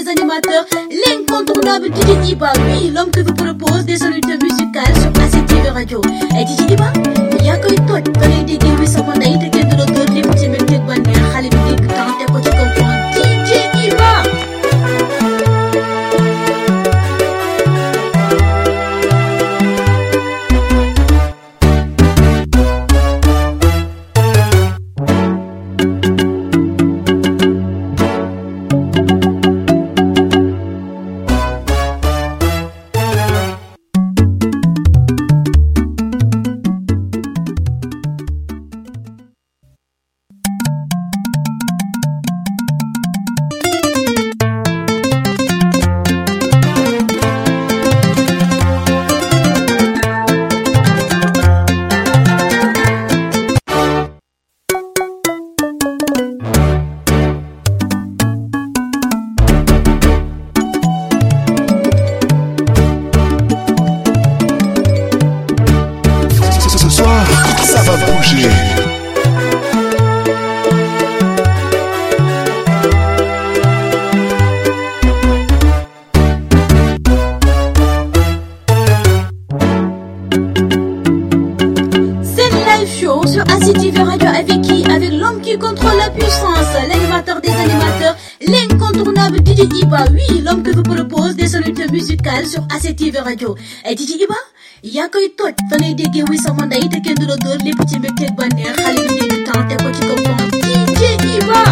des animateurs, l'incontournable DJ Iba, oui, l'homme que vous propose des solutions musicales sur ACTV Radio. Et DJ Iba, yaa koy toj fa lay déggee wi sama ndey te kenn du la dóor lépp ci mbégte ba neex xale bi dégg temps te ko ci kaw pont DJ Iba. Sur ACTV Radio. Et DJ Iba, yaa koy toj fa lay déggee wi sama ndey te kenn du la dóor lépp ci mbégte ba neex xale bi dégg temps te ko ci kaw pont DJ Iba.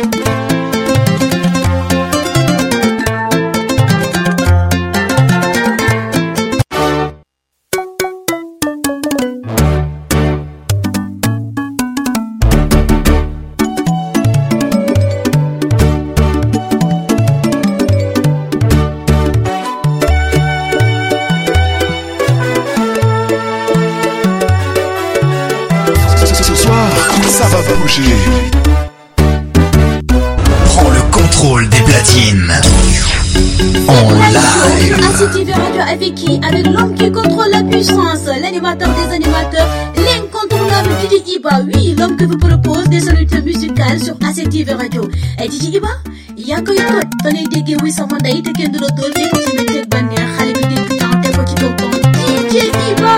Prends le contrôle des platines. En live. ACTV Radio avec qui? Avec l'homme qui contrôle la puissance, l'animateur des animateurs, l'incontournable DJ Iba. Oui, l'homme que vous propose des solutions musicales sur ACTV Radio. Et DJ Iba, yaa koy toj fa lay déggee wi sama ndey te kenn du la dóor lépp ci mbégte ba neex xale bi dégg temps te ko ci kaw pont DJ Iba.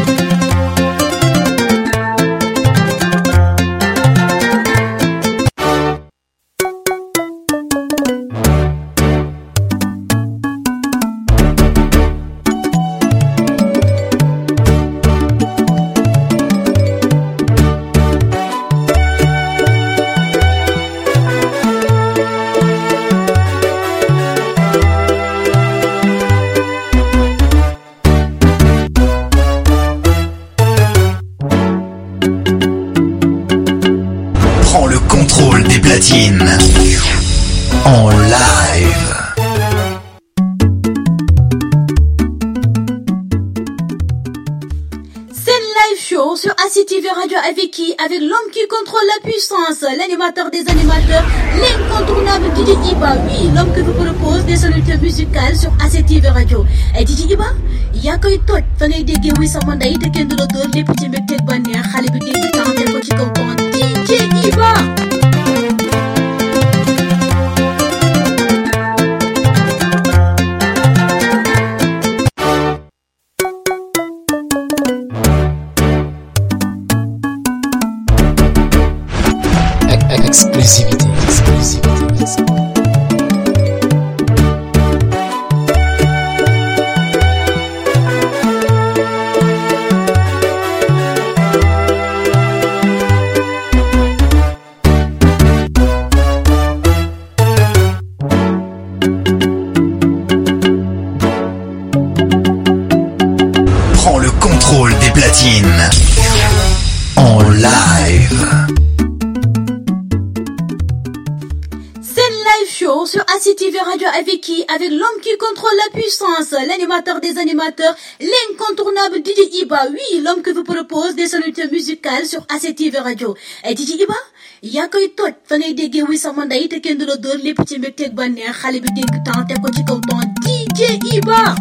En live. C'est le live show sur ACTV Radio avec qui? Avec l'homme qui contrôle la puissance, l'animateur des animateurs, l'incontournable DJ Iba. Oui, l'homme que vous propose des solutions musicales sur ACTV Radio. Et DJ Iba, yaa koy toj fa lay déggee wi sama ndey te kenn du la dóor lépp ci mbégte ba neex xale bi dégg temps te ko ci kaw pont DJ Iba. Exclusivité. Prends le contrôle des platines. En live. Show sur ACTV Radio avec qui? Avec l'homme qui contrôle la puissance, l'animateur des animateurs, l'incontournable DJ Iba. Oui, l'homme que vous propose des solutions musicales sur ACTV Radio. Et DJ Iba, yaa koy toj fa lay déggee wi sama ndey te kenn du la dóor lépp ci mbégte ba neex xale bi dégg temps te ko ci kaw pont DJ Iba.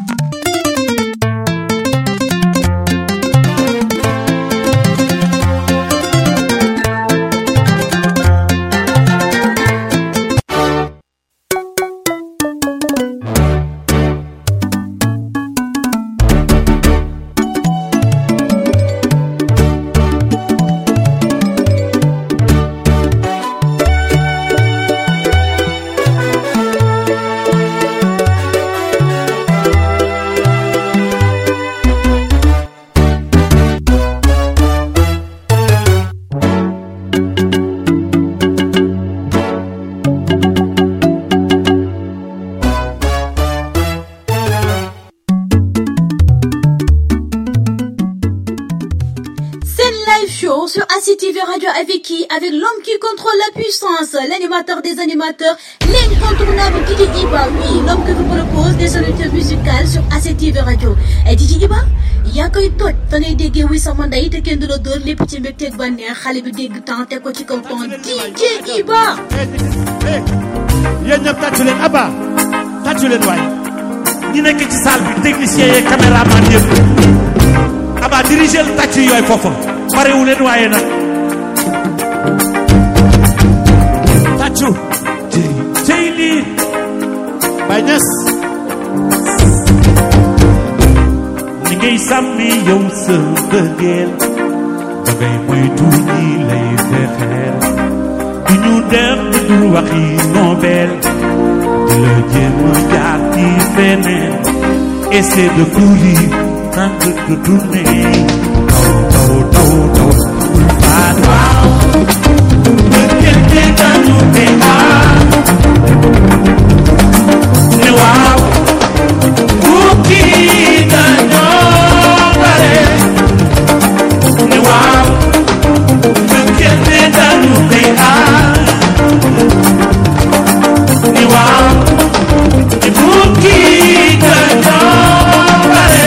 sur ACTV Radio avec qui? Avec l'homme qui contrôle la puissance, l'animateur des animateurs, l'incontournable DJ Iba. Oui, l'homme que vous propose des solutions musicales sur ACTV Radio. Et DJ Iba, yaa koy toj fa ngay déggee wi sama ndey te kenn du la dóor lépp ci mbégteeg bànneex xale bi dégg temps te ko ci kaw ton DJ Iba. Yéen ñëpp tàccu leen Abba tàccu leen waay ñi nekk ci salle bi technicien yeeg caméraman yëpp Abba dirigé le tàccu yooyu foofu parewu leen waaye nag tàccu cey lii Baye Niass ni ngay sàmmi yow sa bëggeel da ngay moytu ñi lay fexeel du ñu def du waxi nobel de la jéem a jaar ci feneen essaie de courir tente de tourner taw bul faat waaw bëggeel te dañu te ne waaw bukki dañoo bare ne waaw bëggeel te dañu te ne waaw bukki dañoo bare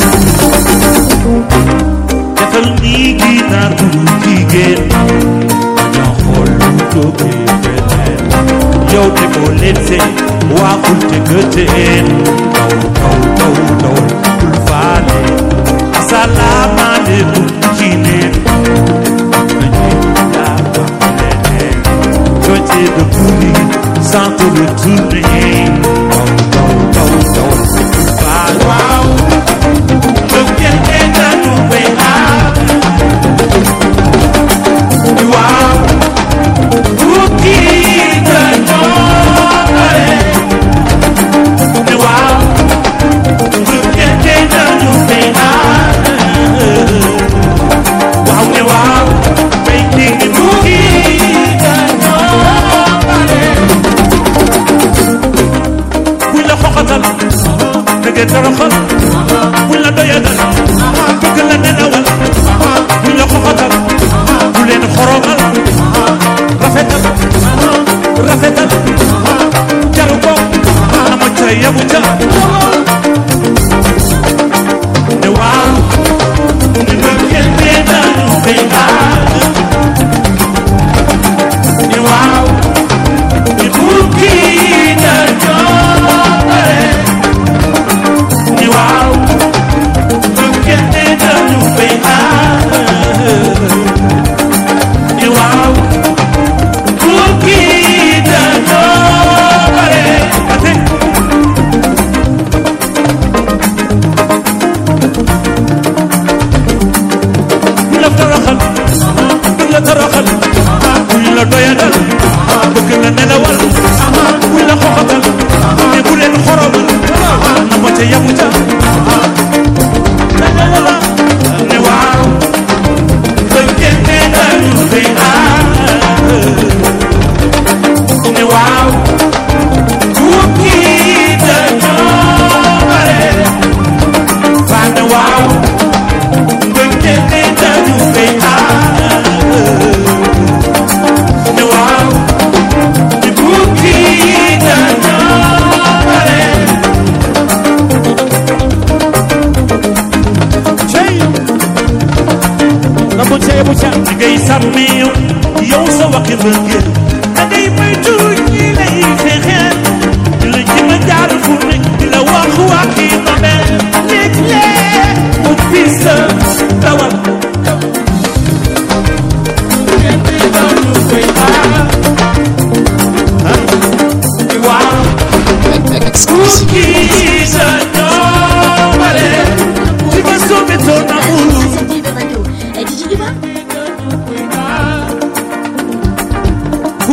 defal nii ginaar bu jigéen dañoo xool lu jógee feneen yow te boo leen seen waxul te gëteen daw bul faale asalaamaaleykum ci neen nañu yaa wax leneen côté de courir sans te retourner daw bul faale waaw bëggeel te dañu koy aar waaw bukki dañoo bare ne waaw bëggeel te dañu koy aar waaw ne waaw bay dégg bukki dañoo bare buñ la xoxatal dëgg toroxal buñ la doyadal bëgg la nenawal buñ la xoxatal bu leen xoromal rafetal jaru ko ama ca yabu ca ne waaw ni bëggeel te dañu koy aar ne waaw ni bukki dañoo bare ni waaw bëggeel te dañu koy aar ni waaw bukki dañoo bare ate buñ la toroxal buñ la doyadal bëgg la nelawal buñ la xoxatal te bu leen xoromal na ma ca yamu ca ne waaw bëggeel te dañu koy aar ne waaw bukki dañoo bare fa ne waaw bëggeel te dañu koy aar ne waaw bukki dañoo bare ni ngay sàmmi yow sa waxi bëggeel da ngay moytu ñi lay fexeel di la jéem a jaar fu nekk di la wax waxi nobel léeg-léeg mu fii sa dawal waaw bukki dañoo bare ci ma soobee toon na ACTV Radio. Et DJ Iba.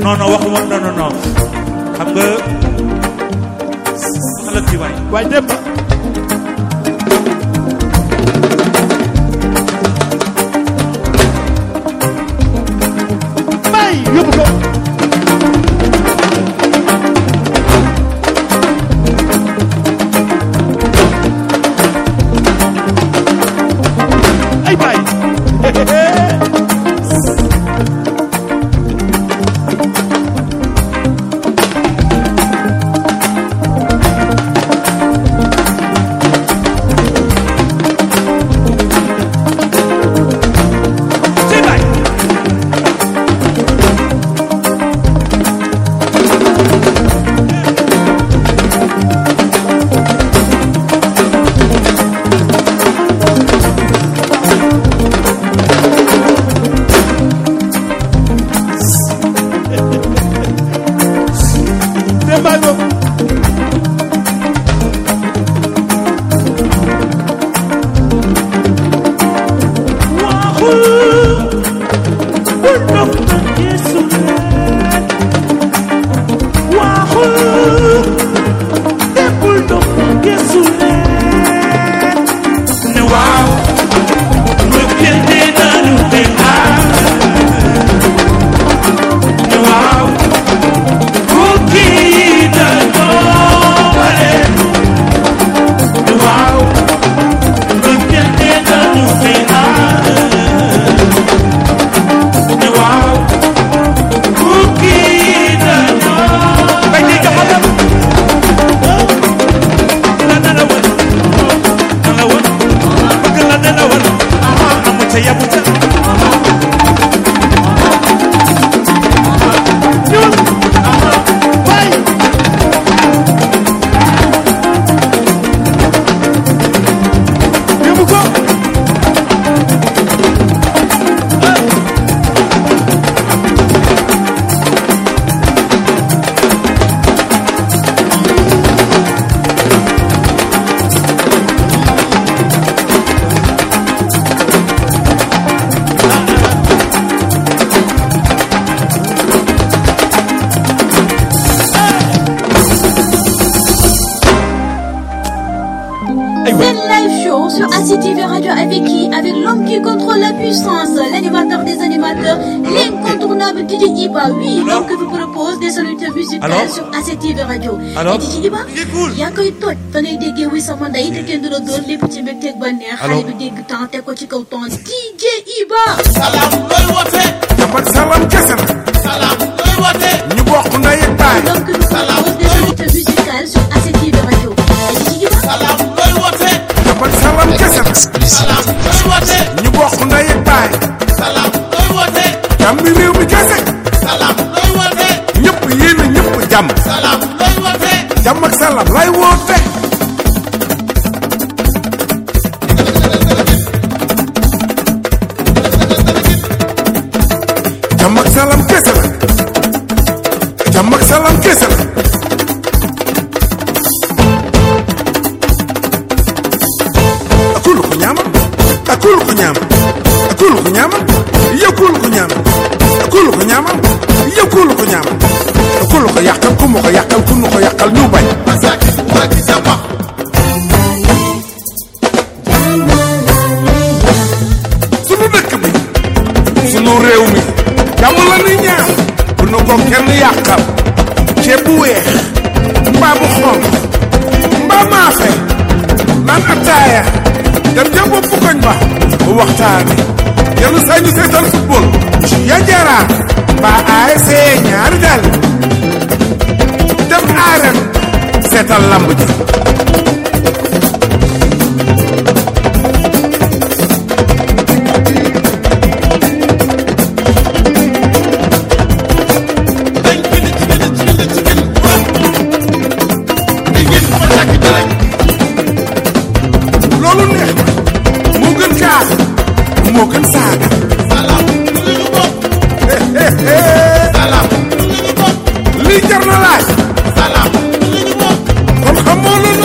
non waxuma non xam nga xala ci waay dem bay yóbbu ko ay bay ACTV Radio avec qui? Avec l'homme qui contrôle la puissance, l'animateur des animateurs, l'incontournable DJ Iba. Oui, l'homme que vous propose des solutions musicales sur ACTV Radio. Et DJ Iba, yaa koy toj fa ngay déggee wuy sama ndey te kenn du la doon lépp ci mbégteeg bànneex xale bi dégg temps te ko ci kaw ton DJ Iba. Salam looy woote. dafa salam kese na. Salam looy woote. ñu bokk ndey ak baay. L'homme que vous propose des solutions musicales sur ACTV Radio. Et DJ Iba. Salam looy woote. dafa salam kese na. Salam looy woote. ñu bokk ndey ak baay. Salam looy woote. jàmm réew mi kese. Salam looy woote. ñëpp yéen a ñëpp jàmm. Salam looy woote. jàmm ak salam lay woote. jàmm ak salam kese la. jàmm ak salam kese la. akulu ko ñaama. akulu ko ñaama. akulu ko ñaama. yëkkulu ko ñaama. akulu ko ñaama. yëkkulu ko ñaama. akulu ko yàqal ku mu ko yàqal ku nu ko yàqal ñu bañ. Masaki Maki Samba. sunu dëkk bi. sunu réew mi. jàmm la ni ñaan. bu nu ko kenn yàqal. ceeb bu weex. mbaa bu xonq. mbaa maafe. naan ataaya. dem ca bopp koñ ba. bu waxtaane. yenn saa ñu seetal football. ya jara. mbaa ASC ñaari dal. dem arène. seetal lamb ji. loolu neex na. moo gën kaa. moo gën saaga. Salam lu ñu bokk. Salam lu ñu bokk. lii jar na laaj. Salam lu ñu bokk. kon xamoo lu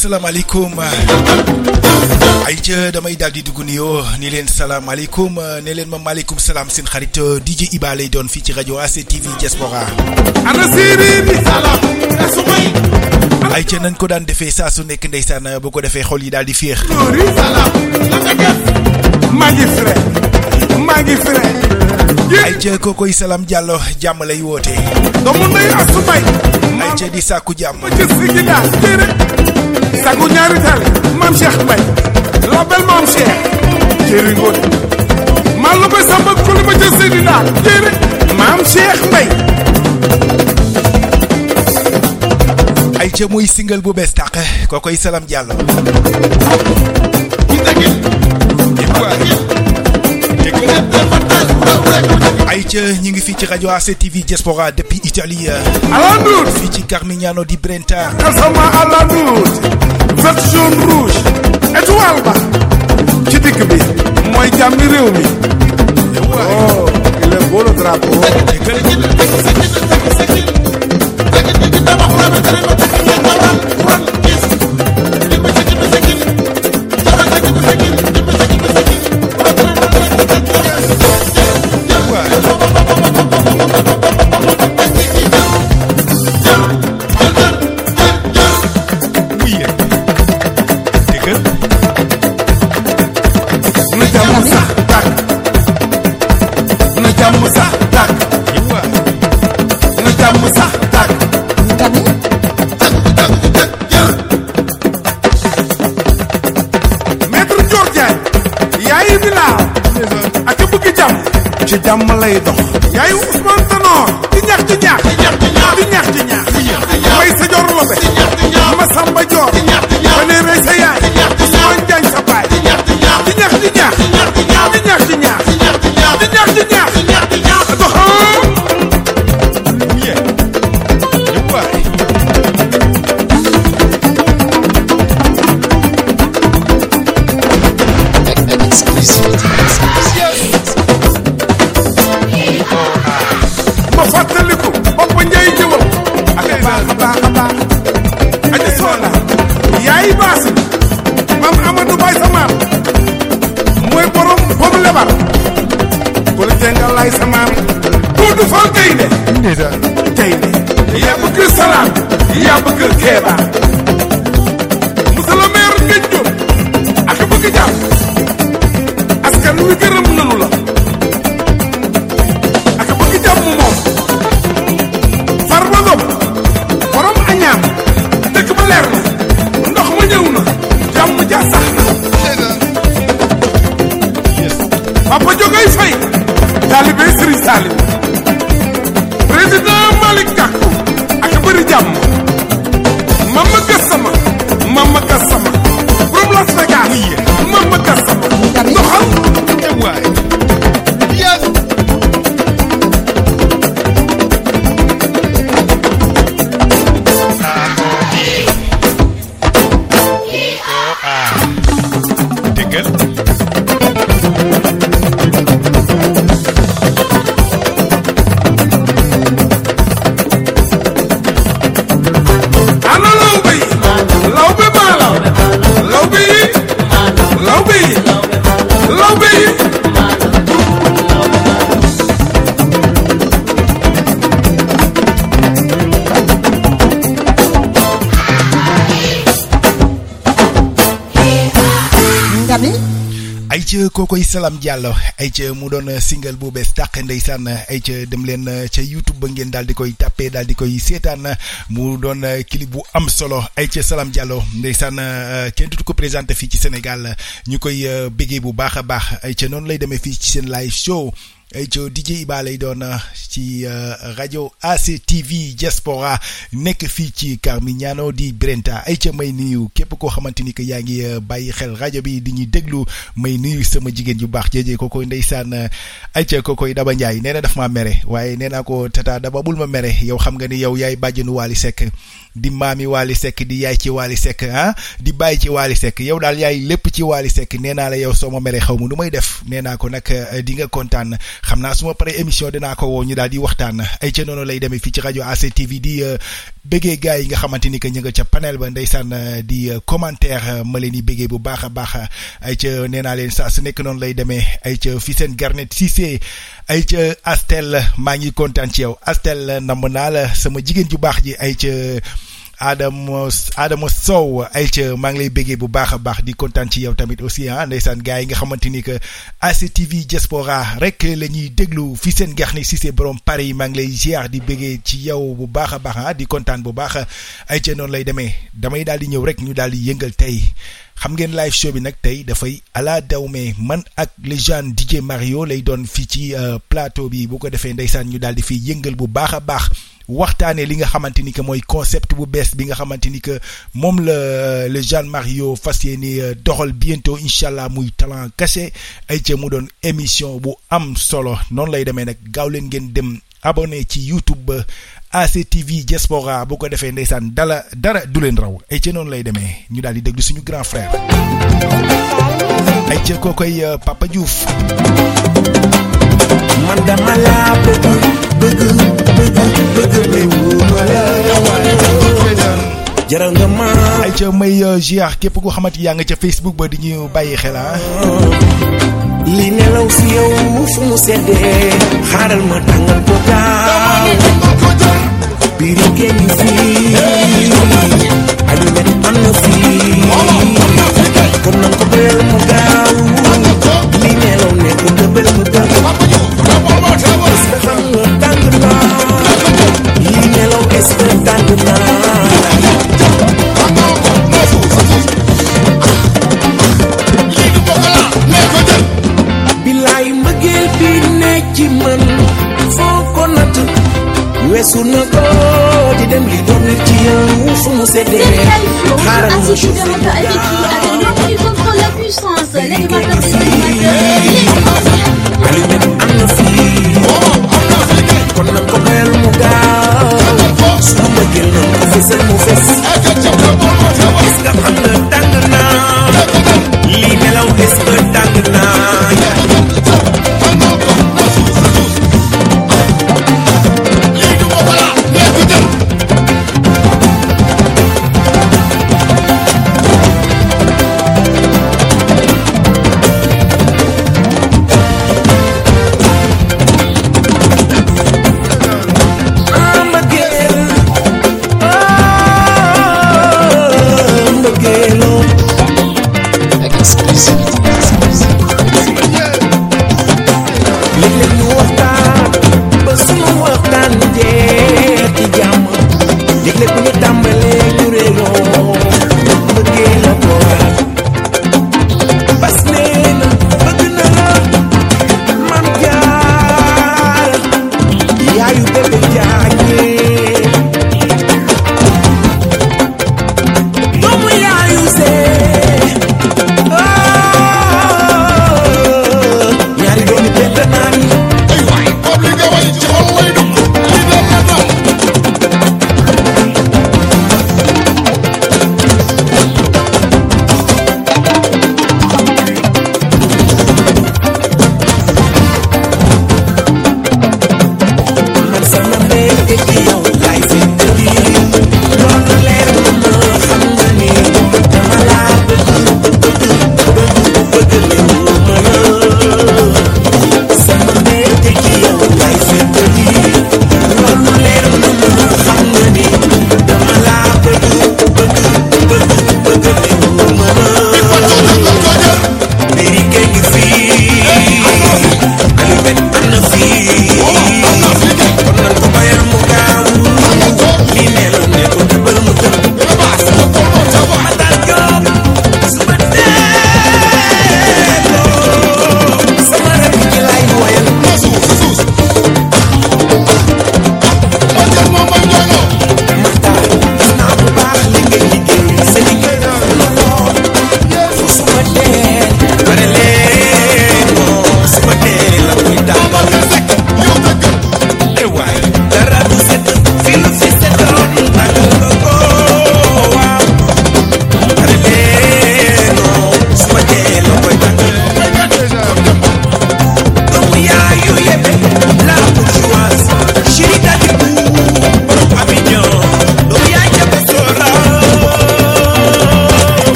salaamaaleykum ay ca damay daal di dugg nuyoo ni leen salaamaaleykum ne leen ma maaleykum salaam seen xarit DJ Iba lay doon fii ci rajo ACTV Diaspora. ana séeréer bi salaam asumay ay ca nañ ko daan defee saa su nekk ndeysaan bu ko defee xol yi daal di féex. loori salaam la nga def maa ngi frais ay ca kookoy Salam Diallo jàmm lay woote. doomu ndey asumay ay ca di sàkku jàmm. ma ci sigi daal téere sagu ñaari tale maam Cheikh Mbaye la belle maam Cheikh jéeri ngoon maa lu bay samba kuli ma ci sigi daal téere maam Cheikh Mbaye ay ca muy single bu bees tàq kookoy Salam Diallo. ay ca ñi ngi fii ci rajo ACTV Diaspora depuis Italie. Alandour fii ci Carmignano di Brenta. Kasama Alandour vert jaune rouge étoile ba ci digg bi mooy jàmmi réew mi. oh il est beau le drapeau. ci jàmm lay dox yaay Ousmane Tanor di ñax di ñax di ñax di ñax may sa jor lobe ma samba jor ba ne rey sa yaay Ousmane Diagne sa baay di ñax di ñax di ñax di ñax di ñax di ñax di ñax doxam ma fàttaliku bopp njay jëwal ak baax a baax a baax aja soona yaay baas maam Amadou Baye sa maam mooy borom boobu lebar ku la jengal lay sa maam Doudou Fall gaynde gaynde yaa bëgg salaam yaa bëgg keeba monsieur le maire ngëj jóg ak bëgg jàmm askan wi gërëm nanu la moom Farba Ngom borom añaam dëkk ba leer na ndox ma ñëw na jàmm ja sax na Papa Jogay Fay taalibe Serigne Salim président Malick Gakou ak bëri jàmm Mama Gassama borom Las Vegas Mama Gassama ndoxal waay ay ca kookoy Salam Diallo ay ca mu doon single bu bees tàq ndeysaan ay ca dem leen ca YouTube ba ngeen daal di koy tàppee daal di koy seetaan mu doon clip bu am solo ay ca Salam Diallo ndeysaan kenn du ko présenté fii ci Sénégal ñu koy béggee bu baax a baax ay ca noonu lay demee fii ci seen live show ay ca DJ Iba lay doon ci rajo ACTV Diaspora nekk fii ci Carmignano di Brenta ay ca may nuyu képp koo xamante ni que yaa ngi bàyyi xel rajo bi di ñuy déglu may nuyu sama jigéen ju baax jéejee kookoy ndeysaan ay ca kookoy Daba Ndiaye nee na daf maa mere waaye nee naa ko tata Daba bul ma mere yow xam nga ni yow yaay bàjjenu Wally Seck di maami Wally Seck di yaay ci Wally Seck ah di bàyyi ci Wally Seck yow daal yaay lépp ci Wally Seck nee naa la yow soo ma mere xaw ma nu may def nee naa ko nag di nga kontaan xam naa su ma paree émission dinaa ko woo ñu daal di waxtaan ay ca noonu lay demee fii ci rajo ACTV di bëggee gars yi nga xamante ni que ñu nga ca panel ba ndeysaan di commentaire ma leen di bëggee bu baax a baax ay ca nee naa leen saa su nekk noonu lay demee ay ca fi seen Garnet Cissé ay ca Astel maa ngi kontaan ci yow Astel namb naa la sama jigéen ju baax ji ay ca Adama Sow ay ca maa ngi lay béggee bu baax a baax di kontaan ci yow tamit aussi ndeysaan gars yi nga xamante ni que ACTV Diaspora rek la ñuy déglu fi seen Garnet Cissé borom Paris yi maa ngi lay ziar di béggee ci yow bu baax a baax di kontaan bu baax ay ca noonu lay demee damay daal di ñëw rek ñu daal di yëngal tey xam ngeen live show bi nag tey dafay ala dawme man ak légende DJ Mario lay doon fii ci plateau bi bu ko defee ndeysaan ñu daal di fiy yëngal bu baax a baax waxtaanee li nga xamante ni que mooy concept bu bees bi nga xamante ni que moom la légende Mario fas yéene doxal bientôt incha allah muy talent caché ay ca mu doon émission bu am solo noonu lay demee nag gaaw leen ngeen dem abonné ci YouTube ba ACTV Diaspora bu ko defee ndeysaan dara du leen raw ay ca noonu lay demee ñu daal di déglu suñu grand frère ay ca koo koy Papa Diouf man dama laa bëgg jaral nga ma ay ca may ziar képp koo xamante yaa nga ca Facebook ba di ñu bàyyi xel li nelaw si yow fu mu seddee xaaral ma tàngal ko gaaw biiri génn fii alumet am na fii kon nan ko bëyal mu gaaw li nelaw ne ko dëbal ko gaaw est-ce que xam nga tàng naa li nelaw est-ce que tàng naa bilaay mbëggeel bi ne ci man foo ko natt weesu na ko di dem li doon ci yow fu mu seddee xaaral ma chauffé la puissance, l'animateur des Allumet am na fii kon nan ko bayal mu gaaw su ma mbëggeel nan ko fesal mu fes est-ce que xam nga tàng naa lii nelaw est-ce que tàng naa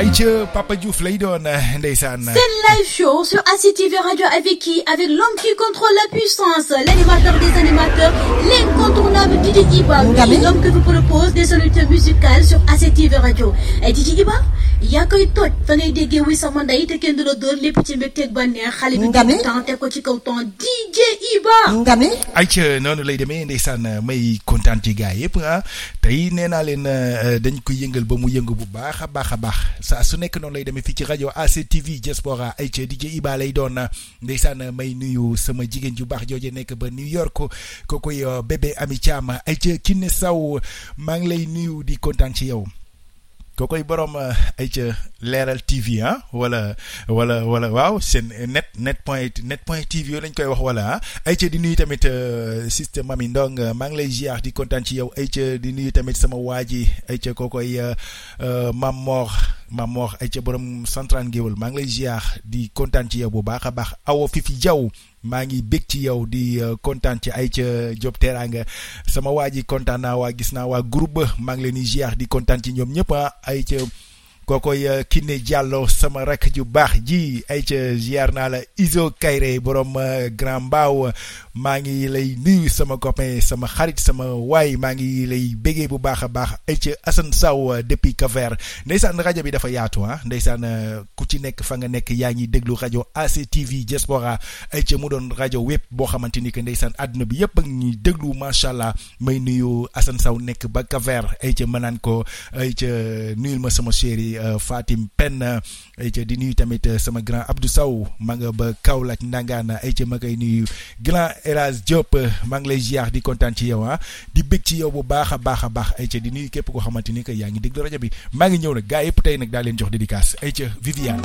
ayca Papa Diouf lay doon ndeysaan. C'est live show sur ACTV Radio avec qui? Avec l'homme qui contrôle la puissance, l'animateur des animateurs, l'incontournable DJ Iba. Oui, l'homme que vous propose des solutions musicales sur ACTV Radio. Et DJ Iba, yaa koy toj fa ngay déggee wuy sama ndey te kenn du la dóor lépp ci mbégteeg bànneex xale bi temps te ko ci kaw temps DJ Iba. ayca noonu lay demee ndeysaan may kontaan ci gars yëpp tey nee naa leen dañ ko yëngal ba mu yëngu bu baax a baax a baax saa su nekk noonu lay demee fii ci rajo ACTV Diaspora ayca DJ Iba lay doon ndeysaan may nuyu sama jigéen ju baax jooje nekk ba New York kookoy bébé Ami Thiam ayca Kiné Saw maa ngi lay nuyu di kontaan ci yow. kookoy borom ayca leeral TV wala waaw seen net point TV yoo lañ koy wax wala ayca di nuyu tamit système Mami Ndong maa ngi lay ziar di kontaan ci yow ayca di nuyu tamit sama waa ji ayca kookoy Mam Mor ayca borom Central Ngéwël maa ngi lay ziar di kontaan ci yow bu baax a baax Awa Fifi Diaw maa ngi bég ci yow di kontaan ci ayca Diop Teranga sama waa ji kontaan naa waa gis naa waa groupe maa ngi leen di ziar di kontaan ci ñoom ñëpp ayca kookoy Kiné Diallo sama rakk ju baax ji ayca ziar naa la Iso Kayre borom Grand Mbaaw maa ngi lay nuyu sama copain sama xarit sama waay maa ngi lay bégee bu baax a baax ayca Assane Saw depuis Cap-Vert ndeysaan rajo bi dafa yaatu ndeysaan ku ci nekk fa nga nekk yaa ngi déglu rajo ACTV Diaspora ayca mu doon rajo web boo xamante ni que ndeysaan àdduna bi yëpp a ngi déglu macha allah may nuyu Assane Saw nekk ba Cap-Vert ayca ma naan ko ayca nuyul ma sama chéri Fatim Pen ayca di nuyu tamit sama grand Abdou Sow ma nga ba Kaolack Ndangaan ayca ma koy nuyu grand Eras Diop maa ngi lay ziar di kontaan ci yow di bég ci yow bu baax a baax a baax ayca di nuyu képp koo xamante ni que yaa ngi déglu rajo bi maa ngi ñëw nag gaa yëpp tey nag daa leen jox dédicace ayca Viviane.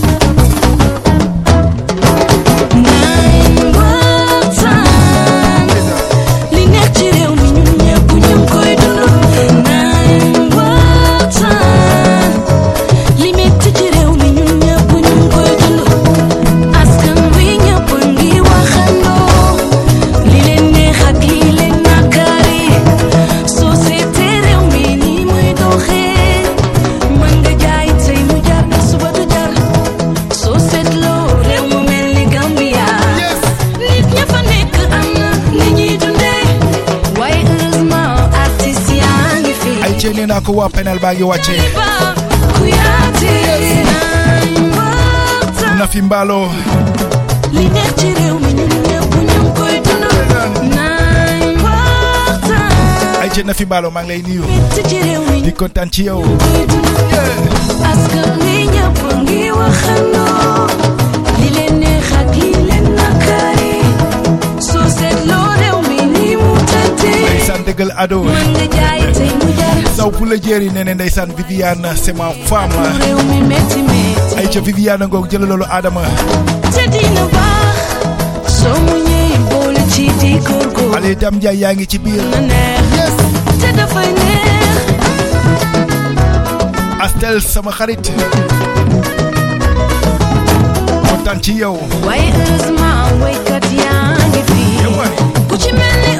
li nekk ci réew mi ñun ñëpp ñu ngi koy dund. nee naa ko waa panel baa ngi wàcce na fi mbaalo li nekk ci réew mi ñun ñëpp ñu ngi koy dund. ay ci na fi mbaalo maa ngi lay nuyu di kontaan ci yow. askan wi ñëpp ngi waxandoo li leen neex ak li leen nakari soo seetloo réew mi ni mu tëddee. ndeysaan dëggal ado mën nga jaay tey mu jar. saw pour la jéeri nee na ndeysaan Viviane c'est ma femme. réew mi métti métti. ay ca Viviane ngoog jël loolu Adama. te dina baax soo mu ñëwee boole ci di góorgóorlu. Allez Dame Ndiaye yaa ngi ci biir. na neex te dafay neex. Astel sama xarit. kontaan ci yow. waaye heureusement waykat yaa ngi fi. ku ci mel ni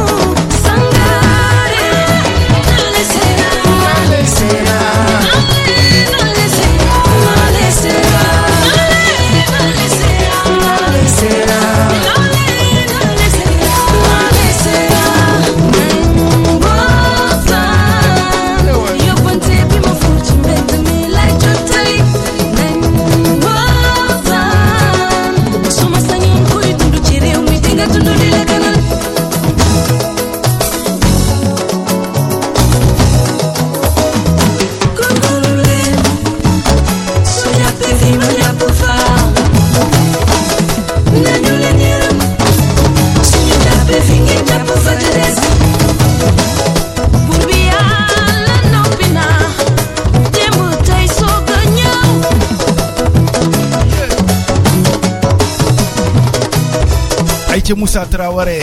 ci Moussa Traoré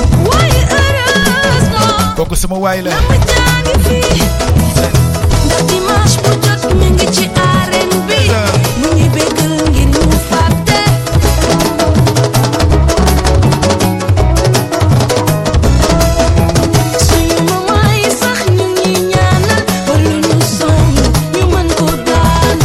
kooku sama waay la dimanche bu jot mi ngi ci arène bi mu ngi bégal ngir ñu fàtte suñu mama yi sax ñu ngi ñaanal ba lu ñu song ñu mën ko daan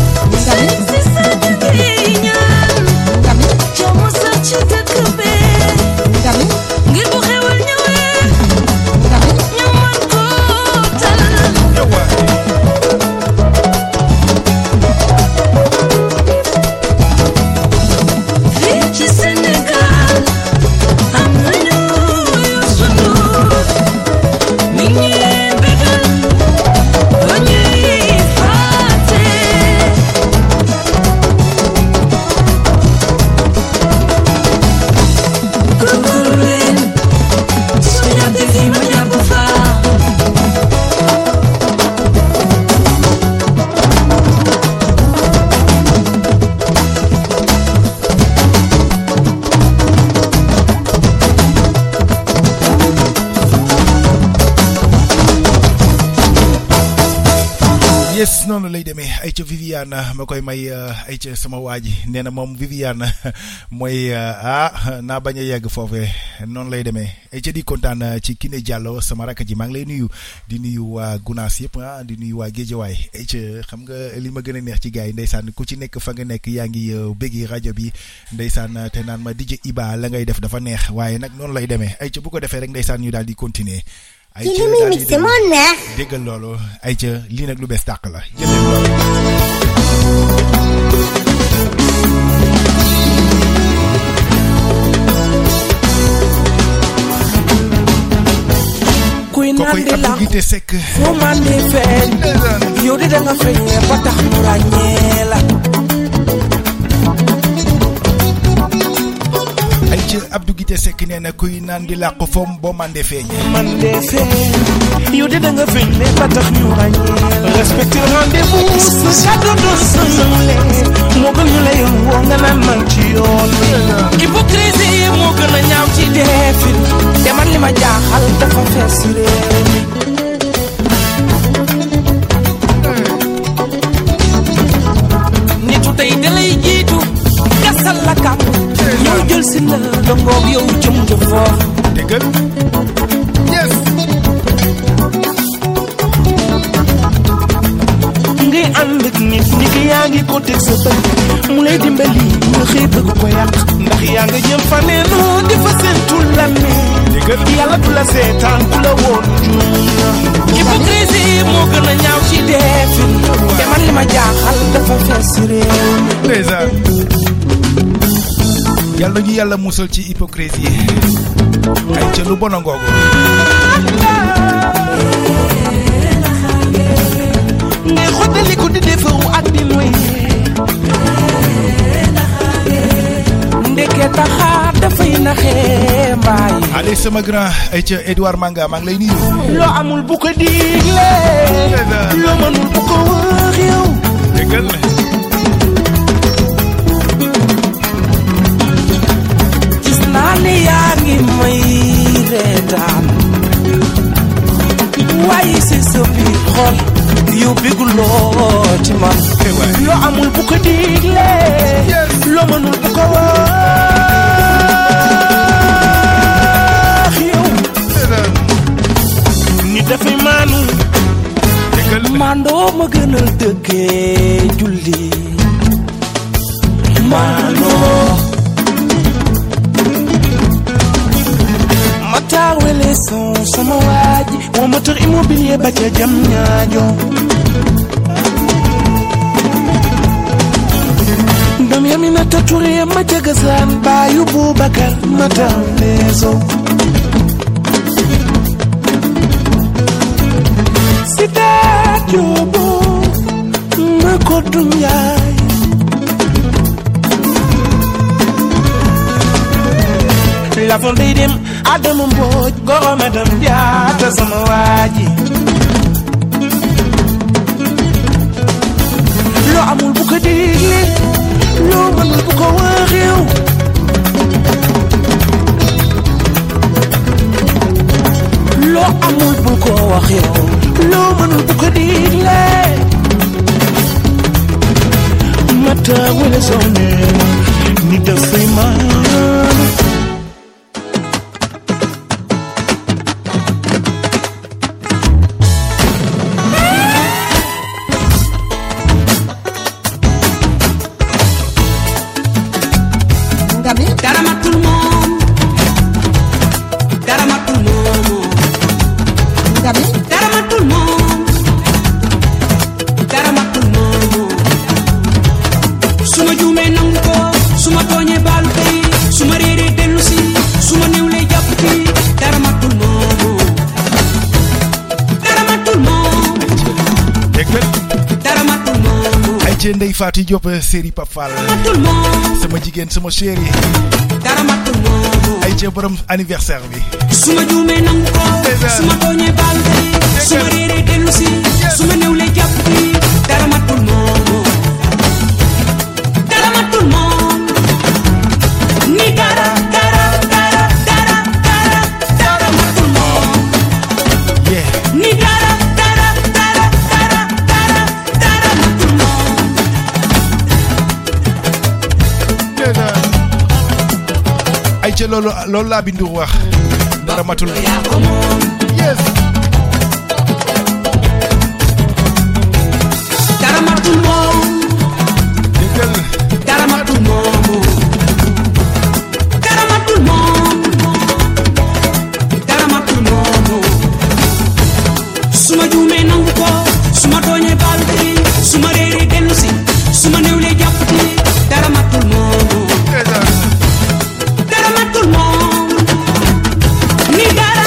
noonu lay demee ay ca Viviane ma koy may ay ca sama waa ji nee na moom Viviane mooy naa bañ a yegg foofee noonu lay demee ay ca di kontaan ci Kiné Diallo sama rakk ji maa ngi lay nuyu di nuyu waa Gunaas yëpp di nuyu waa Géejawaay ay ca xam nga li ma gën a neex ci gars yi ndeysaan ku ci nekk fa nga nekk yaa ngi béggi rajo bi ndeysaan te naan ma DJ Iba la ngay def dafa neex waaye nag noonu lay demee ay ca bu ko defee rek ndeysaan ñu daal di continuer ay ca daal di déggal loolu ay ca lii nag lu bees tàq la jëlee loolu. kuy naan di la foo man di feeñ yow di da nga feeñee ba tax mu ràññee la. ay ci Abdou Guité Seck nee na kuy naan di làq foom boo mande feeñ yow de da nga feeñ ne ba tax ñu ràññee respecté rendez-vous sa kàddu doon sa nawle moo gën ñu lay woo nga naan man ci yoon hypocrisie moo gën a ñaaw ci defin te man li ma jaaxal dafa fees réew mi nitu tey da lay jiitu gasal la kàpp ñoo jël si la dongoog yow jëm ca foofu déggal yes ngay ànd ak nit ñi ki yaa ngi ko teg sa bët mu lay dimbali nga xëy bëgg ko yàq ndax yaa nga jëm faneenu di fa seentu la ne déggal yàlla du la seetaan du la woon hypocrisie moo gën a ñaaw ci defin te man li ma jaaxal dafa fees réew ndeysaan yàlla ñu yàlla musal ci hypocrisie ay ca lu bon a ngoogu ngay xottali ko di defaru ak di noy ndeke taxaar dafay naxee mbaay allez sama grand ay ca Edouard Manga maa ngi lay nuyu loo amul bu ko digle loo mënul bu ko wax yow déggal naa ne yaa ngi may reetaan waaye si sa biir xol yow bëgguloo ci man loo amul bu ko digle loo mënul bu ko wax yow ni dafay maanu mandoo ma gënal dëggee julli maanoo Matawele son sama waaji wa moteur immobilier ba ca jam ñaajo ndam yamina taturi ma ca gasaan baayu Boubacar Matawelezo sita jobo ma ko dunyaay la fondé dem Adama Mbodj goro madam jaata sama waaji loo amul bu ko digle loo mënul bu ko wax yow loo amul bu ko wax yow loo mënul bu ko digle mata wala sonne ni dafay maanu Ndey Fatou Diop série Pape Fall sama jigéen sama chéri ay ca borom anniversaire bi suma juumee nangu ko suma tooñee baal ko suma réeree dellu si suma newlee jàpp bi dara matul moom dara matul moom ni dara matul moom ni dara ca loolu laa bindu wax dara matul yes dara matul moom déggal dara matul moom dara matul moom dara matul moom suma juumee nangu ko suma tooñee baal bi suma réeree dellu si suma néewlee jàpp ci dara matul moom dara matul moom ni dara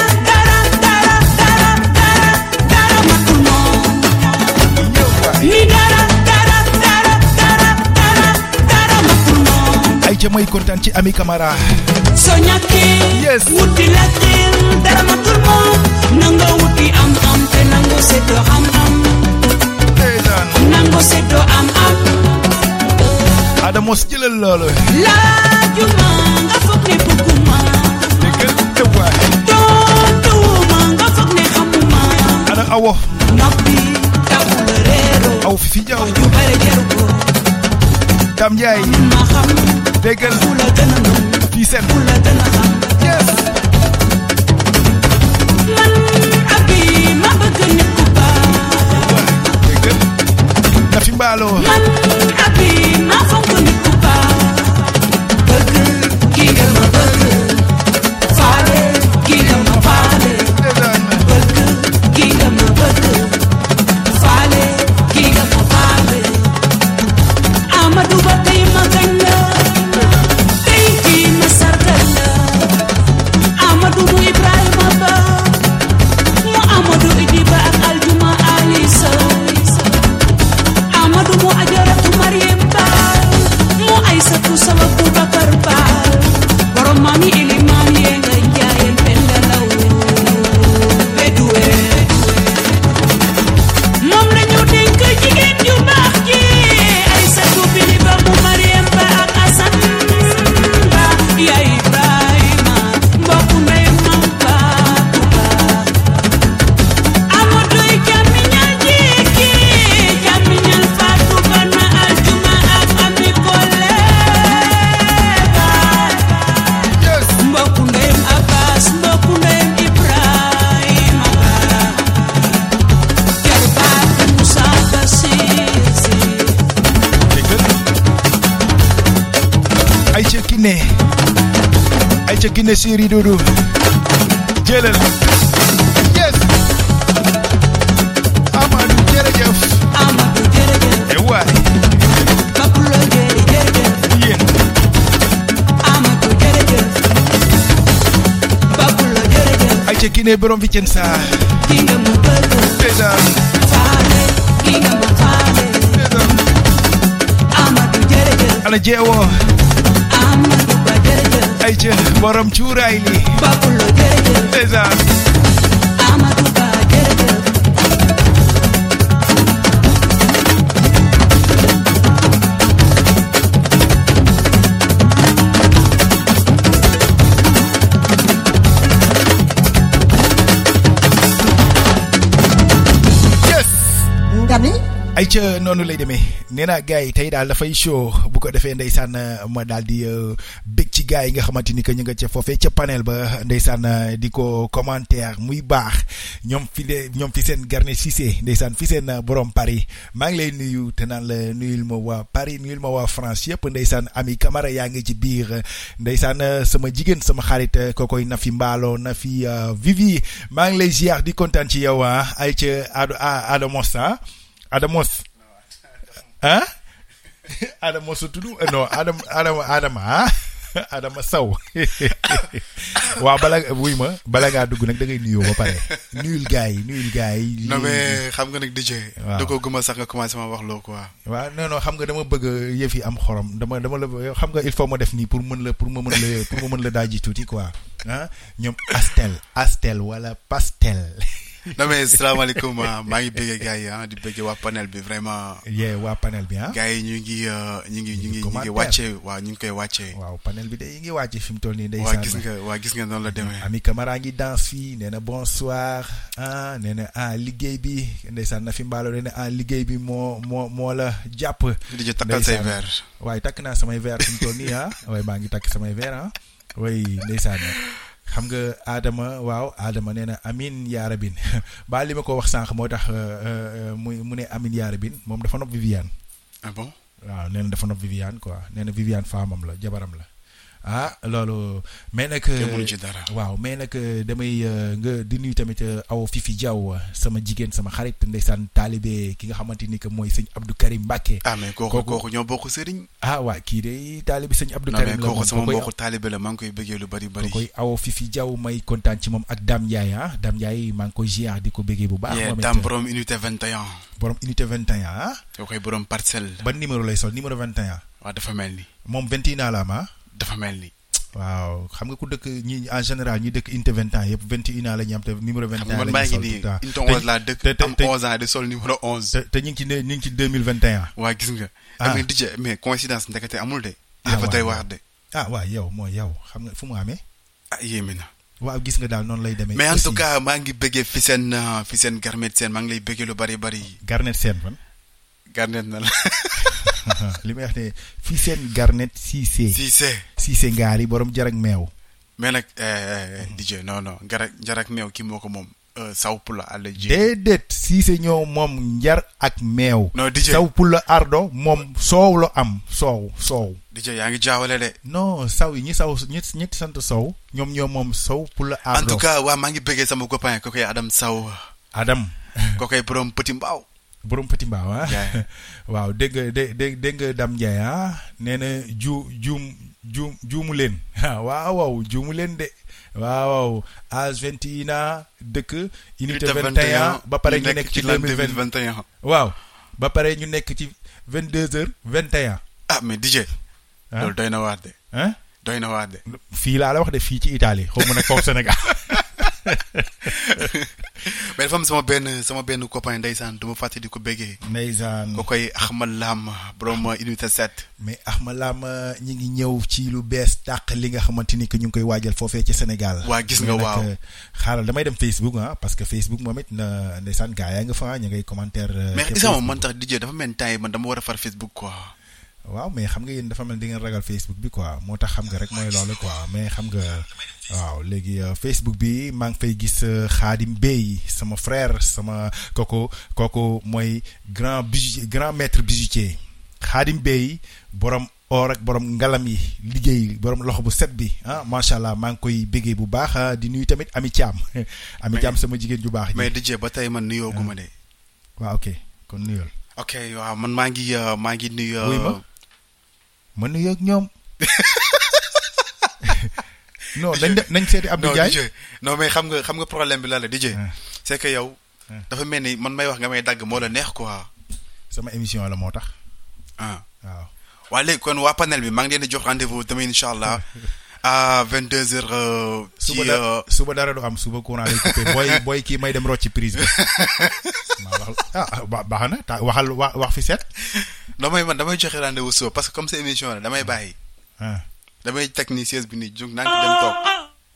matul moom ni dara matul moom ay ca may kontaan ci Ami Camara soo ñàkkee yes wuti la xel dara matul moom nanga wuti am te nangu seddoo am nangu seddoo am Adamos jëlal loolu laajuma nga foog ne bëgguma déggal dëwaay tontuma nga foog ne xamuma ana awo noppi taxul réeroo aw fi jaw ju bare jaru ko Dam Njaay ma xam déggal ku la gën a mën fii seen ku la gën a xam yes man abi ma bëgg nit ku baax déggal na fi mbaaloo man abi ma fonk nit ku baax bëgg kii nga ma bëgg faale kii nga ma faale bëgg kii nga ma bëgg faale kii nga ma faale Amadou Ba tey ma gañ la tey kii ma sargal la Amadou mu Ibrahima Ba mu Amadou Idi Ba ak Aljuma Ali Sow Amadou mu Ajaratu Mariem Ba mu Aysatu Sawa Boubacar Ba borom maami Ilimaan yee nga njaayeen Penda Law Beduwe moom la ñu dénk jigéen ju baax ji Aysatu Bili Ba mu Mariem Ba ak Asan Ba yaay Ibrahima mbokku ndey mam Faatu Ba Amadou jàmmiñal jikki jàmmiñal Faatu Ba na Aljuma ak Ami Kole Ba mbokku ndeyam Abbas mbokku ndeyam Ibrahima Ba jarbaatu Musa Basiir Si ay ca Kiné Siri Doudou jëlal yes Amadou jërëjëf Amadou jërëjëf e waay Bapulo jërëjëf yéen Amadou jërëjëf Bapulo jërëjëf ay ca Kiné borom Vicenza ki nga ma bëgg déjà faale ki nga ma faale Amadou jërëjëf ana jeewoo Amadou Ba jërëjëf ay ca borom cuuraay li Bapulo jërëjëf déjà Amadou Ba jërëjëf yes nga ni ay ca noonu lay demee nee naa gars yi tey daal dafay show bu ko defee ndeysaan ma daal di bég ci gars yi nga xamante ni que ñu nga ca foofee ca panel ba ndeysaan di ko commentaire muy baax ñoom fi seen Garnet Cissé ndeysaan fi seen borom Paris maa ngi lay nuyu te naan la nuyul ma waa Paris nuyul ma waa France yëpp ndeysaan Ami Camara yaa ngi ci biir ndeysaan sama jigéen sama xarit kookoy Nafi Mbaalo Nafi Vivi maa ngi lay ziar di kontaan ci yow ay ca Adamos Adamos ah Adamos su tudd non Adama Adama Sow waaw bala ngaa dugg nag da ngay nuyoo ba pare nuyul gars yi. non mais xam nga nag DJ. waaw da ko gëmal sax nga commencé ma wax loo quoi. waaw non xam nga dama bëgg yëf yi am xorom dama la xam nga il faut ma def nii pour ma mën la daaji tuuti quoi ah ñoom Astel wala Pastel. non mais salaamaaleykum maa ngi bëggee gars yi di bëggee waa panel bi vraiment. waa panel bi gars yi ñu ngi wàccee waaw ñu ngi koy wàccee. waaw panel bi de yi ngi wàcce fi mu toll nii. waa gis nga noonu la demee. Ami Camara ngi danse fii nee na bonsoir nee na liggéey bi ndeysaan Nafi Mbaalo nee na liggéey bi moo la jàpp. di takkal say verre. waaye takk naa samay verre fi mu toll nii waaye maa ngi takk samay verre way ndeysaan xam nga Adama nee na amin yaa rabin ba li ma ko wax sànq moo tax mu ne amin yaa rabin moom dafa nopp Viviane. Ah bon. waaw nee na dafa nopp Viviane quoi nee na Viviane faamam la jabaram la loolu mais nag waaw mais nag damay nga di nuyu tamit aw Fifi Diaw sama jigéen sama xarit ndeysaan taalibe ki nga xamante ni que mooy sëñ Abdou Karim Mbacke. Mais kooku ñoo bokk sëriñ. waa kii de taalibe sëñ Abdou Karim la kooku sama mbokku taalibe la maa ngi koy bëggee lu bari koy aw Fifi Diaw may kontaan ci moom ak Dame Ndiaye Dame Ndiaye maa ngi koy ziar di ko bëggee bu baax. moom Dame borom unité 21. borom unité 21 koo koy borom parcelle. ban numéro lay sol numéro 21. waaw dafa mel ni. moom 21 la am dafa mel ni. waaw xam nga ku dëkk ñi en général ñi dëkk unité 21 yëpp 21 ans la ñu am te numéro 21 la ñu sol tout le temps unité 11 laa dëkk am 11 ans di sol numéro 11. te ñu ngi ci 2021. waa gis nga. mais DJ mais coïncidence ndekete amul de. dafa doy waar de. waaw yow xam nga fu mu amee. yéeme na. waaw gis nga daal noonu lay demee. mais en tout cas maa ngi bëggee fi seen Garnet Sène maa ngi lay bëggee lu bari bari. Garnet Sène fan. Garnet na la. li may wax ne fii seen Garnet Cissé ngaari borom jarak meew. mais nag DJ non jarak meew kii moo ko moom saw pula àll ji. déedéet Cissé ñoo moom njar ak meew. non DJ saw pula ardo moom soow la am soow. DJ yaa ngi jaawale de. non saw yi ñi sant sow ñoom ñoo moom saw pula ardo. en tout cas maa ngi bëggee sama copain ko koy Adam Saw. ko koy borom Petit Mbaaw. borom Petit Mbaaw waaw dégg nga Dame Ndiaye nee na juumu leen waaw juumu leen de waaw âge 21 dëkk unité 21 ba pare ñu nekk ci 2021 waaw ba pare ñu nekk ci 22h21. mais DJ. loolu doy na waar de. doy na waar de. fii laa la wax de fii ci Italie xaw ma nag foofu Sénégal. mais dafa am sama benn copain ndeysaan du ma fàtte di ko béggee. ndeysaan ko koy Ahmad Lam borom unité 7. mais Ahmad Lam ñi ngi ñëw ci lu bees tàq li nga xamante ni que ñu ngi koy waajal foofee ci Sénégal. waa gis nga waaw xaaral damay dem Facebook parce que Facebook moom it na ndeysaan gaa yaa nga fa ñu ngay commentaire. mais isa moom man tax DJ dafa mel ni temps yi man dama war a far Facebook quoi. waaw mais xam nga yéen dafa mel di ngeen ragal Facebook bi quoi moo tax xam nga rek mooy loolu quoi mais xam nga waaw léegi Facebook bi maa ngi fay gis Khadim Bey sama frère sama kooku mooy grand maître bijoutier Khadim Bey borom or ak borom ngalam yi liggéey borom loxo bu set bi macha allah maa ngi koy béggee bu baax di nuyu tamit Ami Thiam. Ami Thiam sama jigéen ju baax. mais DJ ba tey man nuyoo gu ma de. waaw ok kon nuyool. ok waaw man maa ngi nuyu. ma nuyoo ak ñoom. non nañ seeti Abdou Ndiaye. non mais xam nga problème bi la DJ. c'est que yow. dafa mel ni man may wax nga may dagg moo la neex quoi. sama émission la moo tax. waaw. waa léegi kon waa panel bi maa ngi leen di jox rendez-vous demain incha allah à 22h. suba dara du am suba courant lay coupé booy kii may dem rocci prise bi. baax na wax fi set. damay joxe rendez-vous suba parce que comme sa émission la damay bàyyi. damay teg ni siège bi nii jóg naa ngi dem toog.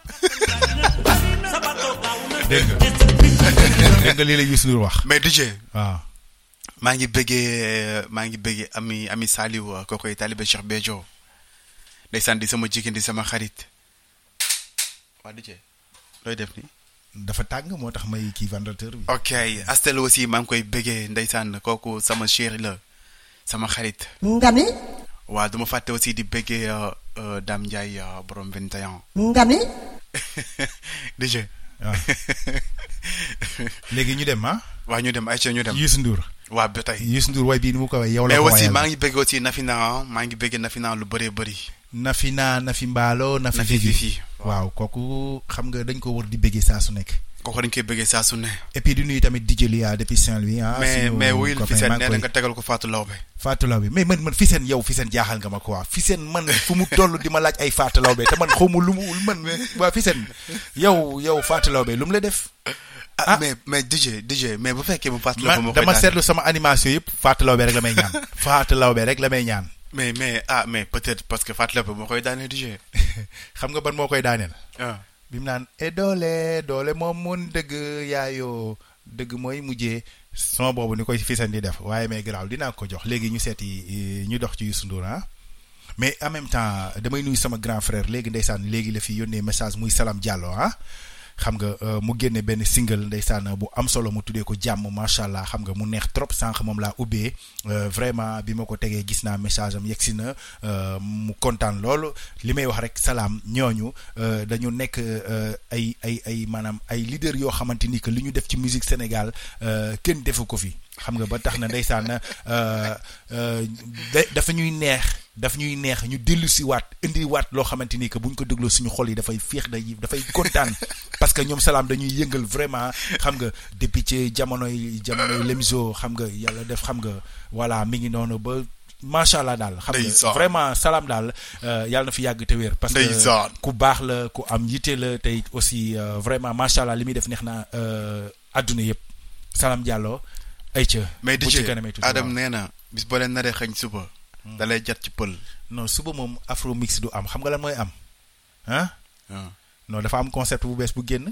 dégg nga lii la Youssou Ndour wax. mais DJ. waaw. maa ngi bëggee ami Saliou kookoy talibé Cheikh Béthio. ndeysaan di sama jigéen di sama xarit. waa DJ looy def ni dafa tàng moo tax may kii vendeur bi. ok Astel aussi maa ngi koy bëggee ndeysaan kooku sama chéri la sama xarit. nga ni. waaw duma fàtte aussi di bëggee Dame Ndiaye borom 21. nga ni. DJ. waaw léegi ñu dem waaw ñu dem ayca ñu dem. Youssou Ndour. waaw ba tey Youssou Ndour way bii ni mu ko way yow la ko mais aussi maa ngi bëgg aussi Nafina lu bëree bëri. Nafi Mbaalo Nafi Fifi waaw kooku xam nga dañ ko war di bëggee saa su nekk. kooku dañ koy bëggee saa su ne. et puis di nuyu tamit DJ Lia depuis Saint-Louis mais wuyul Fissène nee na nga tegal ko Fatou Lawbe. mais man Fissène jaaxal nga ma quoi Fissène man fu mu toll di ma laaj ay Fatou Lawbe te man xaw ma lu mu man waa Fissène yow Fatou Lawbe lu mu la def. mais DJ mais bu fekkee mu Fatou Lawbe moo koy dama seetlu sama animation yëpp Fatou Lawbe rek la may ñaan. Fatou Lawbe rek la may ñaan. mais peut-être parce que Fatou Lawbe moo koy daaneel DJ. xam nga ban moo koy daaneel. bi mu naan doole moom mun dëgg yaayoo dëgg mooy mujjee son boobu ni koy Fissène di def waaye mais garaaw dinaa ko jox léegi ñu seeti ñu dox ci Youssou Ndour mais en même temps damay nuyu sama grand frère léegi ndeysaan léegi la fi yónnee message muy Salam Diallo ah xam nga mu génne benn single ndeysaan bu am solo mu tuddee ko jàmm macha allah xam nga mu neex trop sànq moom laa ubbee vraiment bi ma ko tegee gis naa message am yegsi na mu kontaan loolu li may wax rek salaam ñooñu dañu nekk ay maanaam ay leader yoo xamante ni que li ñu def ci musique Sénégal kenn defu ko fi xam nga ba tax na ndeysaan dafa ñuy neex ñu dellu si waat indi waat loo xamante ni que buñ ko dégloo suñu xol yi dafay féex dafay kontaan parce que ñoom salaam dañuy yëngal vraiment xam nga depuis ci jamonoy Lemzo xam nga yàlla def xam nga voilà mi ngi noonu ba macha allah daal xam nga vraiment salaam daal yàlla na fi yàgg te wér parce que ku baax la ku am yitte la te aussi vraiment macha allah li muy def neex na adduna yëpp Salam Diallo ayca mais di ci Adam nee na bis boo leen naree xañ suba da lay jat ci pël non suba moom afro mix du am xam nga lan mooy am non dafa am concept bu bees bu génn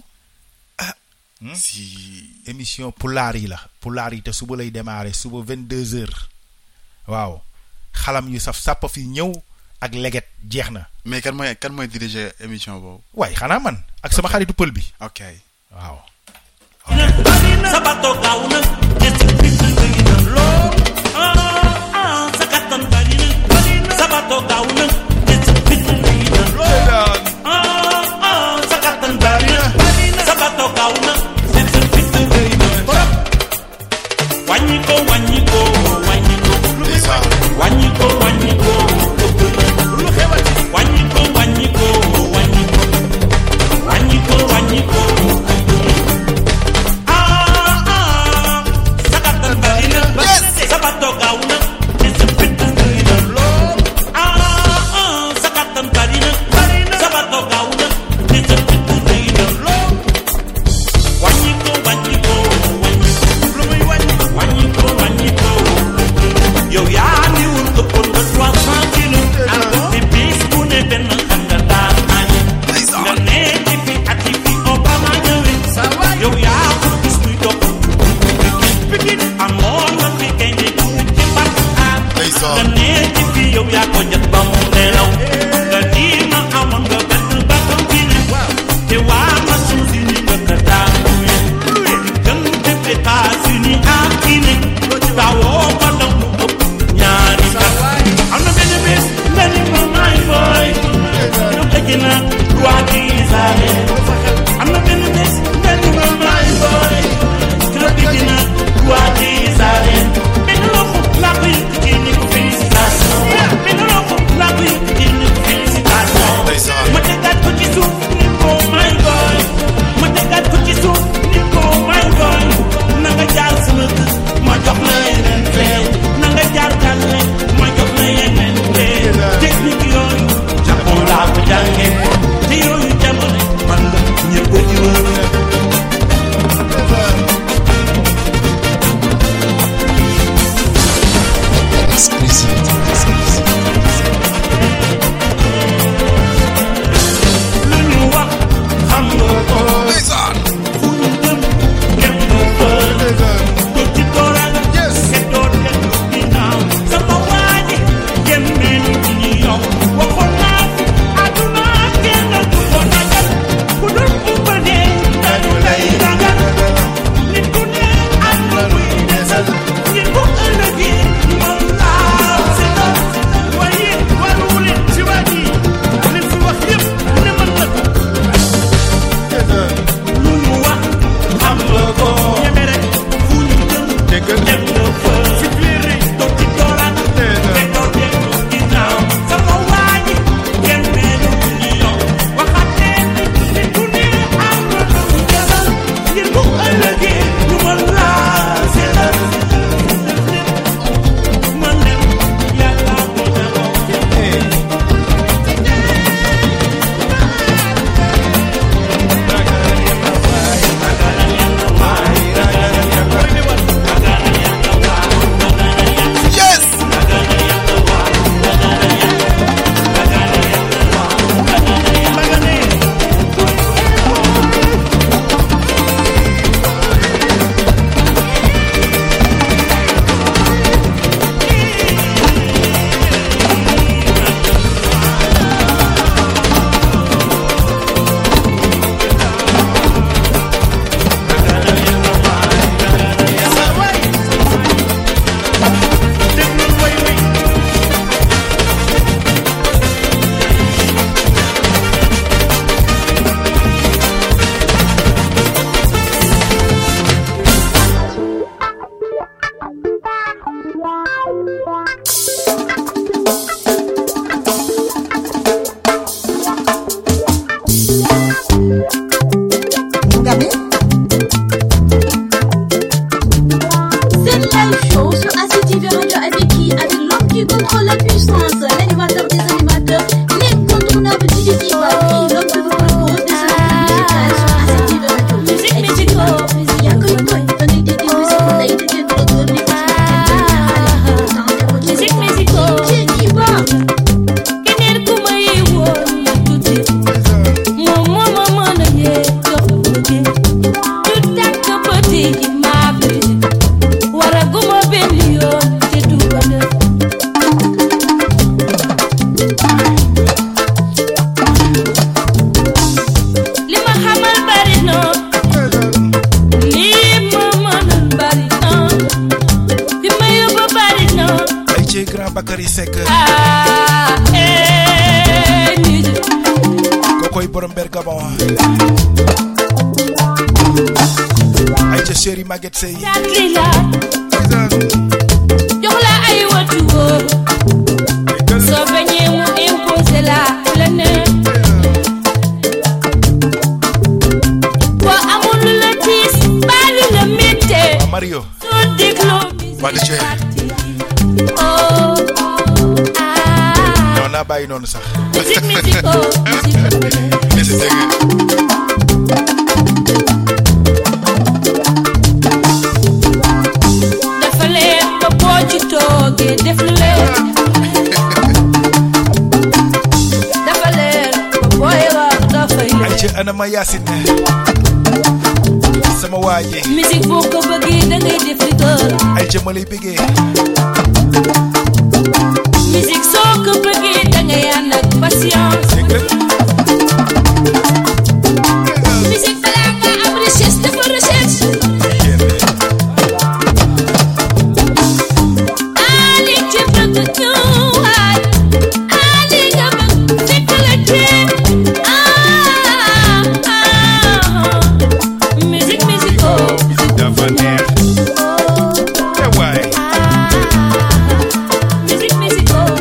si émission pulaar yi te suba lay démarrer suba 22h waaw xalam yu saf sàpp fi ñëw ak leget jeex na mais kan mooy diriger émission boobu waaye xanaa man ak sama xaritu pël bi ok waaw sabato gaaw na ñetti bis bëgg na lool sakatan bari na sabato gaaw na ñetti bis bëgg na lool sakatan bari na sabato gaaw na ñetti bis bëgg na lool wàññi ko sabato gaaw na ñetti bis bëgg na lool sakatan bari na sabato gaaw na ñetti bis bëgg na lool wàññi ko lu muy wàññi ko yow yaa ni wul ëppoon nga 300 kilos te bis bu ne benn xam nga daan añi nga ne ci fi at yi fi Obama ñëwee yow yaa ko gis muy dox pikin amoon nga fi gaynde bu ci parc nga ne ci fi yow yaa ko jot ba mu nelaw nga di ma amoon nga benn bakkan bi ne te waa ma suusi ni nga ka daan gën def États-Unis ak Guinée dawoo ko dam lu ëpp ñaari kat am na benn bés nga ni ma may boy ñu tëj na roi des arènes am na benn bés nga ni ma may boy ñu tëj na roi des arènes benn loxo laa ko yëkkati ni ko félicitation benn loxo laa ko yëkkati ni ko félicitation la puissance, l'animateur des animateurs, l'incontournable DJ Iba, l'homme que vous propose des solutions musicales sur ACTV Radio. Musique musicale, il y a que une bonne des musiques qu'on a été de retour, mais pas musique musicale, DJ Iba. Keneen ku may woon ma tuuti moom moo na yee jox bëgge du tàkk bëti yi maa bi wara guma benn yoon te du ko def li ma xamal bari na li ma mënal bari na li ma yóbbu bari na ay ci grand Bakary Seck kokoy borom Bergamo ay ca chéri Maguette Sey jox la ay watu wóor soo bañee mu imposé la la ne boo amul lu la tiis baalu la métte Mario soo dégloo Madické non naa bàyyi noonu sax dafa leen ba boo ci toogee def lu leen dafa leen ba booy wax dafay leen ay ca Anama Yacine sama waaje musique boo ko bëggee da ngay def li gën ay ca ma lay bëggee musique soo ko bëggee da ngay ànd ak patience musique balaa nga am recherche dafa recherche Ali ci bëgg ñëwaat Ali nga bëgg fekk la jéem musique musicale dafa neex te waay musique musicale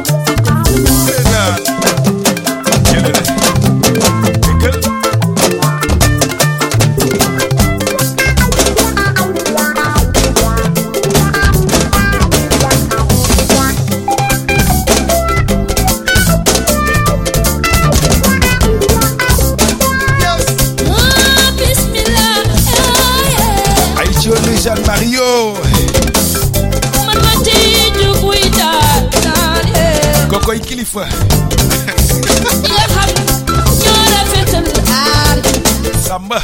Jean Mario man ma ci jug wuy daal kokoy kilifa ñi nga xam ñoo rafetal aar Samba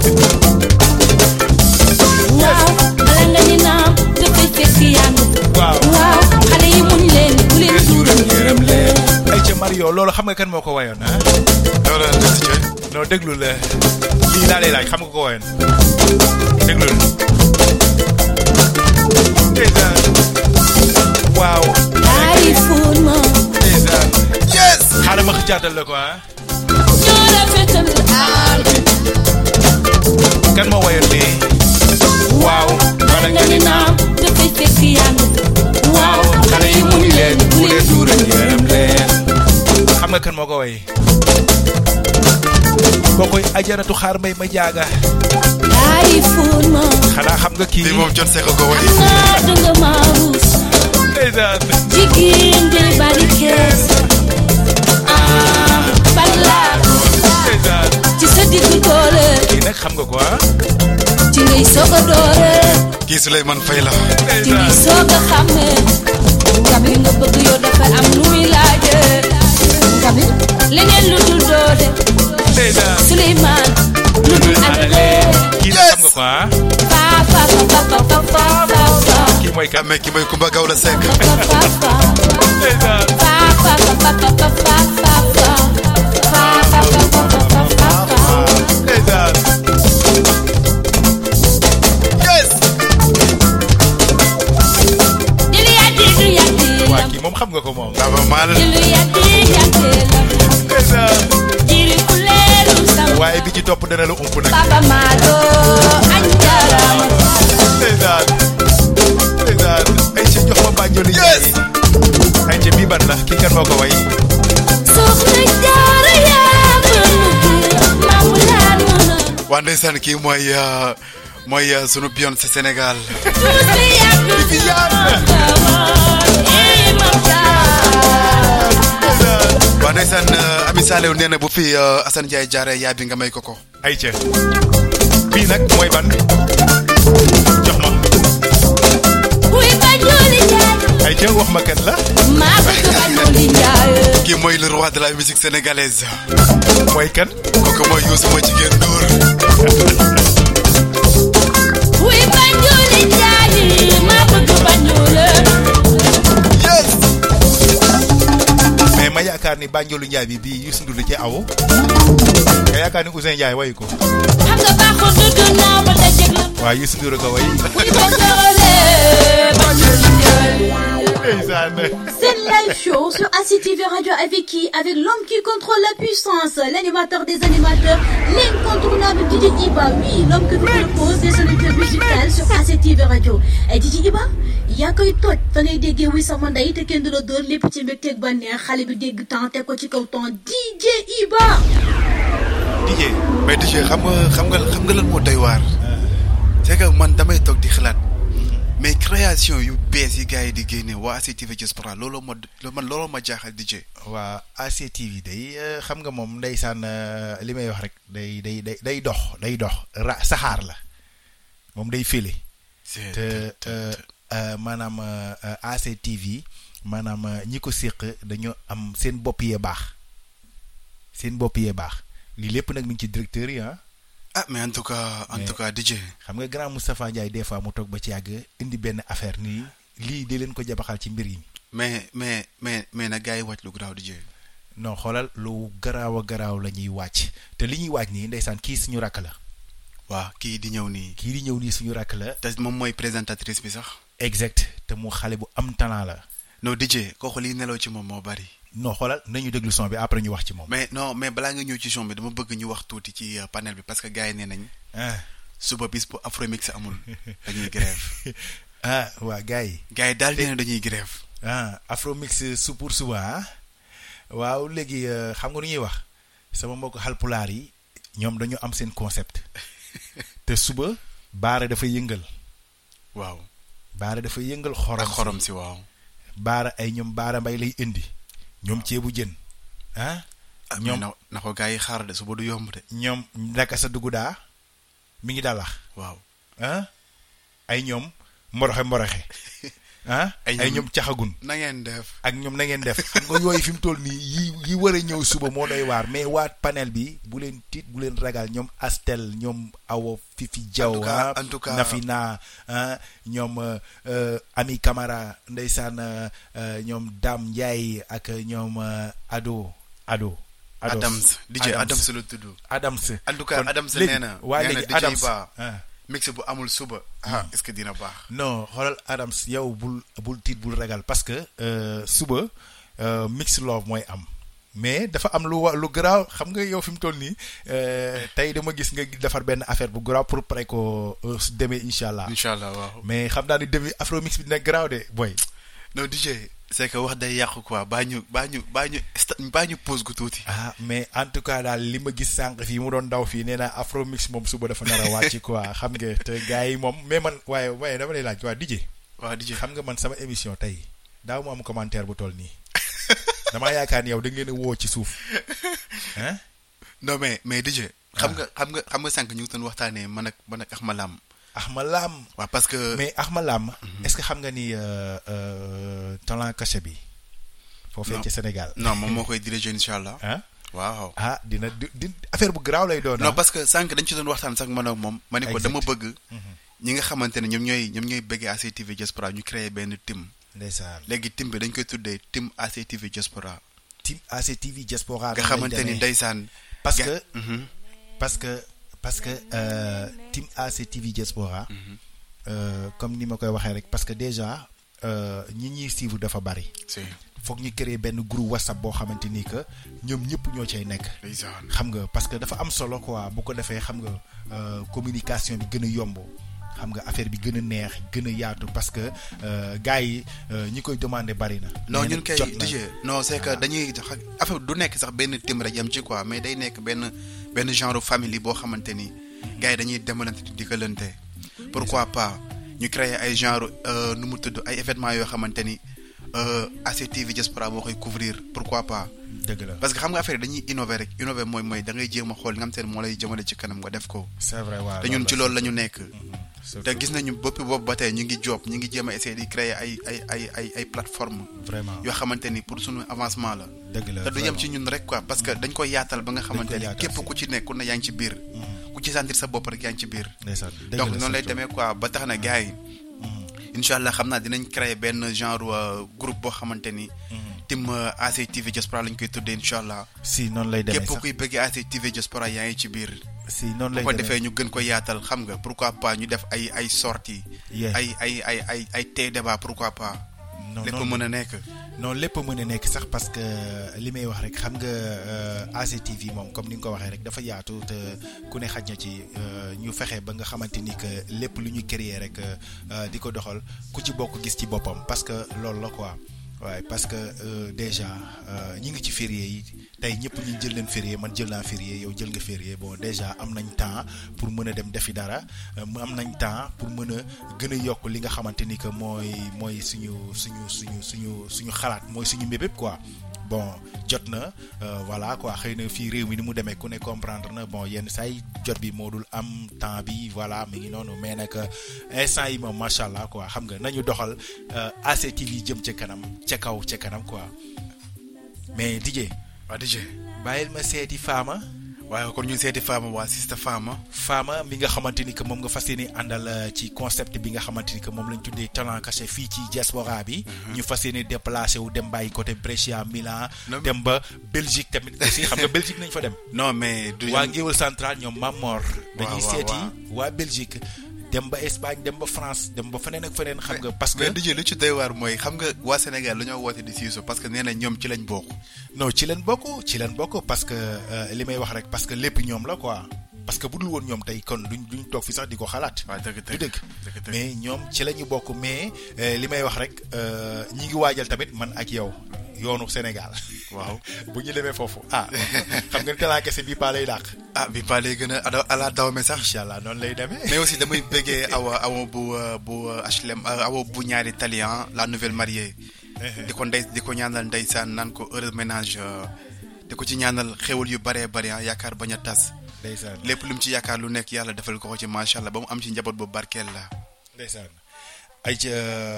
waaw bala nga ni naam dafay fekk yaa ngi waaw waaw xale yi muñ leen bu leen duural yërëm leen ay ca Mario loolu xam nga kan moo ko wayoon ah loolu la ci coy non déglu la lii laa lay laaj xam nga ko wayoon déglu la waaw ay fuun ma yes xaaral ma xëcaatal la ko ah ñoo rafetal aar kan moo wayoon lii waaw bala nga ni naam dafay fekk yaa ngi waaw xale yi muñ leen bu leen duural yërëm leen xam nga kan moo ko way kookoy ajaratu xaar mbay ma jaaga ay fuun ma xanaa xam nga kii lii moom John Seck ko way naa danga maa ruus jigéen day bari kees balaat ci sa diggu doole kii nag xam nga ko ah ci ngay soog a doore kii Souleymane Faye la ci ngay soog a xàmmee ngam li nga bëgg yow dafa am lu muy laaje ngam leneen lu dul doole Souleymane lu dul alale kii nag xam nga ko ah kii mooy kan mais kii mooy Kumba Gawla Seck waa kii moom xam nga ko moom dafa mal waaye bi ci topp dana la ump nag Papa Malo anjarama ndeysaan ay ci jox ma bànjoli yes ay ci bii ban la kii kan moo ko way soxna jaara yaa mamulaan muna waa ndeysaan kii mooy sunu Beyoncé Sénégal tuuti yàgg Saliou nee na bu fi Assane Ndiaye jaaree yaa bi nga may ko ko. ayca bii nag mooy ban jox ma. Wuy Banjoli Njaay. ayca wax ma kan la. maa bëgg Banjoli Njaay. kii mooy le roi de la musique sénégalaise. mooy kan. kooku mooy Youssou ma jigéen Ndour. Wuy Banjoli Njaay. maa bëgg Banjoli. yes. mais ma yaakaar ni Banjoli Njaay bi bii Youssou Ndour la ci aw. nga yaakaar ni Ousseyn Ndiaye wayu ko. xam nga baaxoon dudd naa ba dajeeg la. waaw Youssou Ndour ko way. Wuy Banjoli Njaay. C'est le live show sur ACTV Radio avec qui? Avec l'homme qui contrôle la puissance, l'animateur des animateurs, l'incontournable DJ Iba. Oui, l'homme que vous propose des solutions musicales sur ACTV Radio. Et DJ Iba, yaa koy toj fa ngay déggee wuy sama ndey te kenn du la dóor lépp ci mbégteeg bànneex xale bi dégg temps teg ko ci kaw temps DJ Iba. DJ mais DJ xam nga lan moo doy waar. c'est que man damay toog di xalaat. mais création yu bees yi gars yi di génne waa ACTV Diaspora looloo ma jaaxal DJ. waa ACTV day xam nga moom ndeysaan li may wax rek day dox saxaar la moom day file. te maanaam ACTV maanaam ñi ko séq dañoo am seen bopp yee baax lii lépp nag mi ngi ci directeur yi ah mais en tout cas DJ. xam nga grand Moustapha Ndiaye des fois mu toog ba ci yàgg indi benn affaire nii lii di leen ko jabaxal ci mbir yi. mais nag gars yi wàcc lu garaaw DJ. non xoolal lu garaaw a garaaw la ñuy wàcc te li ñuy wàcc nii ndeysaan kii suñu rakk la. waaw kii di ñëw nii suñu rakk la. te moom mooy présentatrice bi sax. exact te mu xale bu am talent la. non DJ kooku liy nelaw ci moom moo bari. non xoolal nañu déglu son bi après ñu wax ci moom. mais balaa nga ñëw ci son bi dama bëgg ñu wax tuuti ci panel bi parce que gars yi nee nañ. suba bis bu Afromix amul dañuy grève. waa gars yi. gars yi daal nee na dañuy grève. Afromix su pour suba waaw léegi xam nga lu ñuy wax sama mbokk Halpulaar yi ñoom dañu am seen concept te suba baara dafa yëngal. waaw baara dafa yëngal xorom si waaw. baara ay ñoom baara mbay lay indi. ñoom ceebu jën ñoom na ko gars yi xaar de suba du yomb de. ñoom ndaka sa dugg daa mi ngi dalax. waaw ay ñoom mboroxe ay ñoom caxagun. na ngeen def ak ñoom na ngeen def xam nga yooyu fi mu toll nii yi war a ñëw suba moo doy waar mais waa panel bi bu leen tiit bu leen ragal ñoom Astel ñoom Awa Fifi Diaw en tout cas Nafina ñoom Ami Camara ndeysaan ñoom Dame Ndiaye ak ñoom Ado Adams DJ Adams la tudd. Adams en tout cas Adams nee na waa léegi Adams mix bu amul suba. est-ce que dina baax. non xoolal Adams yow bul tiit bul ragal parce que suba mix love mooy am mais dafa am lu garaaw xam nga yow fi mu toll nii tey dama gis nga defar benn affaire bu garaaw pour pare ko demee incha allah. waaw. mais xam naa ni demi Afromix bi dina garaaw de boy. non DJ c'est que wax day yàqu quoi baa ñu pause gu tuuti. mais en tout cas daal li ma gis sànq fii mu doon daw fii nee naa Afromix moom suba dafa nar a wàcc quoi xam nga te gars yi moom mais man waaye dama lay laaj waa DJ. xam nga man sama émission tey daaw mu am commentaire bu toll nii damaa yaakaar ni yow da ngeen a woo ci suuf non mais DJ. xam nga sànq ñu ngi doon waxtaanee man ak Axma Lam. waaw parce que. mais Axma Lam. est-ce que xam nga ni talent caché bi. foofee ci Sénégal. non moom moo koy diriger incha allah. waaw. dina affaire bu garaaw lay doon. non parce que sànq dañ ci doon waxtaan sax man ak moom. ma ne ko dama bëgg. ñi nga xamante ne ñoom ñooy bëggee ACTV Diaspora ñu créer benn team. ndeysaan léegi team bi dañ koy tuddee team ACTV Diaspora. team ACTV Diaspora. nga xamante ni ndeysaan. parce que team ACTV Diaspora comme ni ma koy waxee rek parce que déjà ñi ñuy suivre dafa bari. foog ñu créer benn groupe WhatsApp boo xamante ni que ñoom ñëpp ñoo cay nekk. xam nga parce que dafa am solo quoi bu ko defee xam nga communication bi gën a yomb. xam nga affaire bi gën a neex gën a yaatu parce que gars yi ñi koy demander bari na. non ñun kay DJ non c'est que dañuy affaire du nekk sax benn team rek yam ci quoi mais day nekk benn genre famille boo xamante ni gars yi dañuy demalante di pourquoi pas ñu créer ay genre nu mu tudd ay événements yoo xamante ni ACTV Diaspora moo koy couvrir pourquoi pas. dëgg la parce que xam nga affaire dañuy innover rek innover mooy da ngay jéem a xool li nga xam te ne moo lay jëmale ci kanam nga def ko. c'est vrai waaw te ñun ci loolu la ñu nekk. te gis nañu boppi boobu ba tey ñu ngi job ñu ngi jéem a essayer di créer ay plateforme vraiment yoo xamante ni pour suñu avancement la. dëgg la te du yem ci ñun rek quoi parce que dañ koy yaatal ba nga xamante ni képp ku ci nekk ku ne yaa ngi ci biir. ku ci sentir sa bopp rek yaa ngi ci biir. donc noonu lay demee quoi ba tax na gars yi. incha allah xam naa dinañ créer benn genre groupe boo xamante ni. tim ACTV Diaspora lañ koy tuddee incha allah. si noonu lay demee sax képp kuy bëgg ACTV Diaspora yaa ngi ci biir. si noonu lay bu ko defee ñu gën ko yaatal xam nga pourquoi pas ñu def ay sorties. ay tey débat pourquoi pas. lépp mën a nekk. non lépp mën a nekk sax parce que li may wax rek xam nga ACTV moom comme ni nga ko waxee rek dafa yaatu te ku ne xaj na ci ñu fexe ba nga xamante ni que lépp lu ñu créer rek di ko doxal ku ci bokk gis ci boppam parce que loolu la quoi. waaye parce que déjà ñi ngi ci férié yi tey ñëpp ñu jël leen férié man jël naa férié yow jël nga férié bon déjà am nañ temps pour mën a dem defi dara am nañ temps pour mën a gën a yokk li nga xamante ni que mooy suñu xalaat mooy suñu mbébét quoi. bon jot na voilà quoi xëy na fii réew mi ni mu demee ku ne comprendre na bon yenn saa yi jot bi moo dul am temps bi voilà mi ngi noonu mais nag instant yi moom macha allah quoi xam nga nañu doxal ACTV jëm ca kanam quoi mais DJ. waaw DJ bàyyil ma seeti Fama. waaye kon ñu seeti Fama waa Sista Fama mi nga xamante ni que moom nga fas yéene àndal ci concept bi nga xamante ni que moom lañ tuddee talent caché fii ci diaspora bi. ñu fas yéene déplacé wu dem bàyyi côté Brescia Milan. dem ba Belgique tamit aussi xam nga Belgique nañ fa dem. non mais du waa Ngéwël Central ñoom Mamor. dañuy seeti waa Belgique. dem ba Espagne dem ba France dem ba feneen ak feneen xam nga parce que. mais DJ lu ci doy waar mooy xam nga waa Sénégal dañoo woote di siiso parce que nee na ñoom ci lañ bokk. non ci lañ bokk parce que li may wax rek parce que lépp ñoom la quoi parce que bu dul woon ñoom tey kon duñ toog fi sax di ko xalaat. waaw dëgg mais ñoom ci la ñu bokk mais li may wax rek ñi ngi waajal tamit man ak yow yoonu Sénégal. waaw bu ñu demee foofu xam nga ni talent kese bii paa lay dàq. bii paa lay gën a ala dawme sax. incha allah noonu lay demee. mais aussi damay bëggee awa bu HLM awa bu ñaari talian la nouvelle mariée. di ko ñaanal ndeysaan naan ko heureux ménage di ko ci ñaanal xéwal yu baree bari yaakaar bañ a tas. ndeysaan lépp lu mu ci yaakaar lu nekk yàlla defal ko ci macha allah ba mu am ci njaboot bu barkeel la. ndeysaan ay ca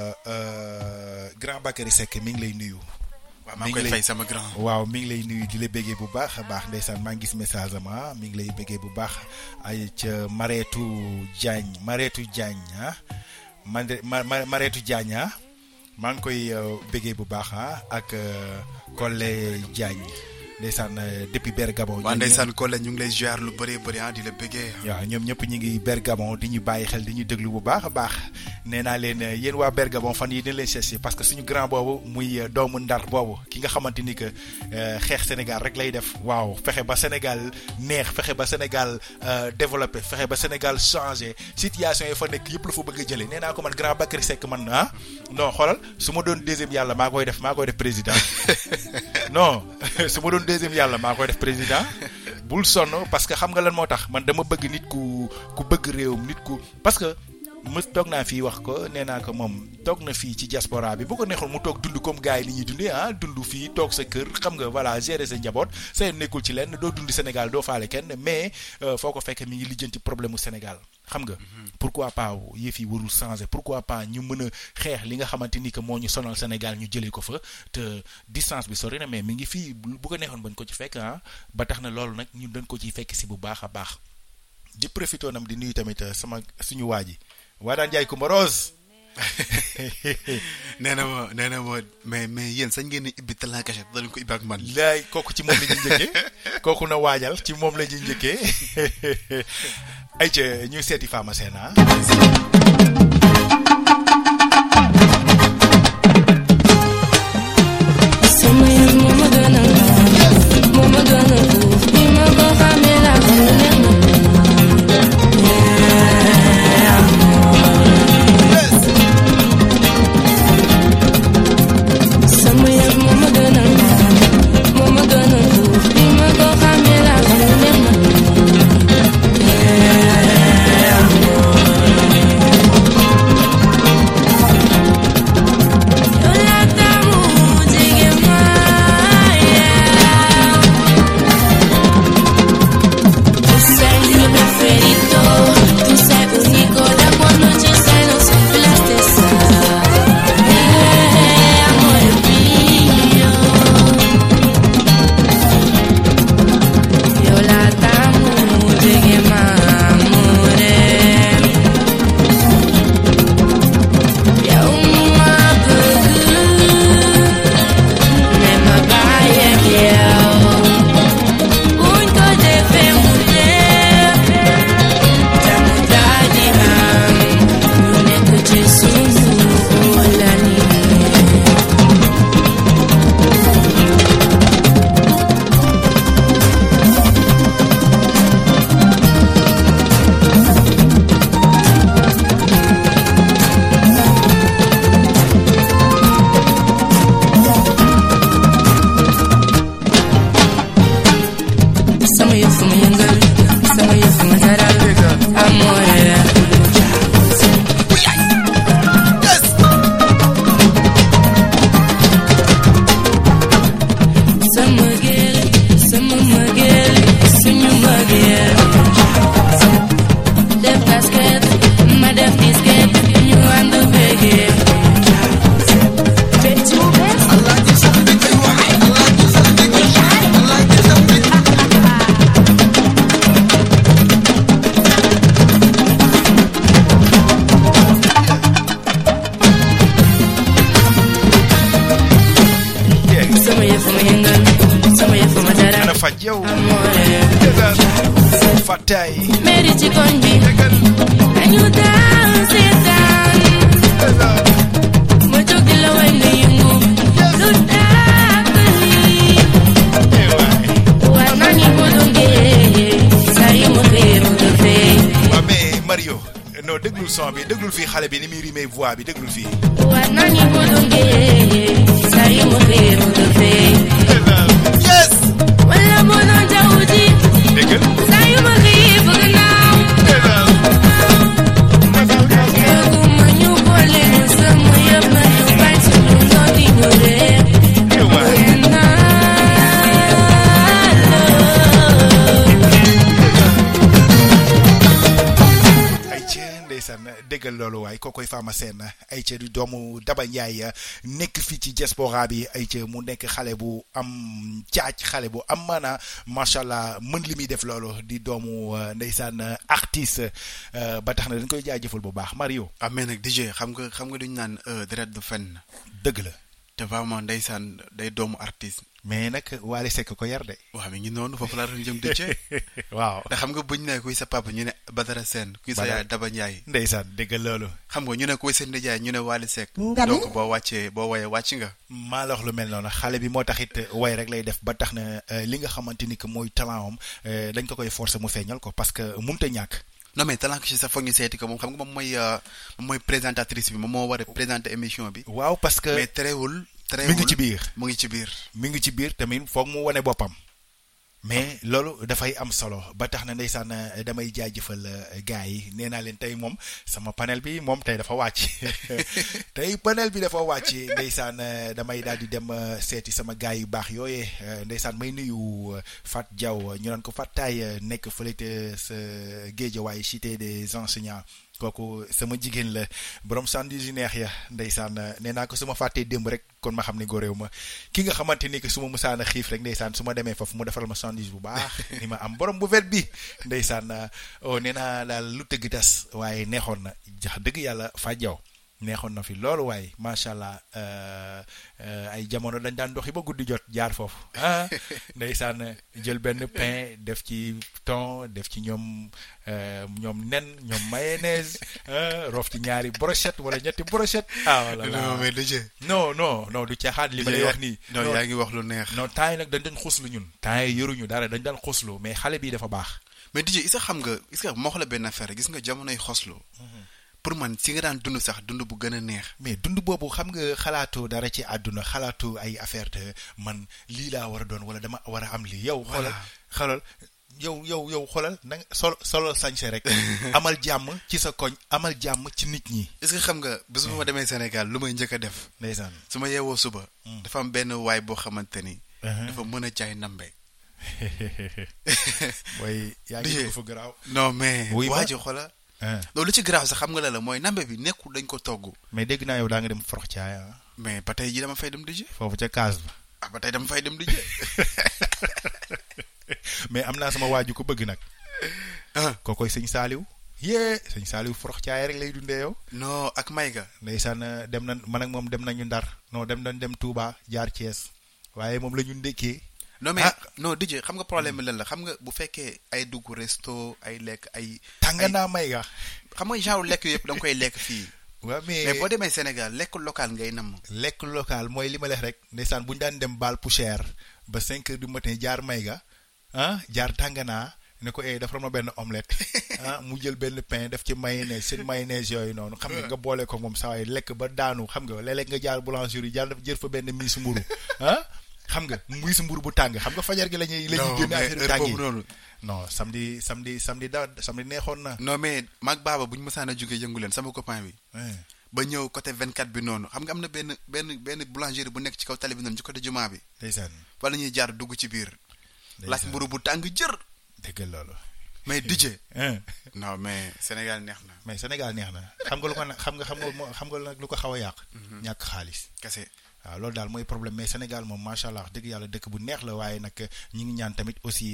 grand Bakary Seck mi ngi lay nuyu. waaw maa ngi koy fay sama grand. waaw mi ngi lay nuyu di la bëggee bu baax a baax ndeysaan maa ngi gis message am mi ngi lay bëggee bu baax ay ca Mareetu Diagne Mareetu Diagne maa ngi koy bëggee bu baax ak Collé Diagne ndeysaan depuis Bergamo. waaw ndeysaan Collé ñu ngi lay ziar lu bëree bëri di la bëggee. waaw ñoom ñëpp ñu ngi Bergamo di ñu bàyyi xel di ñu déglu bu baax a baax nee naa leen yéen waa Bergamo fan yi dañ leen cherché parce que suñu grand boobu muy doomu Ndar boobu ki nga xamante ni que xeex Sénégal rek lay def waaw fexe ba Sénégal neex fexe ba Sénégal développé fexe ba Sénégal changé situation yi fa nekk yëpp la fa bëgg a jëlee nee naa ko man grand Bakary Seck man non xoolal su ma doon deuxième yàlla maa koy def président non su ma doon deuxième yàlla maa koy def président bul sonn parce que xam nga lan moo tax man dama bëgg nit ku bëgg réewum nit ku parce que toog naa fii wax ko nee naa ko moom toog na fii ci diaspora bi bu ko neexoon mu toog dund comme gars yi li ñuy dundee dund fii toog sa kër xam nga voilà gérer sa njaboot sa nekkul ci lenn doo dundi Sénégal doo faale kenn mais foo ko fekk mi ngi lijjanti problème mu Sénégal xam nga pourquoi pas yëf yi warul changer pourquoi pas ñu mën a xeex li nga xamante ni que moo ñu sonal Sénégal ñu jëlee ko fa te distance bi sori na mais mi ngi fii bu ko neexoon bañ ko ci fekk ba tax na loolu nag ñun dañ ko ciy fekk si bu baax a baax di profité nam di nuyu tamit suñu waa ji waa daan jaay Kumba Rose nee na ma mais yéen sañ ngeen ibbi talent caché dañ ko ibbi ak man. laay kooku ci moom la ñuy njëkkee kooku na waajal ci moom la ñuy njëkkee ay ca ñu seeti Fama Sène Yeah. yëfu ma yëngal sama yëfu ma dara ana faj yow Fatay meri ci koñ bi dañu daan seetaan ma jóg di la way nga yëngu lu tàkk lii war naa ñu ko dongee saa yu ma xëyee mu nga fee waaw mais Mario non déglul son bi déglul fii xale bi ni muy rimee voix bi déglul fii war naa ñu ko dongee saa yu ma xëyee mu nga fee yes wala moo doon jaww ji déggal saa yu ma xëyee bëgg naaw bëgguma ñu boole ñu sama yëpp na ñu bañ suñu ndox di ñu réer déggal loolu waaye kookoy Fama Sène ay ca di doomu Daba Ndiaye nekk fii ci diaspora bi ay ca mu nekk xale bu am caaj xale bu am maana macha allah mën li muy def loolu di doomu ndeysaan artiste ba tax na dañ koy jaajëfal bu baax Mario. mais nag DJ xam nga duñu naan deret du fenn. dëgg la. te vraiment ndeysaan day doomu artiste. mais nag Wally Seck ko yar de. waaw mi ngi noonu foofu laa doon jëm DJ. waaw te xam nga buñ ne kuy sa papa ñu ne Badara Sène kuy sa yaay Daba Ndiaye. ndeysaan déggal loolu. xam nga ñu ne kuy seen nijaay ñu ne Wally Seck. donc boo woyee wàcc nga. maa la wax lu mel noonu xale bi moo taxit way rek lay def ba tax na li nga xamante ni que mooy talent am dañ ko koy forcer mu feeñal ko parce que mënut a ñàkk. non mais talent que ci sax foog ñu seeti ko moom xam nga moom mooy présentatrice bi moom moo war a présenter émission bi. waaw parce que mais terewul mi ngi ci biir mu ngi ci biir. mi ngi ci biir tamit foog mu wane boppam. mais loolu dafay am solo ba tax na ndeysaan damay jaajëfal gars yi nee naa leen tey moom sama panel bi moom tey dafa wàcc tey panel bi dafa wàcc ndeysaan damay daal di dem seeti sama gars yu baax yooyee ndeysaan may nuyu Fat Diaw ñu naan ko Fatay nekk fële te sa Guédiawaye cité des enseignants. kooku sama jigéen la borom sandwich yu neex ya ndeysaan nee naa ko su ma fàttee démb rek kon ma xam ne góoréew ma ki nga xamante ni que su ma musaana xiif rek ndeysaan su ma demee foofu mu defaral ma sandwich bu baax ni ma am borom bu vet bi ndeysaan nee naa daal lu tëgg tas waaye neexoon na jax dëgg yàlla fàjjaw neexoon na fi loolu waaye macha allah ay jamono dañ daan doxi ba guddi jot jaar foofu ndeysaan jël benn pain def ci thon def ci ñoom nen ñoom mayonnaise roof ci ñaari brochette wala ñetti brochette wala non mais DJ non du caaxaan li ma lay wax nii non yaa ngi wax lu neex non temps yi nag dañ doon xuslu ñun temps yi yoruñu dara dañ daan xuslu mais xale bi dafa baax mais DJ est-ce que xam nga est-ce que moo xoolee benn affaire gis nga jamonoy xoslu pour man si nga daan dund sax dund bu gën a neex. mais dund boobu xam nga xalaatoo dara ci àdduna xalaatoo ay affaire te man lii laa war a doon wala dama war a am lii yow. xoolal yow xoolal na solo sañse rek. amal jàmm ci sa koñ amal jàmm ci nit ñi. est-ce que xam nga bés bu ma demee Sénégal lu may njëkk a def. ndeysaan su ma yeewoo suba. dafa am benn waay boo xamante ni. dafa mën a jaay nambe. mooy yaa ngi fa garaaw. non mais. waa ji xoolal. loolu ci grave sax xam nga la mooy nambe bi nekkul dañ ko togg. mais dégg naa yow daa nga dem forox caaya. mais ba tey ji dama fay dem DJ. foofu ca kaas ba. ba tey dama fay dem DJ. mais am naa sama waaju ko bëgg nag. kookoy sëñ Saaliw. sëñ Saaliw forox caaya rek lay dundee yow. non ak Mayga. ndeysaan dem na man ak moom dem nañu Ndar non dem Touba jaar Thiès waaye moom la ñu ndekkee. non mais non DJ xam nga problème bi lan la xam nga bu fekkee ay dugg resto ay lekk ay. tànganaa may ga. xam nga genre lekk yëpp da nga koy lekk fii. waaw mais boo demee Sénégal lekk local ngay namm. lekk local mooy li ma leex rek ndeysaan bu ñu daan dem baal poussière ba 5 heures du matin jaar may ga jaar tànganaa ne ko dafa ma benn omelette mu jël benn pain def ci mayonnaise seen mayonnaise yooyu noonu. xam nga boole ko moom saa waay lekk ba daanu xam nga léeg-léeg nga jaar boulangerie jaar jël fa benn miis mburu xam nga muy si mburu bu tàng xam nga fajar gi la ñuy génne affaire tàng yi non samedi neexoon na. non mais maag baaba bu ñu mësaan a jógee yëngu leen sama copain bi. ba ñëw côté 24 bi noonu xam nga am na benn boulangerie bu nekk ci kaw tali bi noonu ci côté jumaa bi. ndeysaan fa la ñuy jaar dugg ci biir. laaj mburu bu tàng jër. dégg loolu. mais DJ. non mais Sénégal neex na. mais Sénégal neex na xam nga lu ko xam nga nag lu ko xaw a yàq. ñàkk xaalis. kese. waaw loolu daal mooy problème mais Sénégal moom macha allah dëgg yàlla dëkk bu neex la waaye nag ñi ngi ñaan tamit aussi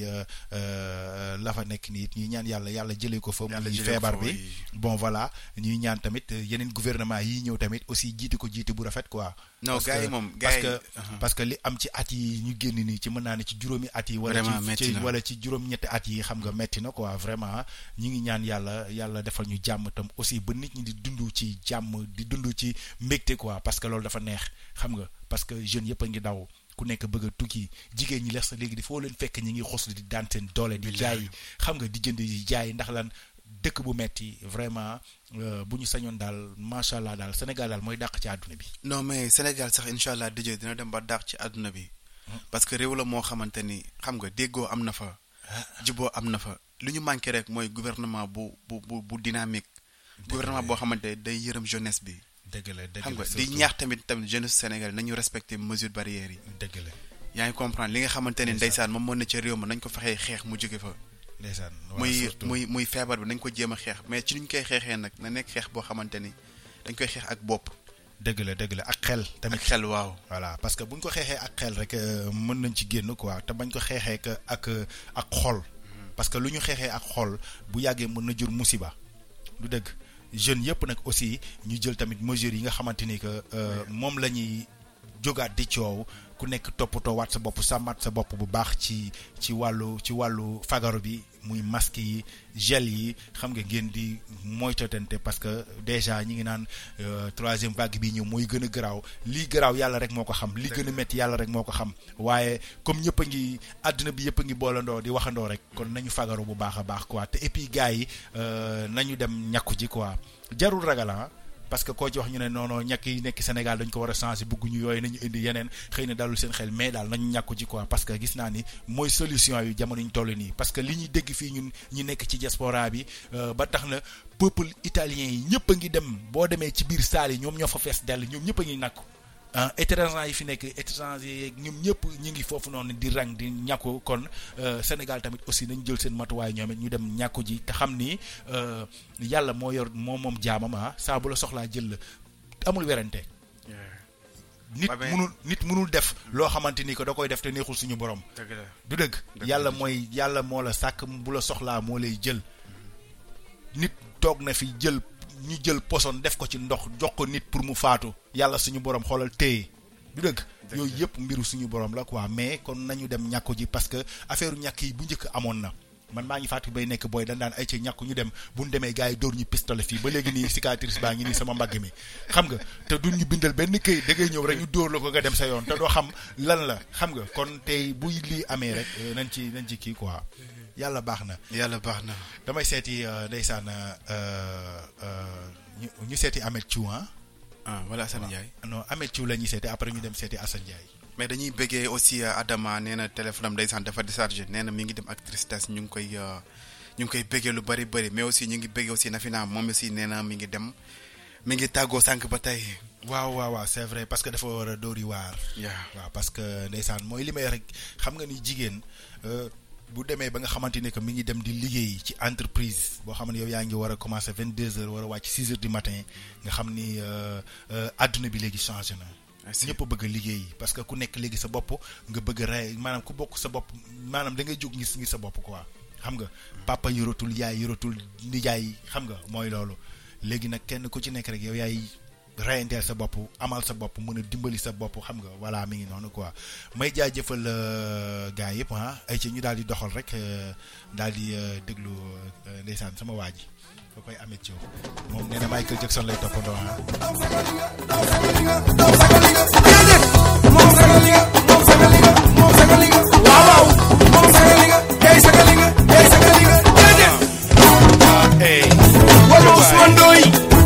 la fa nekk nii ñuy ñaan yàlla jëlee ko fa muy feebar bi bon voilà ñuy ñaan tamit yeneen gouvernement yi ñëw tamit aussi jiite ko jiite bu rafet quoi non gars yi moom parce que li am ci at yi ñu génn nii ci mën naa ne ci juróomi at yi wala ci juróom-ñetti at yi xam nga metti na quoi vraiment ñi ngi ñaan yàlla defal ñu jàmm tam aussi ba nit ñi di dund ci jàmm di dund ci mbégte quoi parce que loolu dafa neex xam nga parce que jeunes yëpp a ngi daw ku nekk bëgg a tukki jigéen ñi lees léegi di foo leen fekk ñi ngi xoslu di daan seen doole di jaay xam nga di jënd di jaay ndax lan dëkk bu metti vraiment bu ñu sañoon daal macha allah daal Sénégal daal mooy dàq ci àdduna bi. non mais Sénégal sax incha allah dëjë dina dem ba dàq ci àdduna bi. parce que réew la moo xamante ni xam nga déggoo am na fa. juboo am na fa lu ñu manqué rek mooy gouvernement bu dynamique. gouvernement boo xamante day yërëm jeunesse bi. dëgg la xam nga di ñaax tamit jeunesse Sénégal nañu respecter mesures barrières yi. dëgg la yaa ngi comprendre li nga xamante ne ndeysaan moom moo ne ca réew ma nañ ko fexee xeex mu jóge fa. ndeysaan muy feebar bi nañ ko jéem a xeex mais ci ñu koy xeexee nag na nekk xeex boo xamante ni dañ koy xeex ak bopp. dëgg la ak xel tamit ak xel waaw. voilà parce que bu ñu ko xeexee ak xel rek mën nañ ci génn quoi te bañ ko xeexee ak xol. parce que lu ñu xeexee ak xol bu yàggee mën na jur musiba du dëgg jeunes yëpp nag aussi ñu jël tamit mesures yi nga xamante ni que moom la ñuy jógaat di coow ku nekk toppatoo waat sa bopp sàmmaat sa bopp bu baax ci wàllu fagaru bi muy masque yi gel yi xam nga ngeen di moytatante parce que déjà ñi ngi naan troisième vague bi ñëw mooy gën a garaaw lii garaaw yàlla rek moo ko xam li gën a métti yàlla rek moo ko xam waaye comme ñëpp a ngi àdduna bi yëpp a ngi boolandoo di waxandoo rek kon nañu fagaru bu baax a baax quoi te et puis gars yi nañu dem ñàkku ji quoi jarul ragal parce que koo ci wax ñu ne non ñàkk yi nekk Sénégal dañ ko war a changer bëgguñu yooyu nañu indi yeneen xëy na dalul seen xel mais daal nañu ñàkku ci quoi parce que gis naa ni mooy solution yu jamono ñu toll nii parce que li ñuy dégg fii ñun ñi nekk ci diaspora bi ba tax na peuple italien yi ñëpp a ngi dem boo demee ci biir salle yi ñoom ñoo fa fees dell ñoom ñëpp a ngi nàkku étranger yi fi nekk étranger yeeg ñoom ñëpp ñu ngi foofu noonu di rang di ñàkku kon Sénégal tamit aussi nañ jël seen matuwaay ñoom it ñu dem ñàkku ji te xam ni yàlla moo yor moom jaamam saa bu la soxlaa jël la amul werante nit mënul def loo xamante ni que da koy def te neexul suñu borom du dëgg yàlla moo la sàkk bu la soxlaa moo lay jël nit toog na fi ñu jël poson def ko ci ndox jox ko nit pour mu faatu yàlla suñu borom xoolal téye du dëgg yooyu yëpp mbiru suñu borom la quoi mais kon nañu dem ñàkku ji parce que affaire ñàkk yi bu njëkk amoon na man maa ngi fàttali bay nekk booy dañ daan ay ci ñàkku ñu dem bu ñu demee gars yi dóor ñu pistolet fii ba léegi nii cicatrice baa ngi nii sama mbagg mi xam nga te duñ ñu bindal benn këyit da ngay ñëw rek ñu dóor la ko nga dem sa yoon te doo xam lan la xam nga kon tey buy lii amee rek nañ ci kii quoi yàlla baax na damay seeti ndeysaan ñu seeti Ameth Thiou wala Assane Ndiaye non Ameth Thiou la ñuy seeti après ñu dem seeti Assane Ndiaye mais dañuy bëggee aussi Adama nee na téléphone am ndeysaan dafa déchargé nee na mi ngi dem ak tristesse ñu ngi koy bëggee lu bari mais aussi ñu ngi bëggee aussi Nafina moom aussi nee na mi ngi tàggoo sànq ba tey waaw c'est vrai parce que dafa war a dóori waar waaw parce que ndeysaan mooy li may rek xam nga ni jigéen bu demee ba nga xamante ne que mi ngi dem di liggéey ci entreprise boo xam ne yow yaa ngi war a commencer 22h war a wàcc 6h du matin nga xam ni adduna bi léegi changé na. ñëpp bëgg a liggéey parce que ku nekk léegi sa bopp nga bëgg a rey maanaam ku bokk sa bopp maanaam da ngay jóg ngir sa bopp quoi xam nga papa yoratul yaay yoratul nijaay xam nga mooy loolu léegi nag kenn ku ci nekk rek yow yaay reyanteel sa bopp amal sa bopp mën a dimbali sa bopp xam nga voilà mi ngi noonu quoi may jaajëfal gars yëpp ay ci ñu daal di doxal rek daal di déglu ndeysaan sama waa ji ko koy Ameth Thiou moom nee na Michael Jackson lay toppandoo waaw moom sagalinga day sagalinga wala Ousmane Ndoye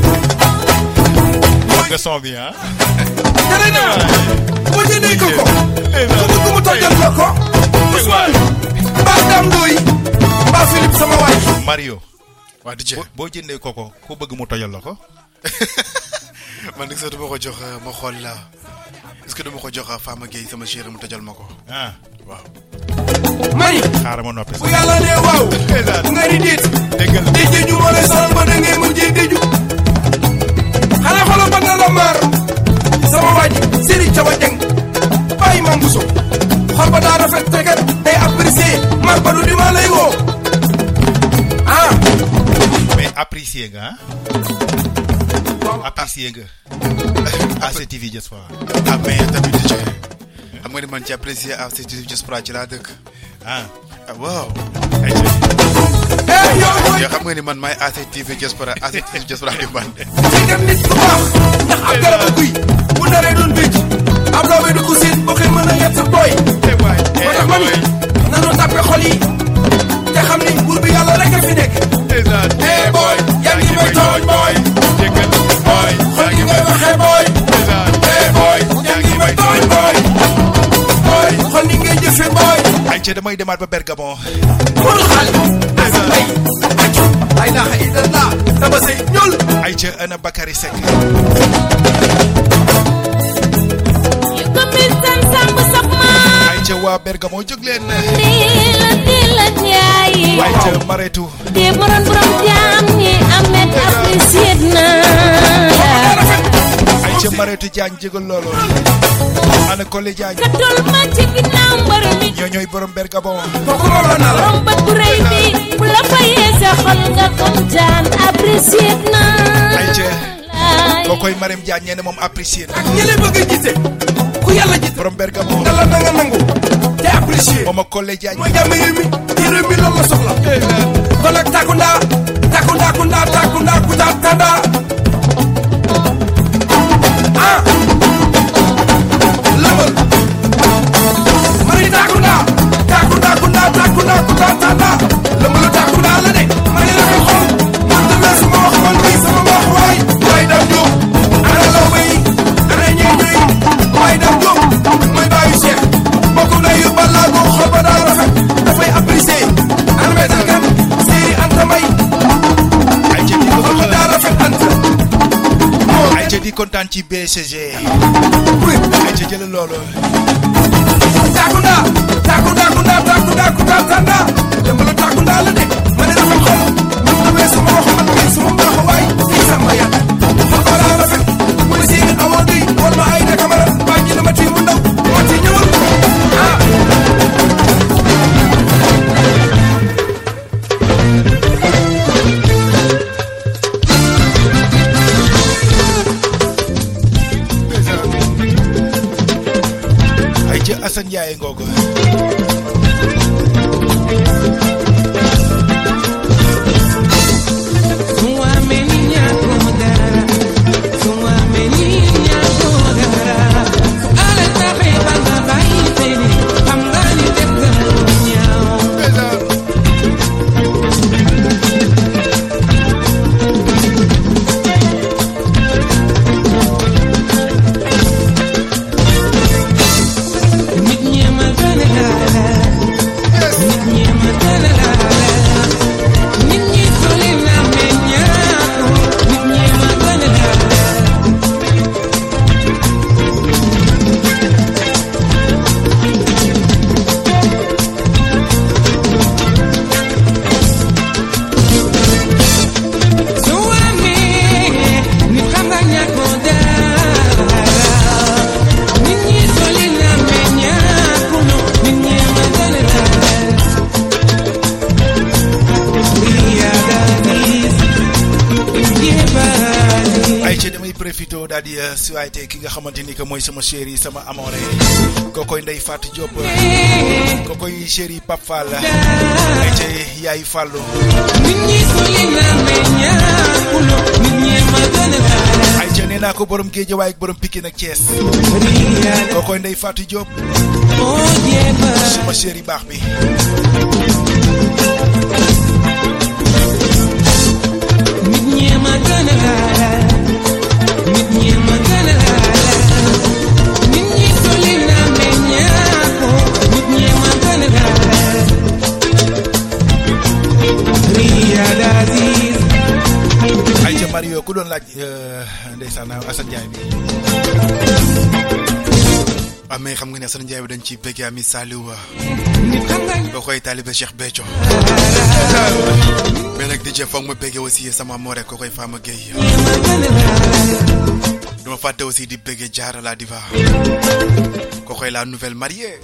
nga son bi dara na bu jëndee ko ko mu tojal ko Ousmane mbaa Dame Ndoye mbaa Philippe sama waay Mario waa DJ boo jëndee koko ko bëgg mu tojal la ko man nag sax dama ko jox ma xool la est-ce que dama ko jox Fama Gueye sama chéri mu tojal ma ko waaw mani xaaral ma noppi bu yàlla nee waaw bu nga di déet déggal déjee ñu moo lay sonal ba da ngay mujjee déju xanaa xoolal ba na la maar sama waaj Serigne Thiaw Dieng bàyyi Mame Bousso xol ba daa rafet te kat day apprécier Mar Badou di ma lay woo ah mais apprécier nga apprécier nga ACTV Diaspora ah mais tamit di ci xam nga ni man ci apprécier ACTV Diaspora ci laa dëkk waaw yoo xam nga ni man maay ACTV Diaspora di man ci nit ku baax ndax am garabu guy bu naree doon bëcc am loo du ko seen boo koy mën a yet sa booy moo tax ma ni nanu tàppe xol yi te xam ni buur bi yàlla rek a fi nekk boy yaa ngi may tooñ boy xol gi ngay waxee boy boy yaa ngi may tooñ boy xol ni ngay jëfe boy ay ca damay demaat ba Bergamo Modou Xaali ay la ilaha illallah dama say ñul ay ca ana Bakary Seck ay ca waa Bergamo jóg leen ay ca Maretu de borom jaam ñi amet apprécié na ay ca Maretu Diagne jégal loolu ana Kole Diagne katul ma ci ginnaaw mbër mi ñooy borom Bergamo borom bët bu rëy bi bu la fayee sa xol nga kontaan apprécié na ay ca kokoy Marème Diagne ñene moom apprécié na ak ñi lay bëgg a gise ku yàlla gis borom Bergamo nga la nga nangu te apprécié moom ak Kole Diagne mooy jàmm réew mi ci réew mi loolu la soxla kon ak takunda kuta tanda ah lëmal mari takunda kuta tanda lëmalu takunda la de mari la ko xool man de sama wax man bi sama wax waay dam jóg ana law bay ana ñeñuy waay dam jóg mooy baayu Cheikh bokku na yu balaa ko xol ba daa rafet dafay apprécier ana metal kan séeri Anta May ay ca di xol ba daa rafet Anta ay ca di kontaan ci BCG ay ca jël loolu takunda kuta tanda lëmalu takunda la de ma ne rafet xol man damay sama wax man bi sama mbaax waay fii sama yat xol ba daa rafet mooy séeri amoo di wal ma ay na camara baa ji na ma tii mu ndaw ma ci ñëwal ah ay ca Assane Ndiaye ngoogu daal di suwaayte ki nga xamante ni que mooy sama chéri sama amore kokoy Ndeye Fatou Diop kokoy chéri Pape Fall ay ca yaay Fallou ay ca nee naa ko borom Guédiawaye ak borom Pikine ak Thiès kokoy Ndeye Fatou Diop sama chéri baax bi ay ca Mario ku doon laaj ndeysaan Assane Ndiaye bi mais xam nga ne Assane Ndiaye bi dañ ci bëgg ami Saliou boo koy taalibe Cheikh Béthio mais nag DJ foog ma bëgg aussi sama amour rek ko koy Fama Gueye duma fàtte aussi di bëgg Diarra la diva ko koy la nouvelle mariée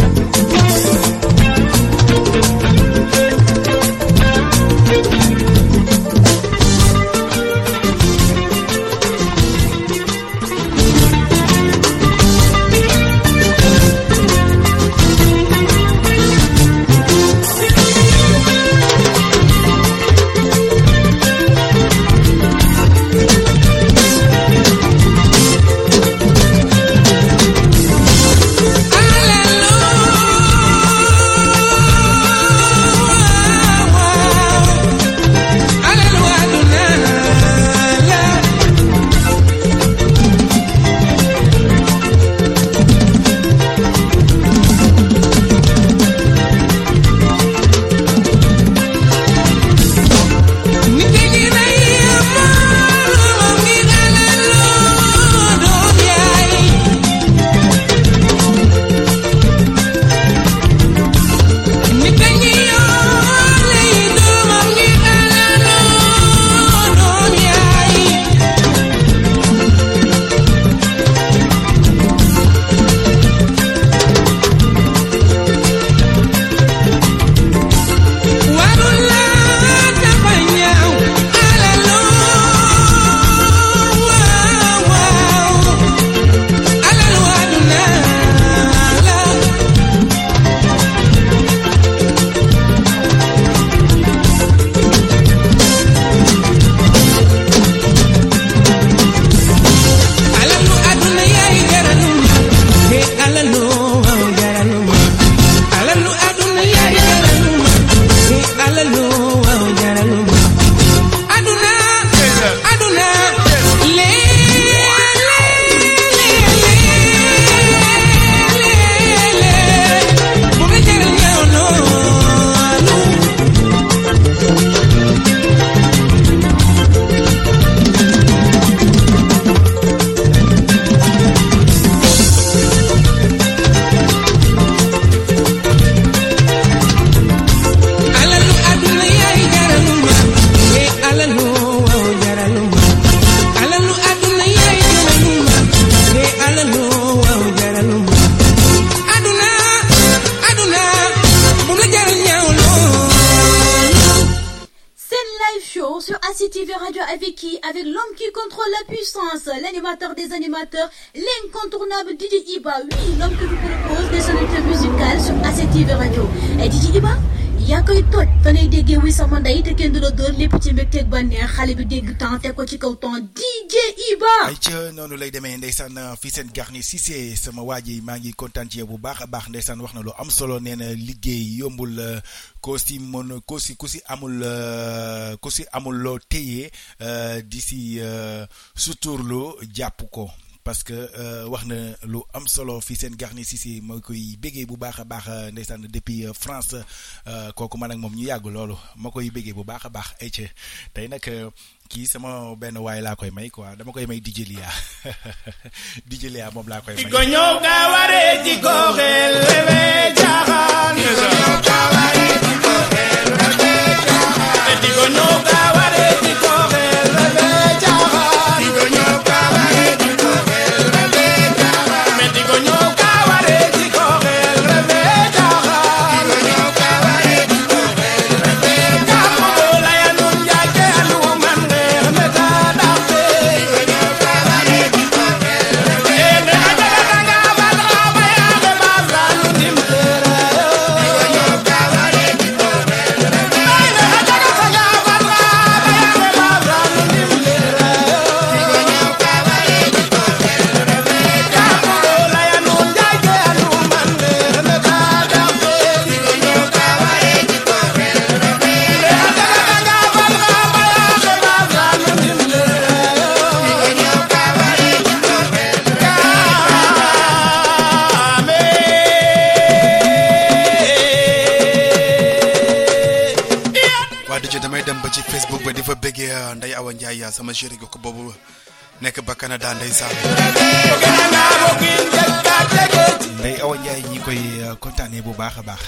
avec l'homme qui contrôle la puissance, l'animateur des animateurs, l'incontournable DJ Iba. Oui, l'homme que vous propose des sonorités musicales sur ACTV Radio. Et DJ Iba, yaa koy toj fa ngay déggee wuy sama ndey te kenn du la dóor lépp ci mbégteeg bànneex xale bi dégg temps teg ko ci kaw temps DJ Iba. ay ca noonu lay demee ndeysaan fii seen Garni Cissé sama waa ji maa ngi kontaan ci yow bu baax a baax ndeysaan wax na lu am solo nee na liggéey yombul ku si amul loo téye di si suturloo jàpp ko. parce que wax na lu am solo fii seen Garni Cissé moo koy béggee bu baax a baax ndeysaan depuis France kooku man ak moom ñu yàgg loolu ma koy béggee bu baax a baax ay ca tey nag kii sama benn waay laa koy may quoi dama koy may DJ Lia DJ Lia moom laa koy may. Ko ñëw ka waree ci ko xel rebe jaaxaan. Ko waree ci ko xel rebe jaaxaan. Ko ñëw ka waree ci ko xel rebe jaaxaan. Ko ñëw ka waree ci ko xel rebe jaaxaan. Ko ñëw ka waree ci ko xel rebe jaaxaan. Ko ñëw ka waree ci ko xel rebe jaaxaan. Ko la ya nun jaake alu man reex me ta daxte. Ko ñëw ka waree ci ko xel rebe Facebook ba di fa bëggee Ndeye Awa Ndiaye sama chéri ko boobu nekk ba Canada ndeysaan. Ndeye Awa Ndiaye ñi koy kontaanee bu baax a baax.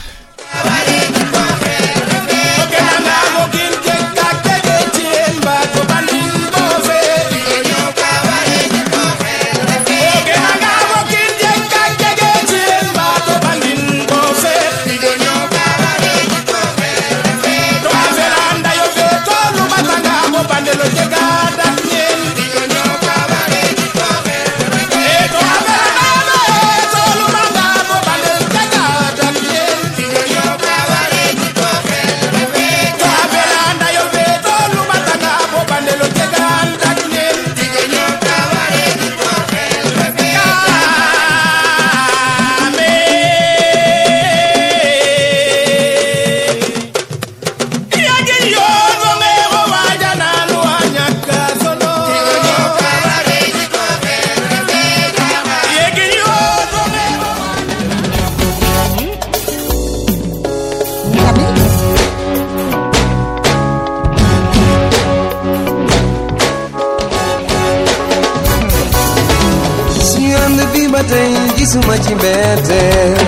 gisuma ci mbetteel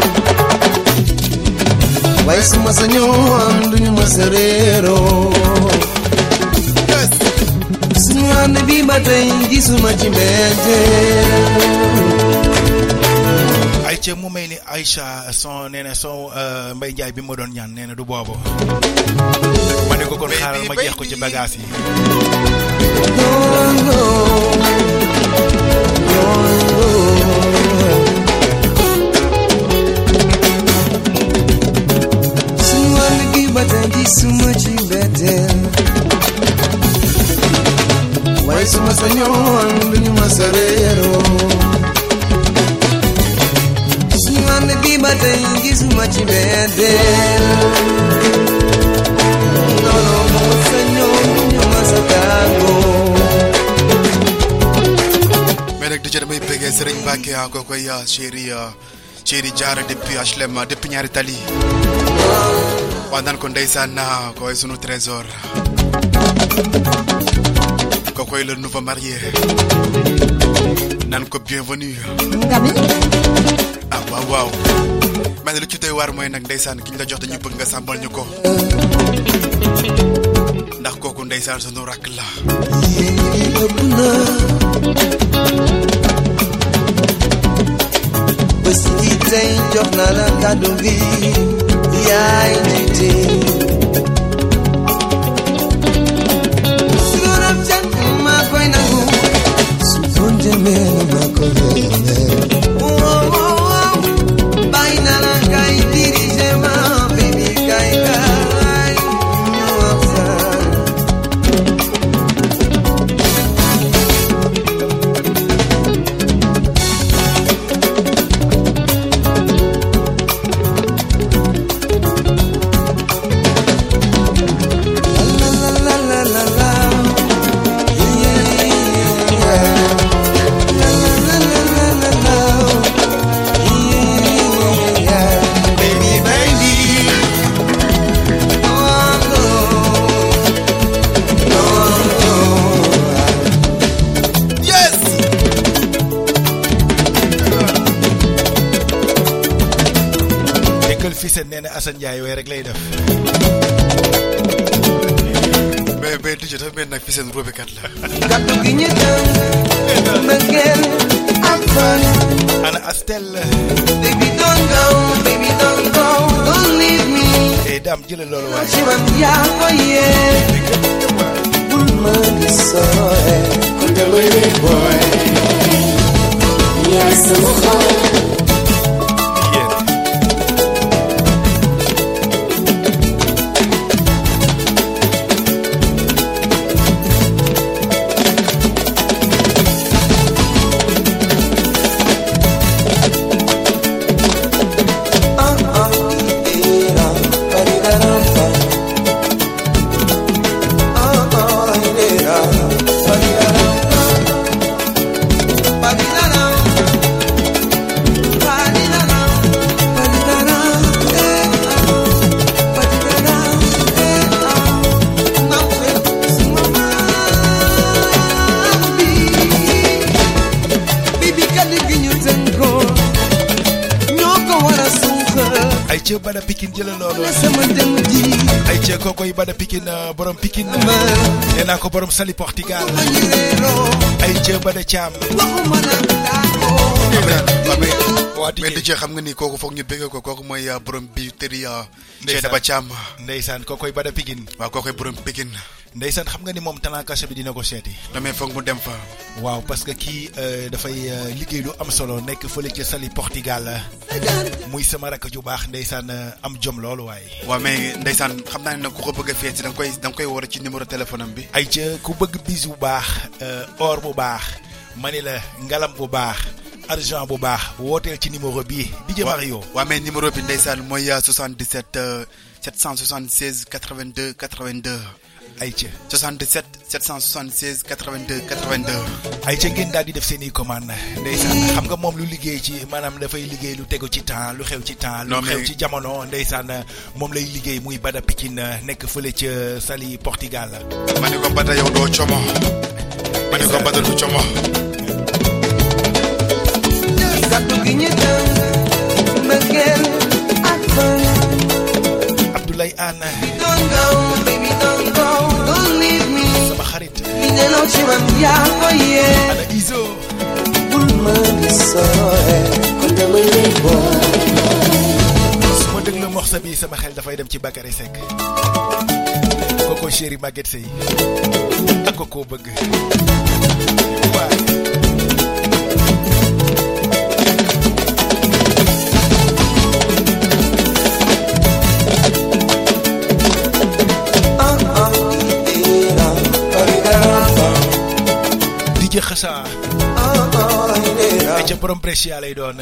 waaye su ma sañoon duñu ma sa réeroo suñu ànd bi ba tey gisuma ci mbetteel. Aïcha mu may ni Aïcha son nee na son Mbaye Ndiaye bi ma doon ñaan nee na du boobu ma ne ko kon xaaral ma jeex ko ci bagage yi. suñu ànd bi ba tey gisuma ci mbetteel waaye su ma sañoon duñu ma sa réeroo suñu ànd bi ba tey gisuma ci mbetteel non non ma sañoon duñu ma sa tàggoo. mais nag déjà damay bëggee Serigne Mbacke ko koy chéri Diarra depuis HLM depuis ñaari tali waa naan ko ndeysaan koy sunu trésor ko koy le nouveau marié naan ko bienvenue Ngami ah waaw mais lu ci doy waar mooy nag ndeysaan ki ñu la jox dañu bëgg nga sàmbal ñu ko ndax kooku ndeysaan sunu rakk la bés yi tey jox na la kàddu gi yaay jiite su doon jàng maa koy nangu su doon jëmee maa koy bàyyi na la kay dirige ma baby kay ñu waxtaan. nee na Assane Ndiaye way rek lay def. mais DJ dafa mel nag fi seen robekat la. kaddu gi ñu tënk mbëggeel ak fan. ana Astel. baby don't go, baby don't go, don't leave me. Dame jëlal loolu waay. ci man yaa ko yee. bul ma di sooye. kon de baby boy. yaay sama xol. Aïcha Bada Pikine jëlal loolu Aïcha kokoy Bada Pikine borom Pikine nee naa ko borom Sali Portugal Aïcha Bada Thiam waa di jeex xam nga ni kooku foog ñu bëgg ko kooku mooy borom bi tëri Cheikh Ba Thiam ndeysaan kokoy Bada Pikine waaw kookoy borom Pikine ndeysaan xam nga ni moom talent caché bi dina ko seeti damay foog mu dem fa waaw parce que kii dafay liggéey lu am solo nekk fële ca Sali Portugal muy sama rakk ju baax ndeysaan am jom loolu waaye waaw mais ndeysaan xam naa ne nag ku ko bëgg a feeti da nga koy war ci numéro téléphone am bi Aïcha ku bëgg bis bu baax or bu baax mani la ngalam bu baax argent bu baax wooteel ci numéro bii DJ Mario waaw mais numéro bi ndeysaan mooy 77 776 82 82 Aïcha 77 776 82 82 Aïcha ngeen daal di def seen i commande ndeysaan xam nga moom lu liggéey ci maanaam dafay liggéey lu tegu ci temps lu xew ci temps lu xew ci jamono ndeysaan moom lay liggéey muy Bada Pikine nekk fële ca Sali Portugal ma ne ko Bada yow doo como ma ne ko Bada du como kaddu gi ñu Abdoulaye Anna Don't go, baby, don't go, don't leave me. sama xarit Li ne lo ci man yaa ko yee. ana Izo Bul ma gisoo kon damay lay boole. su ma déglu morceau bi sama xel dafay dem ci Bakary Seck koko chéri Maguette Sey ak koko bëgg waay DJ Xassa ay ca borom Brescia lay doon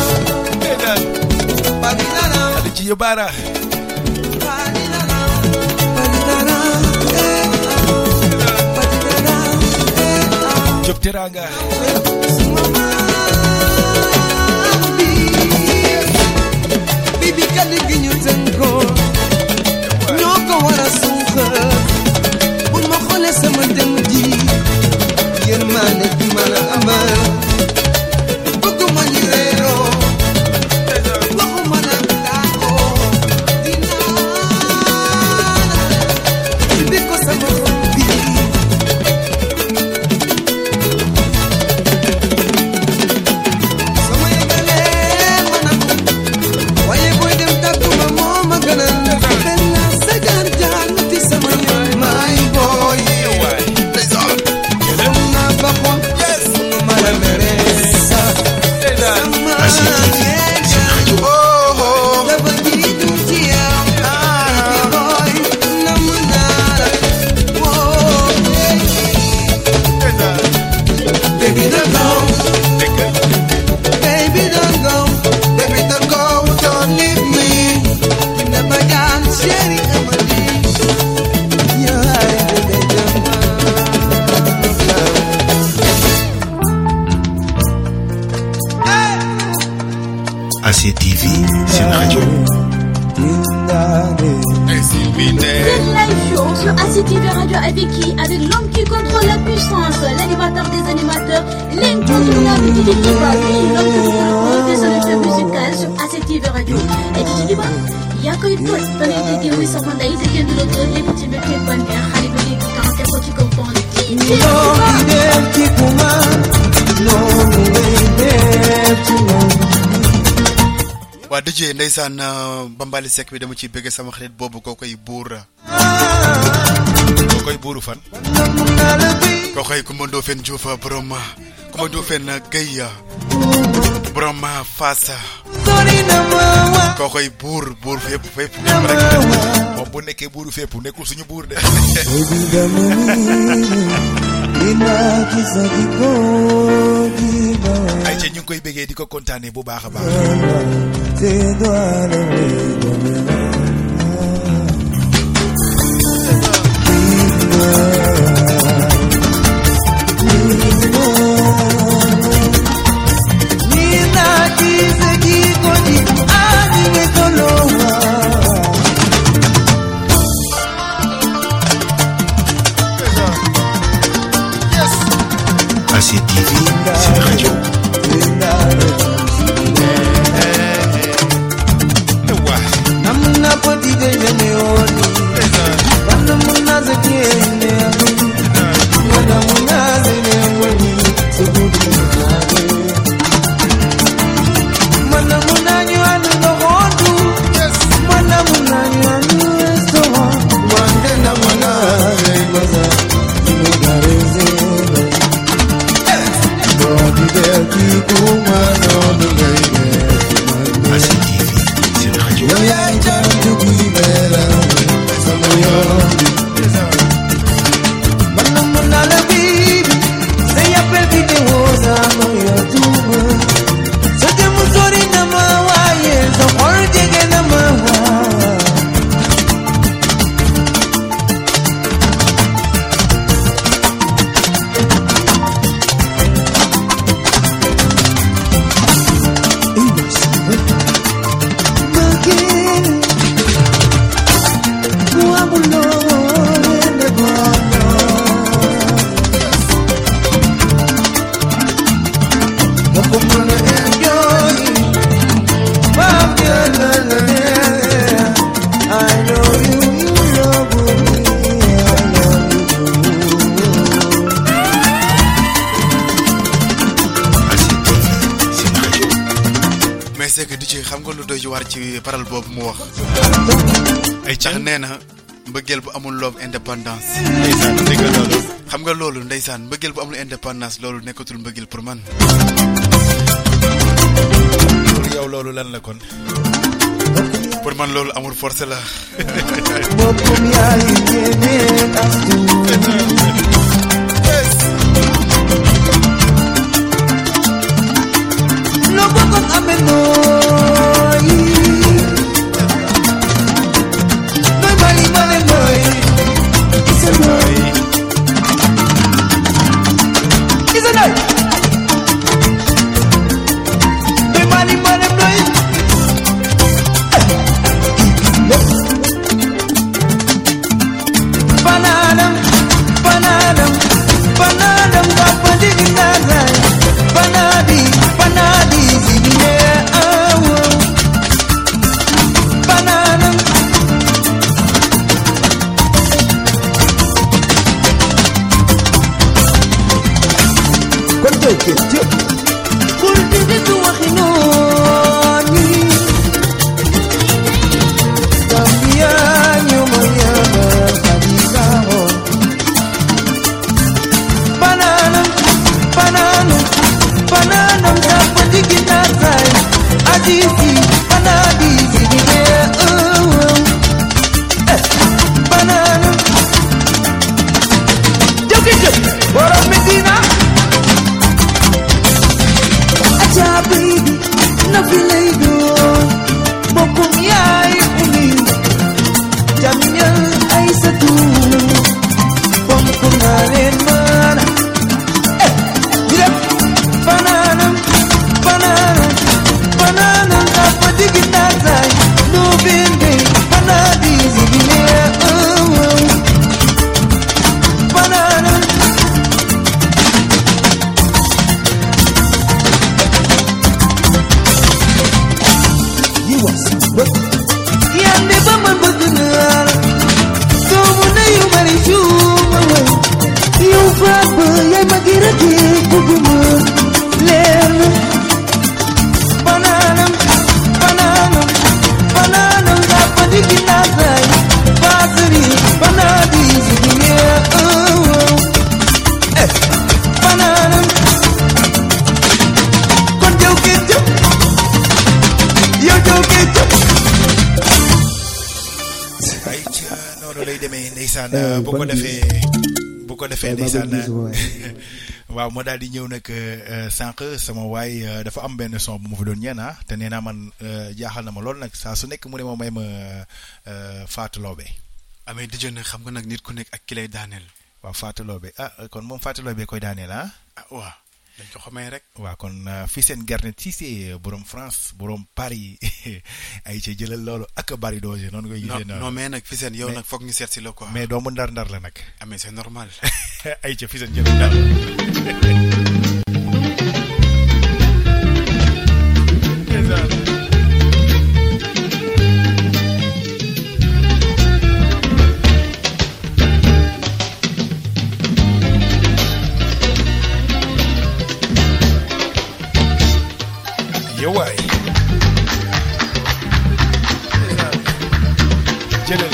ada ci yóbbaara Job Teranga Bibi kadi gi ñu tënko ñoo ko war a suuxal bul ma xoolee sama dem ji yërmande bi ma la amal bëgguma ñu réeroo waxuma la daakoo dinaa di ko sama xol bi sama yëgalee ma na ko waaye booy dem tàgguma moo ma gënal benn sa jaar jaar ti sama yoon maay booy ACTV, c'est une radio. C'est live show sur ACTV Radio avec qui? Avec l'homme qui contrôle la puissance, l'animateur des animateurs, l'incontournable DJ Iba, l'homme qui vous propose des solutions musicales sur ACTV Radio. Et DJ Iba, yaa koy toj da ngay déggee muy sama ndey te kenn du la toj lépp ci mbir képp ban neex xale ba léegi quand te ko ci kaw pont DJ waa DJ ndeysaan Bambali Seck bi dama ciy bëgg sama xarit boobu koo koy buur fan koo koy Coumando Fen Diouf borom Coumando Fen Gueye borom Fass koo koy buur fépp rek moom bu nekkee buuru fépp nekkul suñu buur de ay ca ñu ngi koy bëggee di ko kontaane bu baax a baax ACTV, c'est une radio. waar ci paral boobu mu wax ay tax nee na mbëggeel bu amul love indépendance ndeysaan dégg nga loolu xam nga loolu ndeysaan mbëggeel bu amul indépendance loolu nekkatul mbëggeel pour man yow loolu lan la kon pour man loolu amul force la bokkum yaay ñeneen astu no bokkum amee nooy nooy mali male nooy isa nooy isa nooy nooy mali male nooy bananam bananam bananam kapandi ginazai banadi banadi zine awo bananam konto ke kulti tu wakhinoni Gambia nyumaya kadikaho bananam bananam bananam kapandi ginazai adisi banadi zine awo bananam jokijo boro medina acha baby no feel do bokum yaay uni jamnyal ay satu bom kunalen man direct bananam bananam bananam kapati ginazai no bende banadi zibine bananam you was but yande baman bagunar so muna you mari shuma you faba yay magira ke kuguma lerna bananam bananam bananam kapadi kinazai basri banadi zibine bananam kon jow ke yo jow ke ay ca noonu lay demee ndeysaan bu ko defee ndeysaan waaw moo daal di ñëw nag sànq sama waay dafa am benn son bu ma fi doon ñeen te nee naa man jaaxal na ma lool nag saa su nekk mu ne ma may ma Fatou Laobé amee di jone xam nga nag nit ku nekk ak ki lay daaneel waaw Fatou Laobé kon moom Fatou Laobé koy daaneel waaw dañ ko xamee rek waaw kon fii seen Garnet Cissé borom France borom Paris ay ca jëlal loolu ak bari doose noonu koy gisee non mais nag fi seen yow nag foog ñu seet si la quoi mais doomu ndar la nag amee c'est normal ay ca fii seen jëlal ndar yow waay jëlal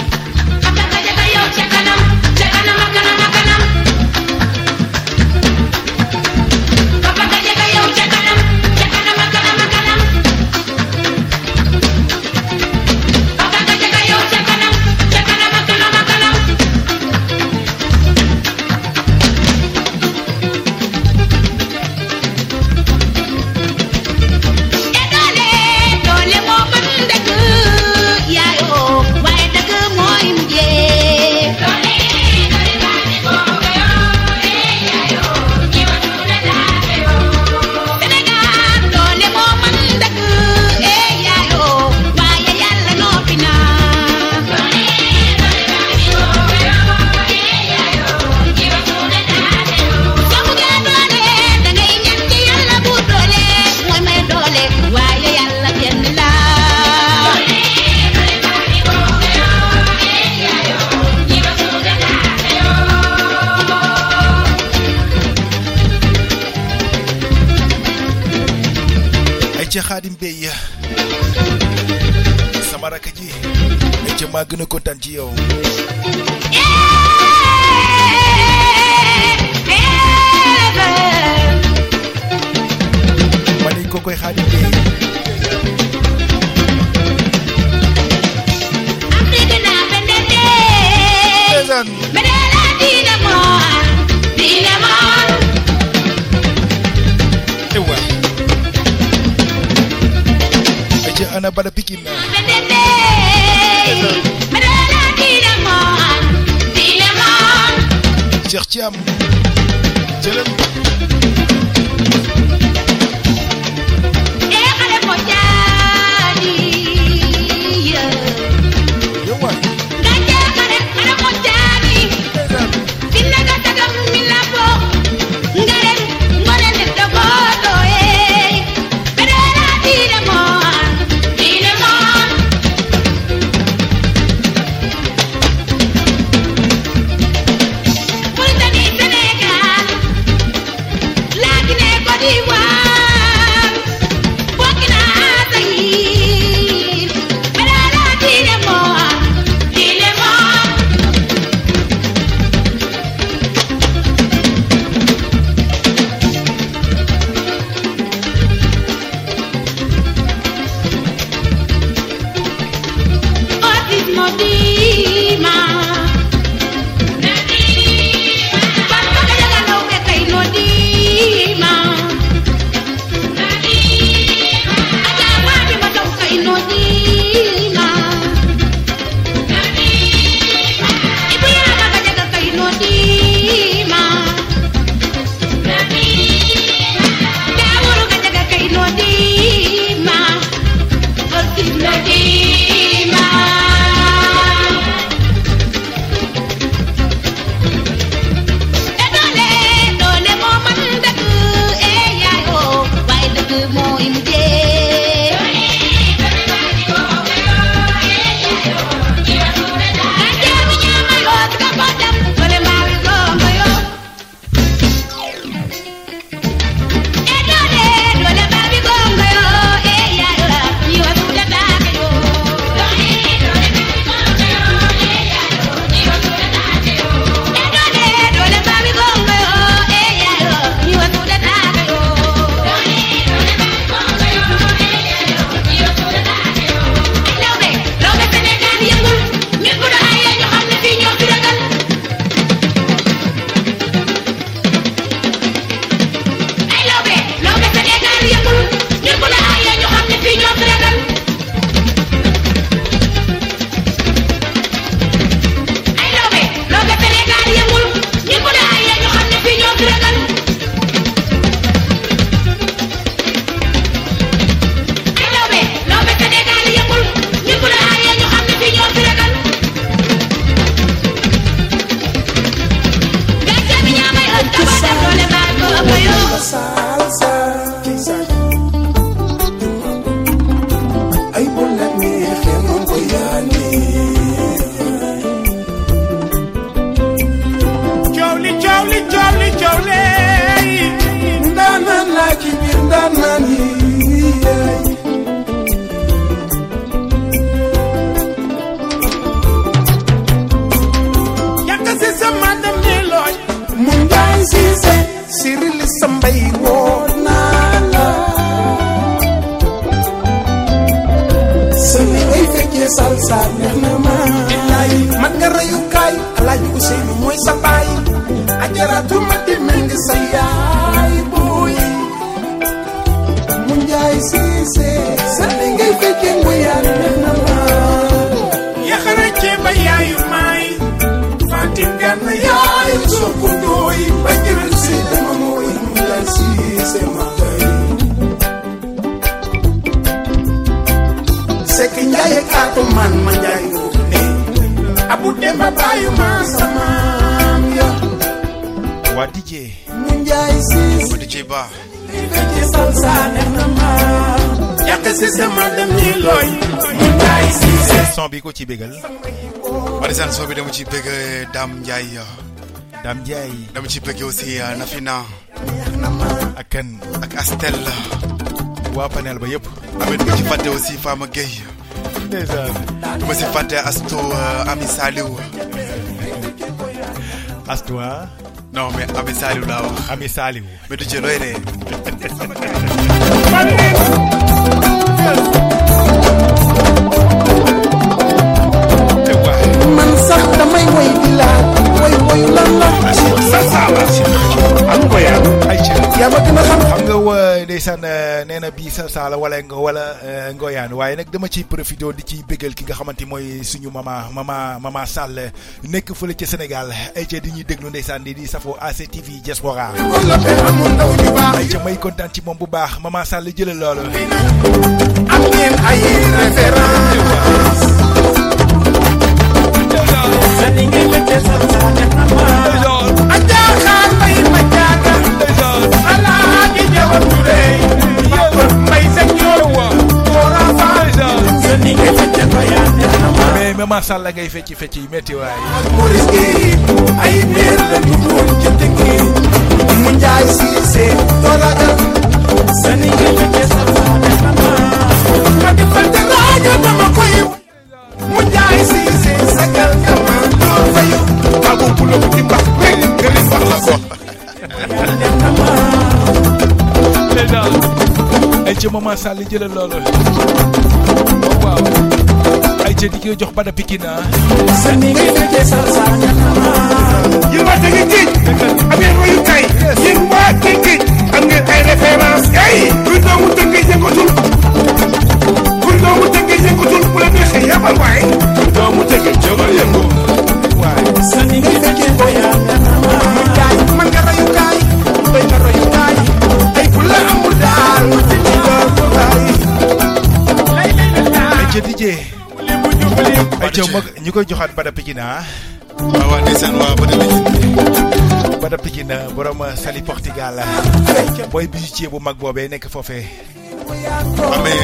ca Xaadim Bey rakk ji ci maa gën a kontaan ci yow ma ne ko koy Xaadim Bey ewa ci ana bala Pikine Cheikh Thiam jëlal son bi ko ci bégal Marisan so bi dama ci bëgg Dame Ndiaye dama ci bëgg aussi Nafina ak kan ak Astel waa panel ba yëpp amit ko ci fàtte aussi Fama Gueye duma si fàtte Astu Ami Saliou. Astu non mais Ami Saliou laa wax. Ami Saliou. mais du jël looy ree. man sax damay woy di laaj woy lan la. am ngoya ay ci yaa ma gën a xam nga ndeysaan nee na bii sa saala wala ngoyaan waaye nag dama ciy profité di ciy bégal ki nga xamante mooy suñu mama Sall nekk fële ca Sénégal ay ca di ñuy déglu ndeysaan di safoo ACTV Diaspora ay ca may kontaan ci moom bu baax mama Sall jëlal loolu am ngeen ay référence mais mama Sall ngay fecc yi metti waay ay meer la ñu doon ci tekki mu njaay Cissé tolagal sani nga fekke sa ma di fante laajo dama koy mu njaay Cissé sagal dama doon fayu babu pulo ci bax rek ngeen wax la ko ay ci mama Sall jëlal loolu waaw ay ci di ko jox bada Pikine sani nga fekke sa yéen waa Tëngéej géej am ngeen royukaay yéen waa Tëngéej am ngeen ay référence ay kuy doomu Tëngéej yëngatul kuy doomu Tëngéej yëngatul bu la neexee yabal waay kuy doomu Tëngéej jógal yëngu waay sani nga fekke boya kaay man nga royukaay doy nga royukaay ay ku la amul daal ci ko waay ay ci DJ ay ci ñu koy joxaat bada Pikine waaw ndeysaan waa bada Pikine borom Sali Portugal booy bijoutier bu mag boobee nekk foofee amee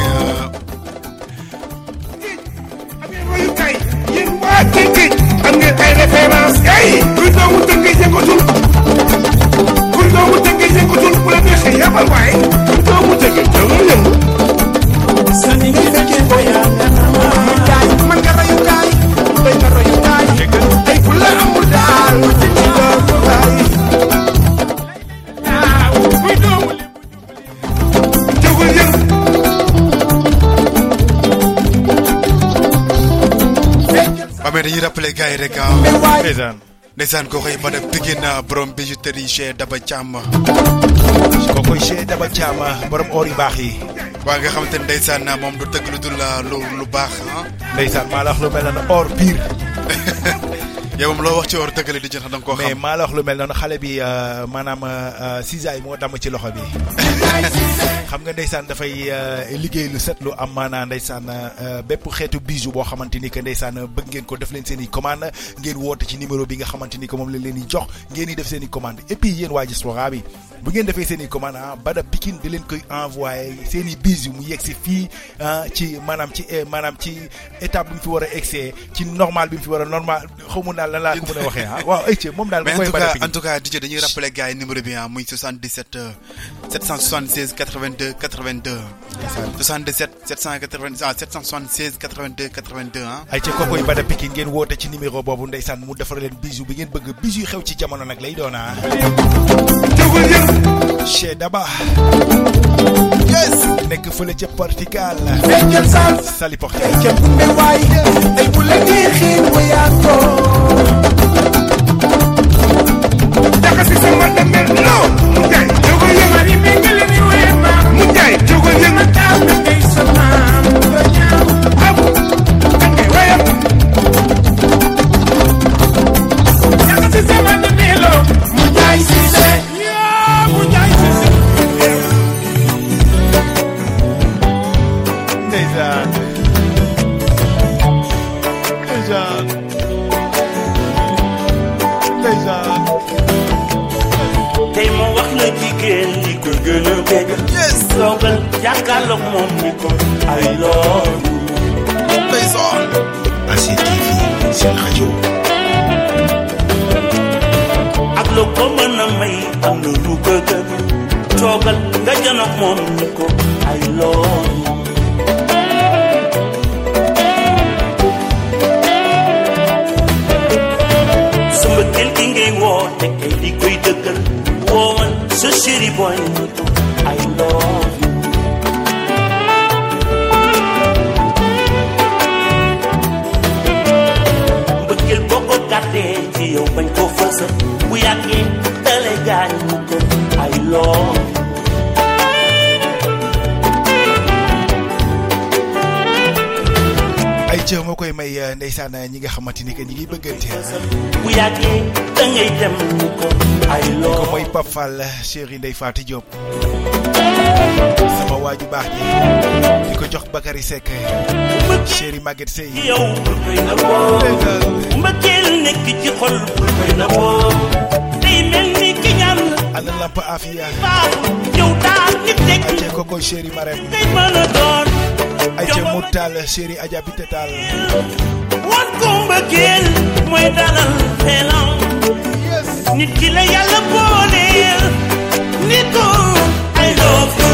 royukaay yéen waa Tëngéej am ngeen ay référence ay kuy doomu Tëngéej yëngatul kuy doomu Tëngéej yëngatul bu la neexee yabal waay kuy doomu Tëngéej jógal yëngu sani nga fekke boya kaay man nga royukaay doy nga royukaay ay ku la amul daal ci ko waay kuy doomu jógal yëngu amee dañuy rappeler gars yi rek ndeysaan koo koy bada Pikine borom bijouterie chez Daba Thiam koo koy chez Daba Thiam borom or yu baax yi waa nga xamante ne ndeysaan moom du tëgg lu dul lu baax ndeysaan maa la wax lu mel noonu or pire yow moom loo wax ci or tëggale di jën xam da nga koo xam mais maa la wax lu mel noonu xale bi maanaam cisaay moo damm ci loxo bi xam nga ndeysaan dafay liggéey lu set lu am maanaa ndeysaan bépp xeetu bijou boo xamante ni que ndeysaan bëgg ngeen ko def leen seen i commande ngeen woote ci numéro bi nga xamante ni que moom la leen di jox ngeen di def seen i commande et puis yéen waa Diaspora bi bu ngeen defee seen i commande bada Pikine di leen koy envoyé seen i bijou mu yegg si fii ci maanaam ci étape bi mu fi war a egsee ci normal bi mu fi war a normal xaw ma daal lan laa ko mën a waxee waaw ayca moom daal. mais en tout cas DJ dañuy rappeler gars yi numéro bi muy 77 776 82 82 77 776 82 82 ayca kookoy bada Pikine ngeen woote ci numéro boobu ndeysaan mu defar leen bijou bi ngeen bëgg bijou xew ci jamono nag lay doon chez Daba yes nekk fële ca Portugal Sali Portugal ca bumbe waay ay bu la neexee wayaatoo daka si sama demel lo mu jaay jógal yëngu mi ngi leen di wéy ma mu jaay jógal yëngu taw mi ngay sama do ñaaw am ngay wayam daka si sama demel lo mu jaay Cissé mu jaay Cissé ndeysaan tey ma wax la jigéen ñi ko gën a bëgg toogal jàkkaarloog moom ni ko ay loolu ACTV seen rajo ak lu ko mën a may am na lu ko gën toogal nga janoog moom ni ko ay loolu te kay di koy dëggal woowal sa chéri boy I love you mbëggeel boo ko gàttee ci yow bañ ko fësal bu yàggee dale gaañ mu ko I love you ay cër moo koy may ndeysaan ñi nga xamante ni que ñi ngi bëggante bu yàggee da ngay dem mu ko ay loo ko mooy Pape Fall chéri Ndeye Fatou Diop sama waaju baax ji di ko jox Bakary Seck chéri Maguette Sey yow bul koy na boo mbëggeel nekk ci xol bul koy na boo day mel ni ki ñaan ana lamp afia yow daal nit nekk ay ko koy chéri Marème ngay mën a doon ay ca Moutal chéri Adja Bité Tall wan ko mbëggeel mooy dalal xelam nit ki la yàlla booleel nit ko I love you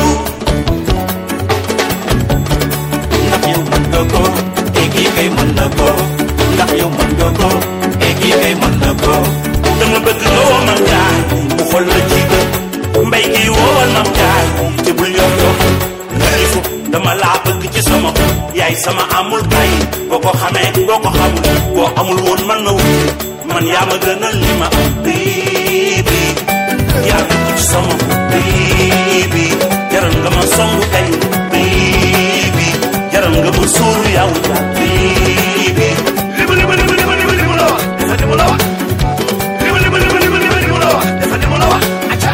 ndax yow mën nga ko kii kay mën na ko ndax yow mën nga ko kii kay mën na ko dama bëgg nga woo mam jaay mu xool la ci bët mbay gi woowal mam jaay te bul yow dama laa bëgg ci sama yaay sama amul kay boo ko xamee boo ko xamul boo amul woon man na wut man yaa ma gënal li ma baby yaa bëgg ci sama baby jaral nga ma songu kay baby jaral nga ma suuru yow ja baby limu la wax dafa limu la wax limu la wax dafa limu la wax acca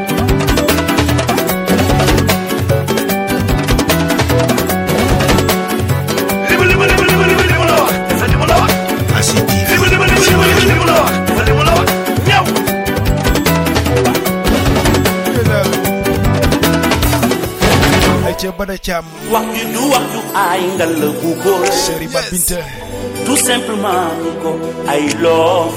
ca Bada Thiam wax ju du wax ju ay ngal la bu ko chéri Ba Binta tout simplement ko I love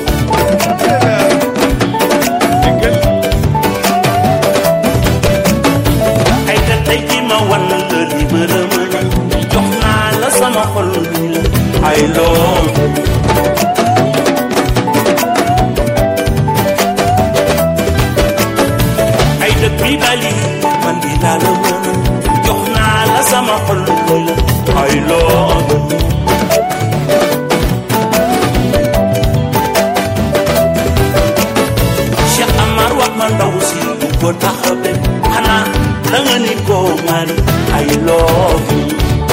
ay ta tey ki ma wan la li bërëma jox naa la sama xol I love ay ta bi bali man di la la jox naa la sama xol I love Cheikh Amar wax ma ndaw si bu ko taxabe xanaa da nga ni ko man I love you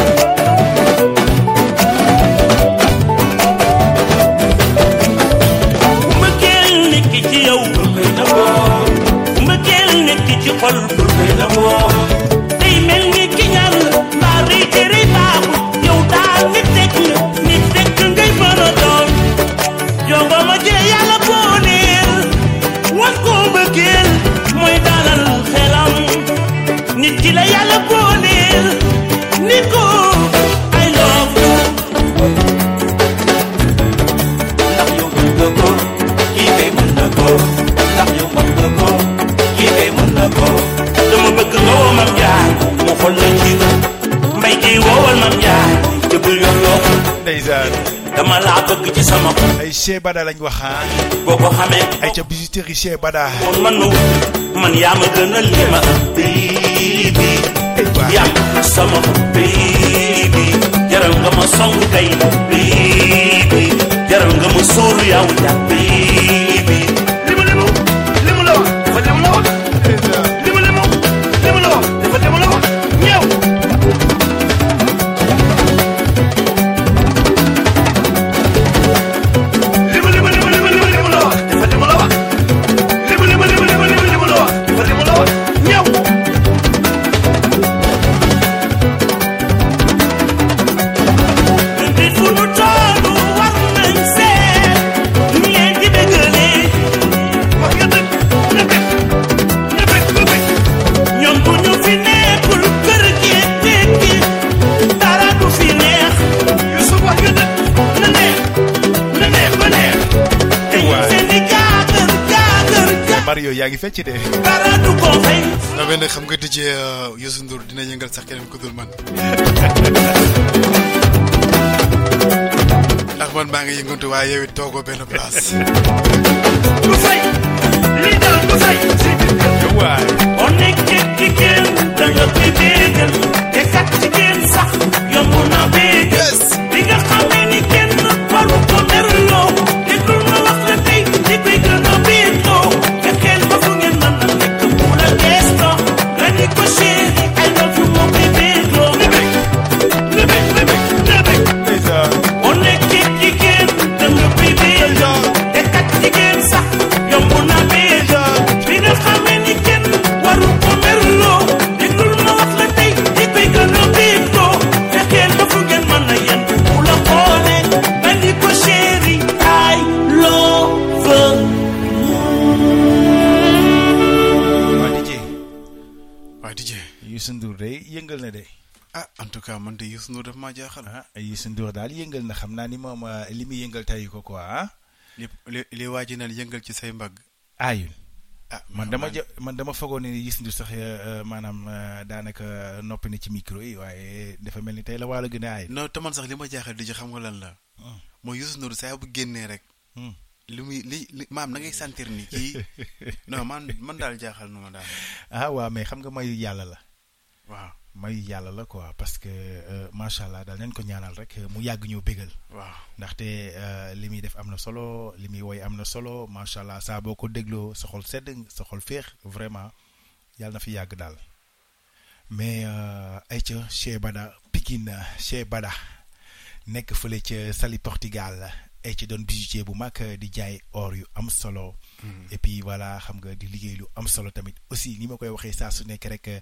mbëggeel nekk ci yow bul koy naboo mbëggeel nekk ci xol bul koy naboo day mel ni ki ñaan mbaa rëy te rëy baaxul yow daal nit tekk ngay mën a doon jongo ma jee yàlla booleel wan ko mbëggeel mooy dalal xelam nit ki la yàlla booleel nit ko I love you ndax yow mën nga ko kii kay mën na ko ndax yow mën nga ko kii kay mën na ko dama bëgg nga woo mam jaay mu xool la ci mbay gi woowal mam jaay te bul yoo ndeysaan dama laa bëgg ci sama ay Cheikh Bada lañ wax boo ko xamee ay ca bijouterie Cheikh Bada woon man na man yaa ma gën a li ma baby yaa sama baby jaral nga ma song kay baby jaral nga ma suur yow ja baby limu la wax dafa limu la wax limu la wax dafa limu la wax ñëw Mario yaa ngi fecc de na benn xam nga DJ Youssou Ndour dina yëngal sax keneen ku dul man ndax man maa ngi yëngatu waaye yow it toogoo benn place. du fay li dal du fay. waay. boo nekkee jigéen da nga koy bégal te kat jigéen sax yomb na bégal. bi nga xamee ni kenn waru ko merloo déggul ma wax la tey di koy gën a bégloo fexeel ba fu ngeen mën a nekk mu la gestoo nga ni ko chéri I love you moo koy bégloo. boo nekkee jigéen da nga koy bégal te kat jigéen sax yomb na bégal. bi nga xamee ni kenn waru ko merloo déggul ma wax la tey di koy gën a bégloo fexeel ba fu ngeen mën a yem mu la xoole nga ni ko chéri I love waa DJ. Youssou Ndour de yëngal na de. ah en tout cas man de Youssou Ndour daf maa jaaxal. Youssou Ndour daal yëngal na xam naa ni moom li muy yëngal tey ko quoi ah. li waa ji naan yëngal ci say mbagg. aayul. man dama fogoon ne Youssou Ndour sax maanaam daanaka noppi na ci micro yi waaye dafa mel ni tey la wàllu gën a aay. non te man sax li ma jaaxal di xam nga lan la. mooy Youssou Ndour saa bu génnee rek. li muy li maam na ngay sentir ni kii non man daal jaaxal na ma daal. waaw mais xam nga mayu yàlla la. waaw mayu yàlla la quoi parce que macha allah daal nañ ko ñaanal rek mu yàgg ñëw bégal. waaw ndaxte li muy def am na solo li muy woy am na solo macha allah saa boo ko dégloo sa xol sedd sa xol féex vraiment yàlla na fi yàgg daal mais ayca Cheikh Bada Pikine Cheikh Bada nekk fële ca Saly Portugal. ay ci doon bijoutier bu mag di jaay or yu am solo. et puis voilà xam nga di liggéey lu am solo tamit aussi ni ma koy waxee saa su nekk rek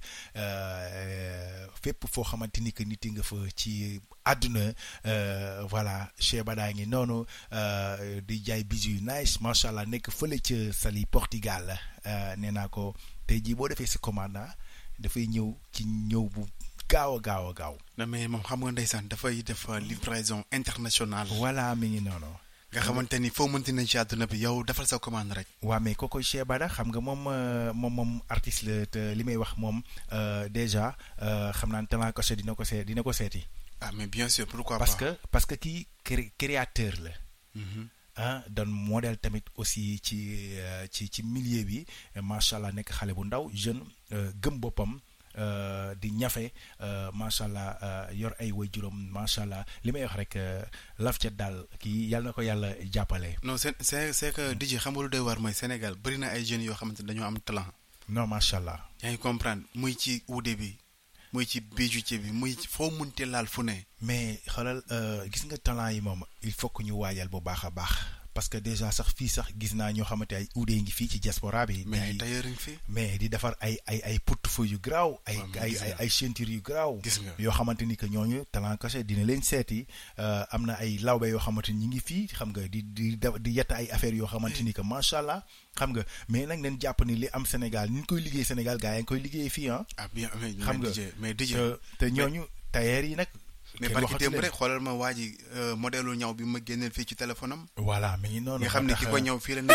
fépp foo xamante ni que nit nga fa ci àdduna voilà Cheikh Bada ngi noonu di jaay bijoux yu nice macha allah nekk fële ca Saly Portugal nee naa ko tey jii boo defee sa commande dafay ñëw ci ñëw bu. gaaw. non mais moom xam nga ndeysaan dafay def livraison internationale. voilà mi ngi noonu. nga xamante ni foo mënti nañ ci àdduna bi yow defal sa commande rek. waaw mais kooku Cheikh Bada xam nga moom artiste la te li may wax moom déjà xam naa ne talent caché dina ko seeti. ah mais bien sûr pourquoi pas. parce que kii créateur la. doon modèle tamit aussi ci milieu bi macha allah nekk xale bu ndaw jeune gëm boppam. di ñafe macha allah yor ay waajuram macha allah li may wax rek laf ca daal kii yàlla na ko yàlla jàppale. non c'est que DJ xam nga lu doy war mooy Sénégal bëri na ay jeunes yoo xamante ne dañoo am talent. non macha allah. yaa ngi comprendre muy ci uude bi muy ci bijoutier bi muy foo munte laal fu ne. mais xoolal gis nga talent yi moom il faut que ñu waajal bu baax a baax. parce que déjà sax fii sax gis naa ñoo xamante ay uudee ngi fii ci diaspora bi. mais ay tailleur ngi fi. mais di defar ay portefeuille yu garaaw. ay ceinture yu garaaw. gis nga yoo xamante ni que ñooñu talent caché dina leen seeti am na ay lawbe yoo xamante ni ñi ngi fii xam nga di yett ay affaires yoo xamante ni que macha allah xam nga mais nag nañ jàpp ni li am Sénégal ni ñu koy liggéey Sénégal gars yi ngi koy liggéey fii ah bien xam nga mais DJ te ñooñu tailleur yi nag. mais barki démb rek xoolal ma waa ji modèle ñaw bi ma génneel fii ci téléphone am. voilà mi ngi noonu. nga xam ne ki ko ñaw fii la nekk.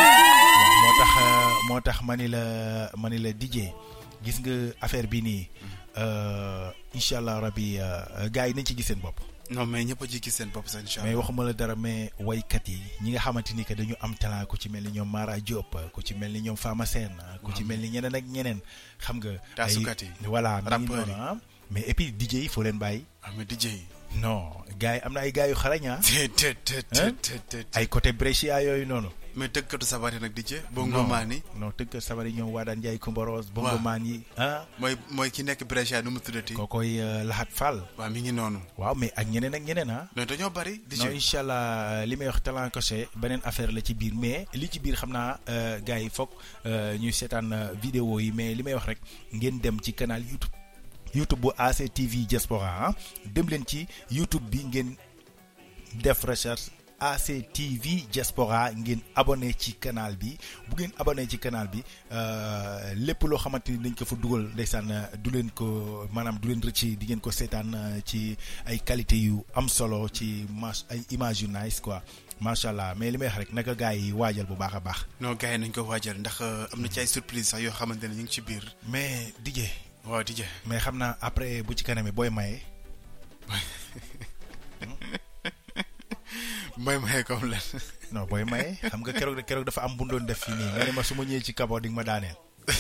moo tax ma ni la DJ gis nga affaire bi nii incha allah rabi gars yi nañ ci gis seen bopp. non mais ñëpp a ci gis seen bopp sax incha allah. mais waxuma la dara mais waykat yi ñi nga xamante ni que dañu am talent ku ci mel ni ñoom Mara Diop ku ci mel ni ñoom Fama Sène ku ci mel ni ñeneen ak ñeneen xam nga. taasukat yi voilà mi ngi noonu mais et puis DJ yi foo leen bàyyi. mais DJ yi. non gars yi am na ay gars yu xarañ ay côté Brescia yooyu noonu. mais tëggkatu sabar yi nag DJ. bongo maan yi. non tëggkatu sabar yi ñoom waa daan Ndiaye Kumbaros. bongo maan yi mooy ki nekk Brescia nu mu tuddati. kookoy Lahat Fall. waaw mi ngi noonu. waaw mais ak ñeneen mais dañoo bari. DJ non incha allah li may wax talent caché beneen affaire la ci biir mais li ci biir xam naa gars yi foog ñuy seetaan vidéo yi mais li may wax rek ngeen dem ci canal YouTube bu ACTV Diaspora dem leen ci YouTube bi ngeen def recherche ACTV Diaspora ngeen abonné ci canal bi bu ngeen abonné ci canal bi lépp loo xamante ni dañ ko fa dugal ndeysaan du leen ko maanaam du leen rëcc di ngeen ko seetaan ci ay qualité yu am solo ci ay image yu nice quoi macha allah mais li may wax rek naka gars yi waajal bu baax a baax. non gars yi nañ ko waajal ndax am na ci ay surprise sax yoo xamante ne ñu ngi ci biir. mais DJ. waaw DJ. mais xam naa après bu ci kanamee booy maye. may comme lan. non booy maye xam nga keroog dafa am bu doon def fii nii nga ne ma su ma ñëwee ci Kabo di nga ma daaneel.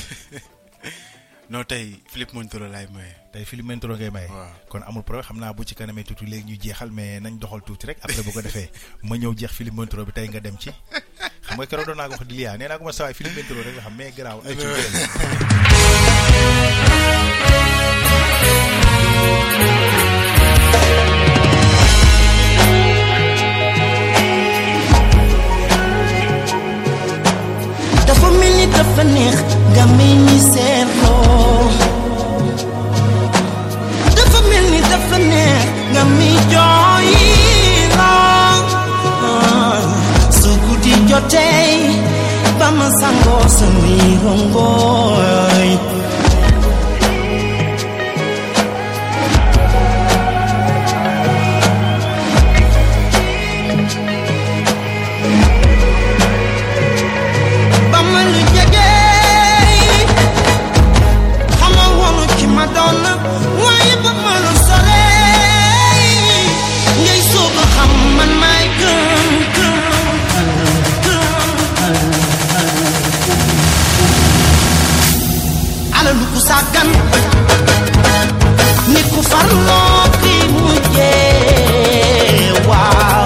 non tey Philippe Montoro laay maye. tey Philippe Montoro ngay maye. waaw kon amul problème xam naa bu ci kanamee tuuti léegi ñu jeexal mais nañ doxal tuuti rek après bu ko defee ma ñëw jeex Philippe Montoro bi tey nga dem ci xam nga keroog doon naa ko wax di liyaa nee naa ko ma sawaay Philippe Montoro rek nga xam mais garaaw ay ci dafa mel ni dafa neex nga mel ni seetloo dafa mel ni dafa neex nga mi jooyloo su guddi jotee ba ma sangoo samay rongooy Sagan nit ku farloo ki mujjee waaw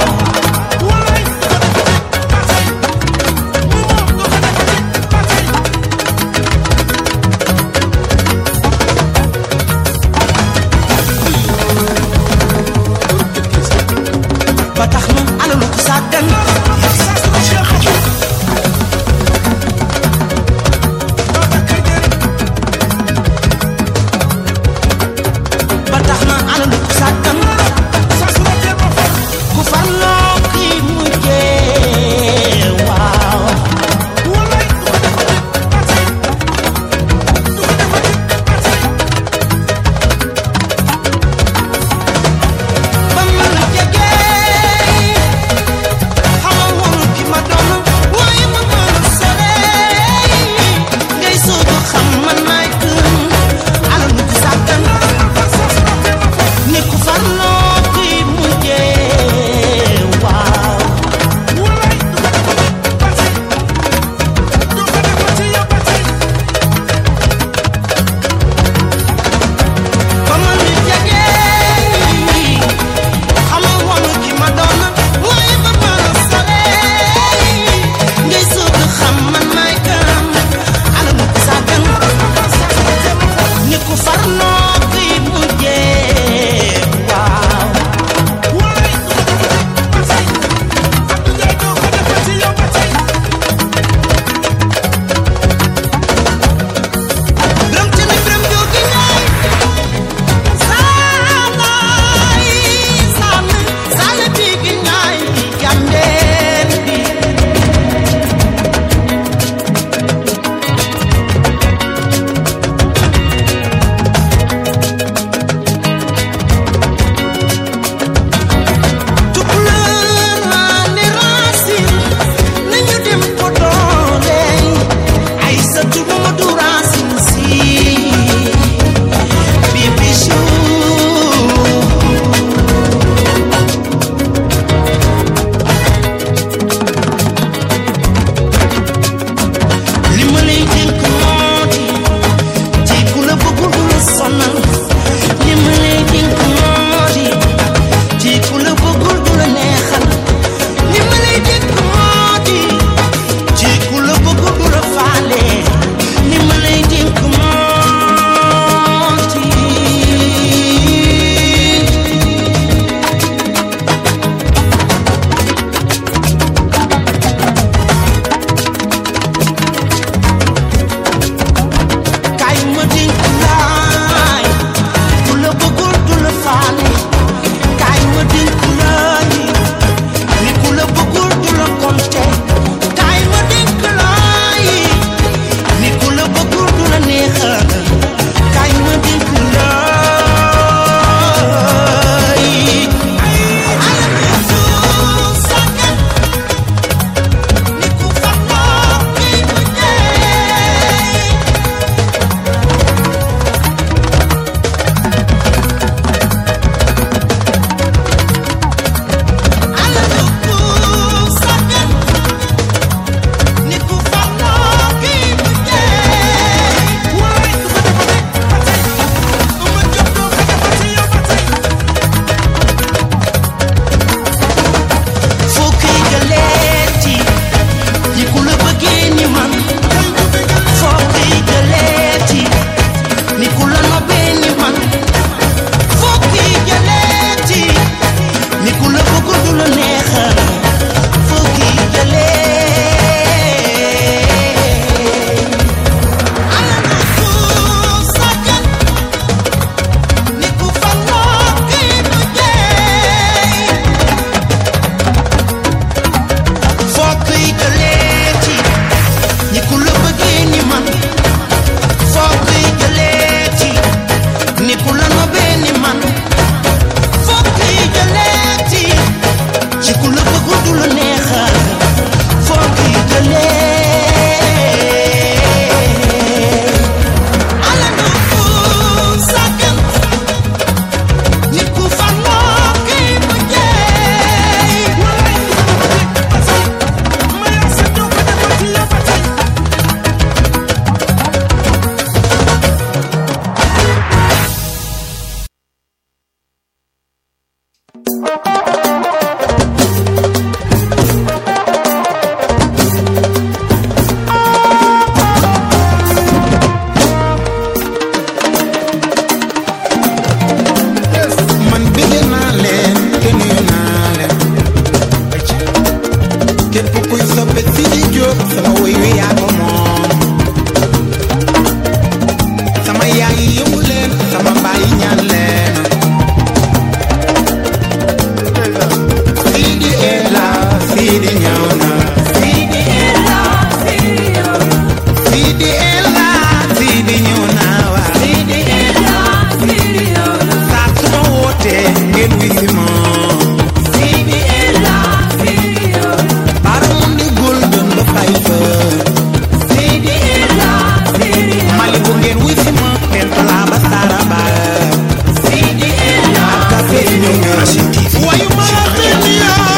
ba tax na alalu ku Sagan képp kuy soppe Sidi Diop sama woy wi yaa ko moom sama yaay yi yëngu leen sama baay yi ñaan leen Sidi Ela Sidi ñëw na Sidi Ela Sidi ñëw na Sidi Ela Sidi ñëw na waa Sidi Ela Sidi ñëw na saa su ma wootee ngeen wi si ma Sidi Ela Sidi ñëw na bara mun di golden ba fay fa Sidi Ela Sidi ñëw na mali bu ngeen wi si ma tent la ba sara ba Sidi Ela café ñëw na wayu ma Sidi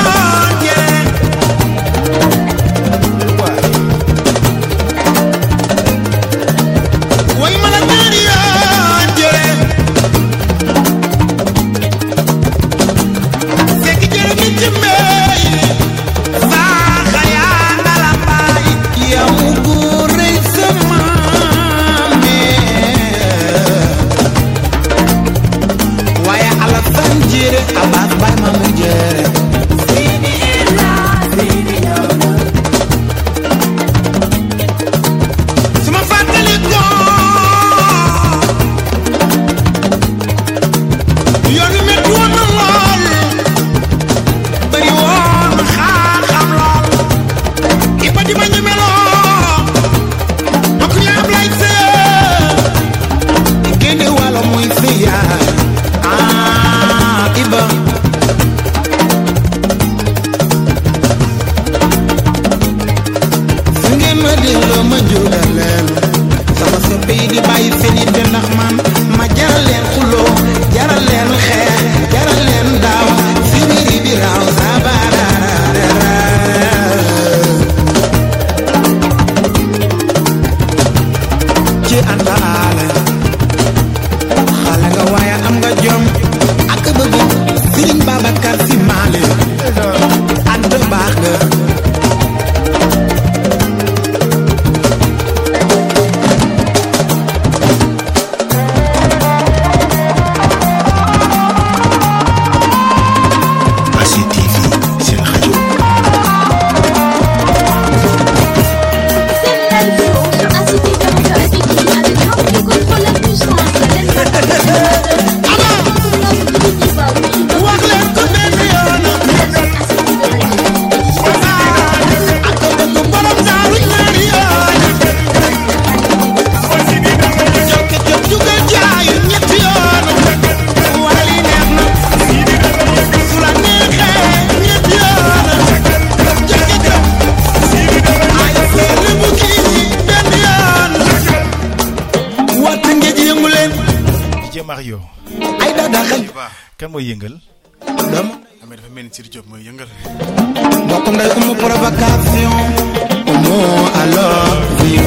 Mario ay da xel kan mooy yëngal dama dafa mel ni Sidi Diop mooy yëngal mbokk nday umu provocation umu alors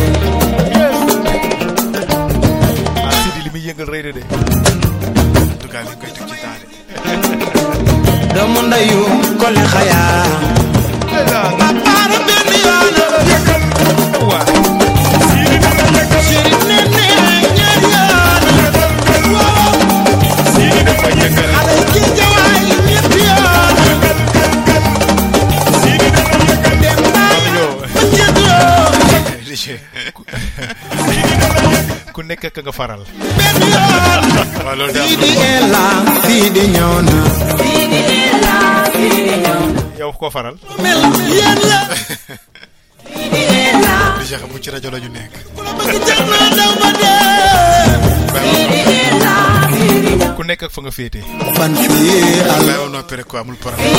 Sidi li muy yëngal rëy na de en tout cas li koy teg ci taale doomu ndayu kole xaya apara benn yoon yëkkal waa Sidi dama yëkkal Sidi nene ñaar yoon waaw Sidi dama yëkkal ala ci jawaay ñett yoon Sidi dama yëkkal dem naa ba ku nekk ka nga faral benn yoon Sidi Ela Sidi ñëw na Sidi Ela Sidi ñëw na yow ko faral mel yéen la Sidi Ela déjà xam ci rajo la ñu nekk ku nekk ak fa nga féete fan fii ala on a pere ko amul problème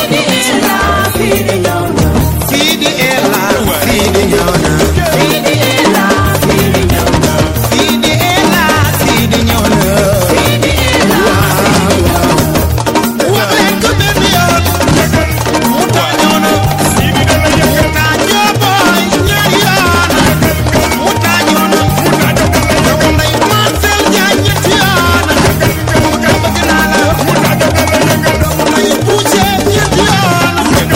Sidi Ela Sidi ñëw na Sidi Ela Sidi ñëw na Sidi Ela Sidi ñëw na Sidi Ela wax leen ko benn yoon mu taa ñëw na Sidi dama yëkkal mu taa ñoo booy ñaari yoon mu taa ñëw na dama nday Marcel Diagne ñetti yoon dama bëgg naa la dama nday Bouché ñetti yoon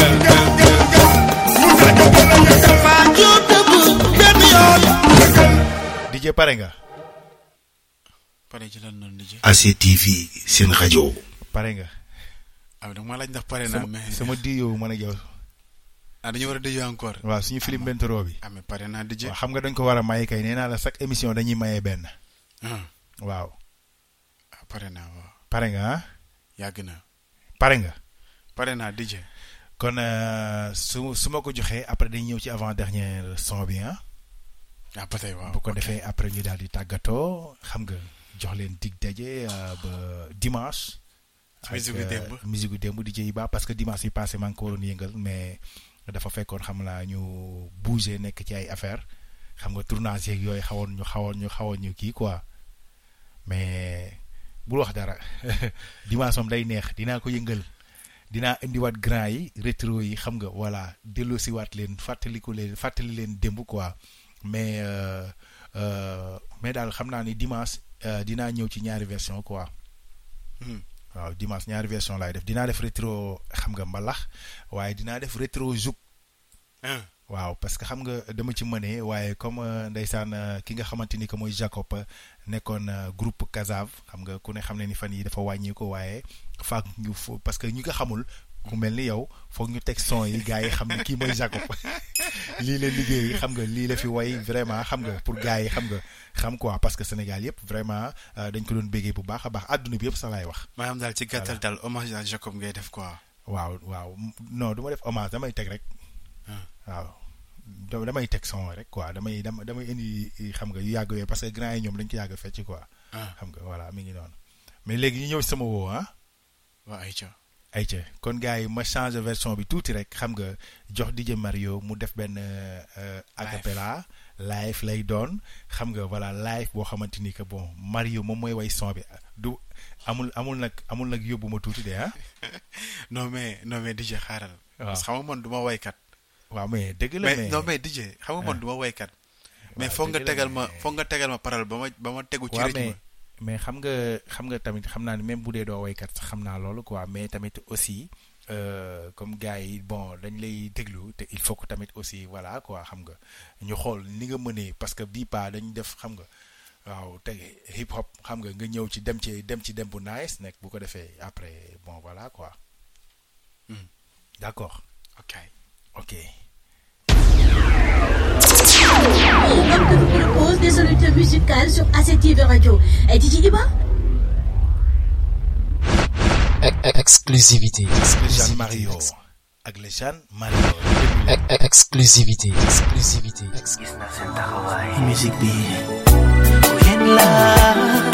faa joo dëgg benn yoon DJ pare nga pare ci lan noonu DJ ACTV seen rajo pare nga ah donc ma laaj ndax pare naa mais sama di yow man ak yow dañu war a dëjee encore. waaw suñu film bentoro bi. mais pare naa dëjee. waaw xam nga dañ ko war a maye kay nee naa la chaque émission dañuy maye benn. waaw. pare naa waaw. pare nga ah. yàgg na. pare nga. pare naa dëjee. kon su ma ko joxee après dañuy ñëw ci avant dernier son bi ah. ba tey waaw bu ko defee après ñu daal di tàggatoo xam nga jox leen dig daje ba dimanche. musique gu démb DJ Iba parce que dimanche yi passé maa ngi ko waroon yëngal mais dafa fekkoon xam naa ñu bouger nekk ci ay affaire xam nga tournage yeeg yooyu xawoon ñu kii quoi mais bul wax dara dimanche moom day neex dinaa ko yëngal dinaa indiwaat grand yi rétro yi xam nga voilà delloosiwaat leen fàttali leen démb quoi mais daal xam naa ni dimanche dinaa ñëw ci ñaari version quoi. waaw dimanche ñaari version laay def dinaa def rétro xam nga mbalax waaye dinaa def rétro zouk. waaw parce que xam nga dama ci mënee waaye comme ndeysaan ki nga xamante ni que mooy Jacob nekkoon groupe Kazav xam nga ku ne xam ne ni fan yi dafa wàññi ko waaye faak ñu parce que ñi nga xamul ku mel ni yow foog ñu teg son yi gars yi xam ne kii mooy Jacob lii la liggéey xam nga lii la fi way vraiment xam nga pour gars yi xam nga xam quoi parce que Sénégal yëpp vraiment dañ ko doon béggee bu baax a baax àdduna bi yëpp sax laay wax. maanaam daal ci gàttal daal hommage à Jacob ngay def quoi. waaw non du ma def hommage damay teg rek. waaw damay teg son rek quoi damay indi xam nga yu yàgg yooyu parce que grand yi ñoom dañ ko yàgg fecc quoi. xam nga voilà mi ngi noonu mais léegi ñu ñëw sama woo ah. waaw ayca kon gars yi ma changer version bi tuuti rek xam nga jox DJ Mario mu def benn acapella live lay doon xam nga voilà live boo xamante ni que bon Mario moom mooy way son bi du amul nag yóbbu ma tuuti de ah. non mais DJ xaaral. waaw parce que xam nga man du ma waykat. waaw mais dëgg la mais DJ xam nga man du ma waykat. mais foog nga tegal ma parole ba ma tegu ci rythme. mais xam nga tamit xam naa ne même bu dee doo waykat sax xam naa loolu quoi mais tamit aussi comme gars yi bon dañ lay déglu te il faut que tamit aussi voilà quoi xam nga ñu xool ni nga mënee parce que bii pas dañ def xam nga waaw tege hip hop xam nga nga ñëw ci dem bu nice nekk bu ko defee après bon voilà quoi. D'accord. Ok. L'homme que vous propose des solutions musicales sur ACTV Radio. Et DJ Iba? Exclusivité. Jean Mario. Avec le Jean Mario. Exclusivité. Musique bi. Yen la.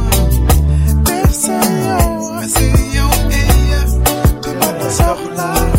Soxla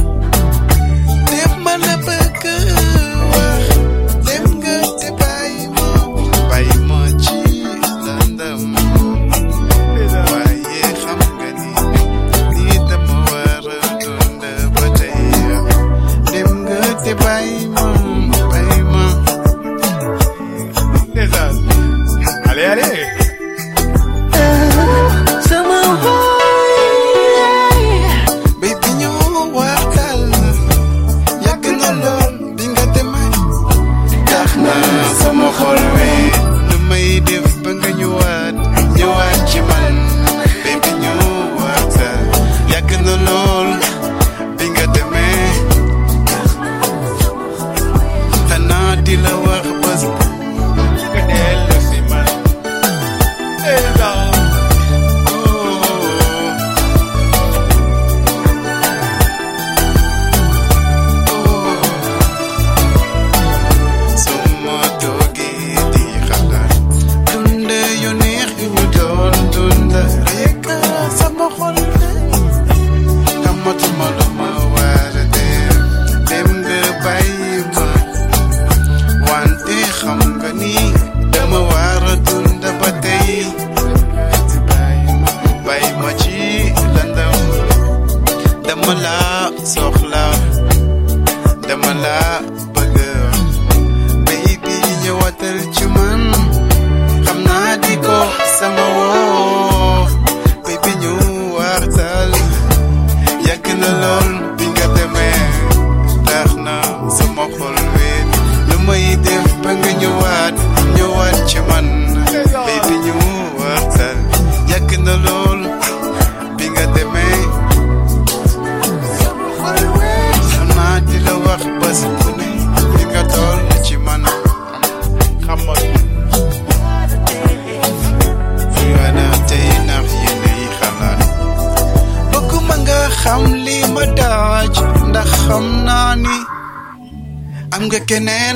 am nga keneen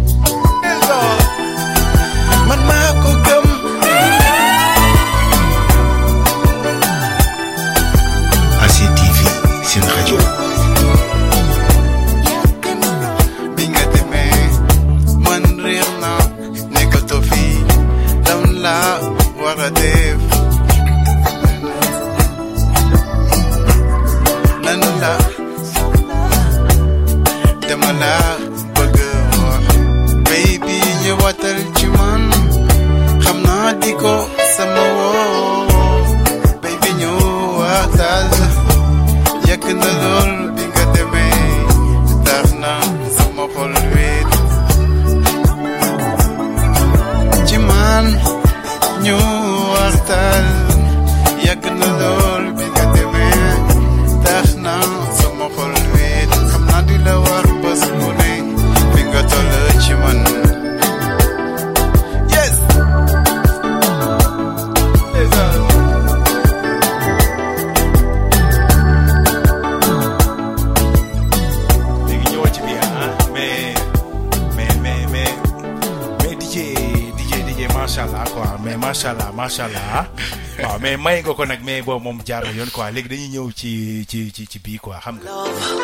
man maa ko gëm ACTV seen rajo bi nga demee man réer na nekkatoo fi dam la war a def nan la dama la bëgg wax baby ñëwatal ci man xam naa di ko sama woo baby ñëwatal yàgg na lool bi nga demee tax na sama xol wéet ci man ñëwatal yàgg na lool bi nga demee tax na sama xol wéet xam naa di la wax bés bu ne fi nga toll ci man yes léegi ñëwal ci biir mais DJ macha allah quoi mais macha allah waaw mais may nga ko nag mais boobu moom jaar na yoon quoi léegi dañuy ñëw ci bii quoi xam nga.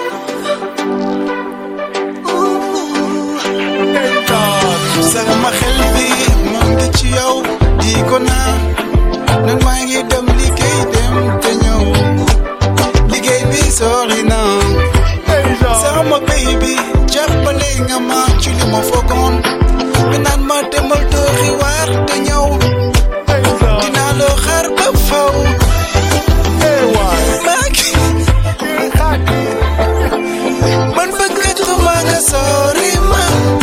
sama xel bi moo ngi ci yow di ko naan nag maa ngi dem liggéey dem te ñëw liggéey bi sori na sama baby jàppale nga ma ci li ma foogoon nga naan ma demal tooxi waar te ñëw dinaa loo xaar ba faw maa ngi man bëggatuma nga sori ma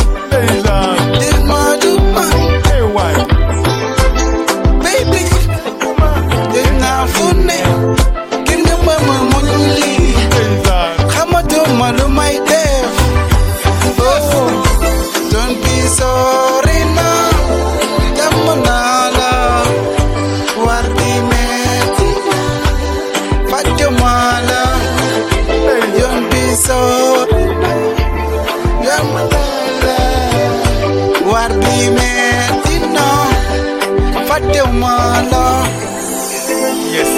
baby dinaa fu ne gën nga ma muñ lii xamatuma lu may def oh don't be sorry now dem naa la war di metti fàttuma la don't be sorry dem naa la war di metti no fàttuma la yes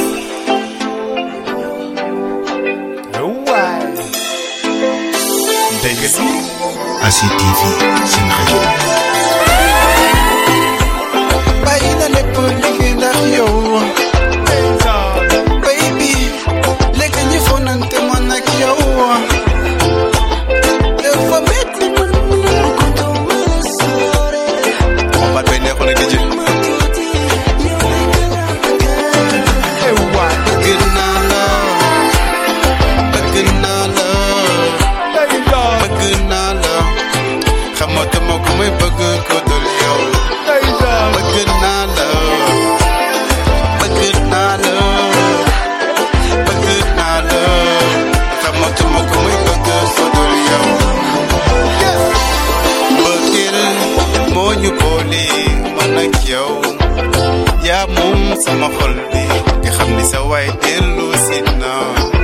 dégg ACTV seen rajo bàyyi na lépp liggéey ndax yow baby léegi ñu fonante man ak yow dafa metti man ko duma sore on va te neexoon ak DJ xamatuma ku may bëgg ko dul yow bëgg naa la bëgg naa la bëgg naa la xamatuma ku may bëgg ko dul yow bëggeel moo ñu boole man ak yow yaa moom sama xol bi nga xam ni sa waay dellu si na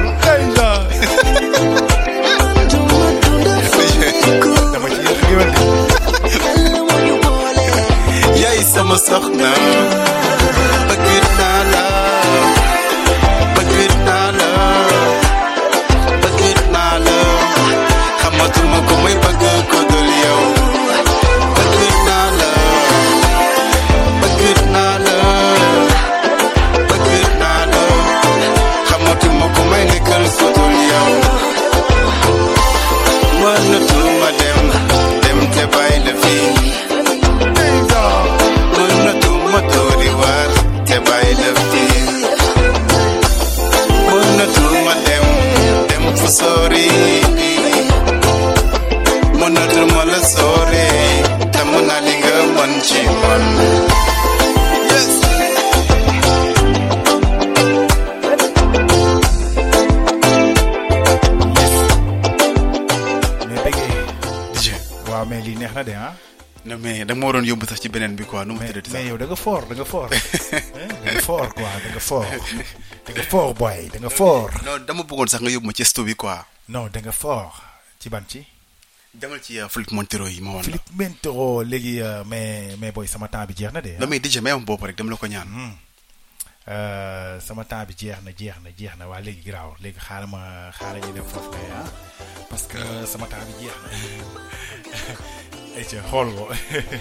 yaay sama soxna bëgg naa la bëgg naa la bëgg naa la xamatuma ko may bëgg ko dul yow bëgg naa la bëgg naa la bëgg naa la xamatuma ko may nekkal ko dul yow mënatuma dem te bàyyi la fii mënatuma tóori waar te bàyyi la fii mënatuma dem fu sori mënatuma la sori te mën naa li nga mën ci man yes waaw mais lii neex na de ah. non mais da nga ma waroon yóbbu sax ci beneen bi quoi nu mu tuddati sax. mais yow da nga fort da nga fort da nga fort quoi da nga fort da nga fort boy da nga fort. non dama bëggoon sax nga yóbbu ma ci sto bi quoi. non da nga fort ci ban ci. demal ci Philippe Montero yi ma woon. Philippe Montero léegi mais boy sama temps bi jeex na de. damay DJ may am bopp rek dama la ko ñaan. sama temps bi jeex na waa léegi garaaw léegi xaaral ñu dem foofu kay parce que sama temps bi jeex na ayca xool ko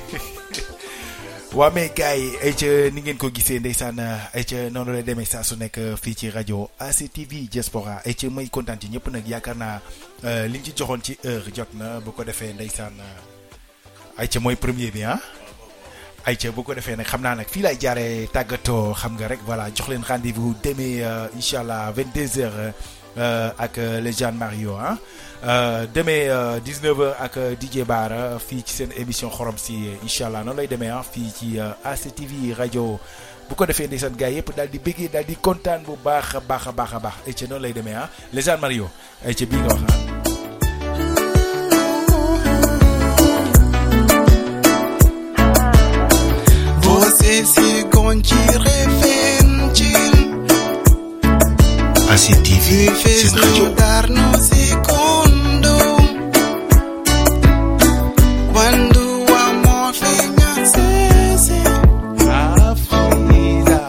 waa mais gars yi ayca ni ngeen ko gisee ndeysaan ayca noonu lay demee saa su nekk fii ci rajo ACTV Diaspora ayca may kontaan ci ñëpp nag yaakaar naa liñ ci joxoon ci heure jot na bu ko defee ndeysaan ayca mooy premier bi ayca bu ko defee nag xam naa nag fii lay jaaree tàggatoo xam nga rek voilà jox leen rendez-vous demee incha allah 22h ak les Jean Mario demee 19h ak DJ Bara fii ci seen émission xorom si incha allah noonu lay demee fii ci ACTV rajo bu ko defee ndeysaan gars yëpp daal di bëggee daal di kontaan bu baax a baax ayca noonu lay demee les Jean Mario ayca bii nga wax Você se contirefentil ACTV fez mudar no segundo quando o amor vinha cesse a vida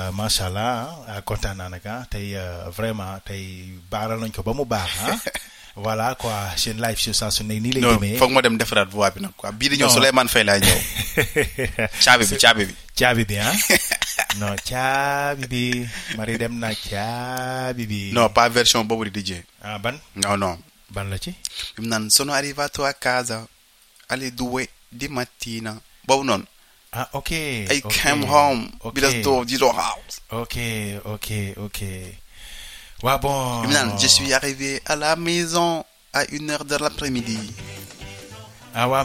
macha allah kontaan naa nag tey vraiment tey baaral nañ ko ba mu baax voilà quoi seen live show saa su ne nii lay demee. foog ma dem defaraat voix bi nag quoi bii di ñëw Souleymane Faye laa ñëw. caabi bi non caabi bi mari dem na caabi bi. non pas version boobu di DJ. ban. non. ban la ci. bi mu naan sono arrivato a casa alle 2 di mattina boobu noonu. ok. I came home. Because di house. ok. Ouais, bon. Je suis arrivé à la maison à 1h de l'après-midi. Ouais,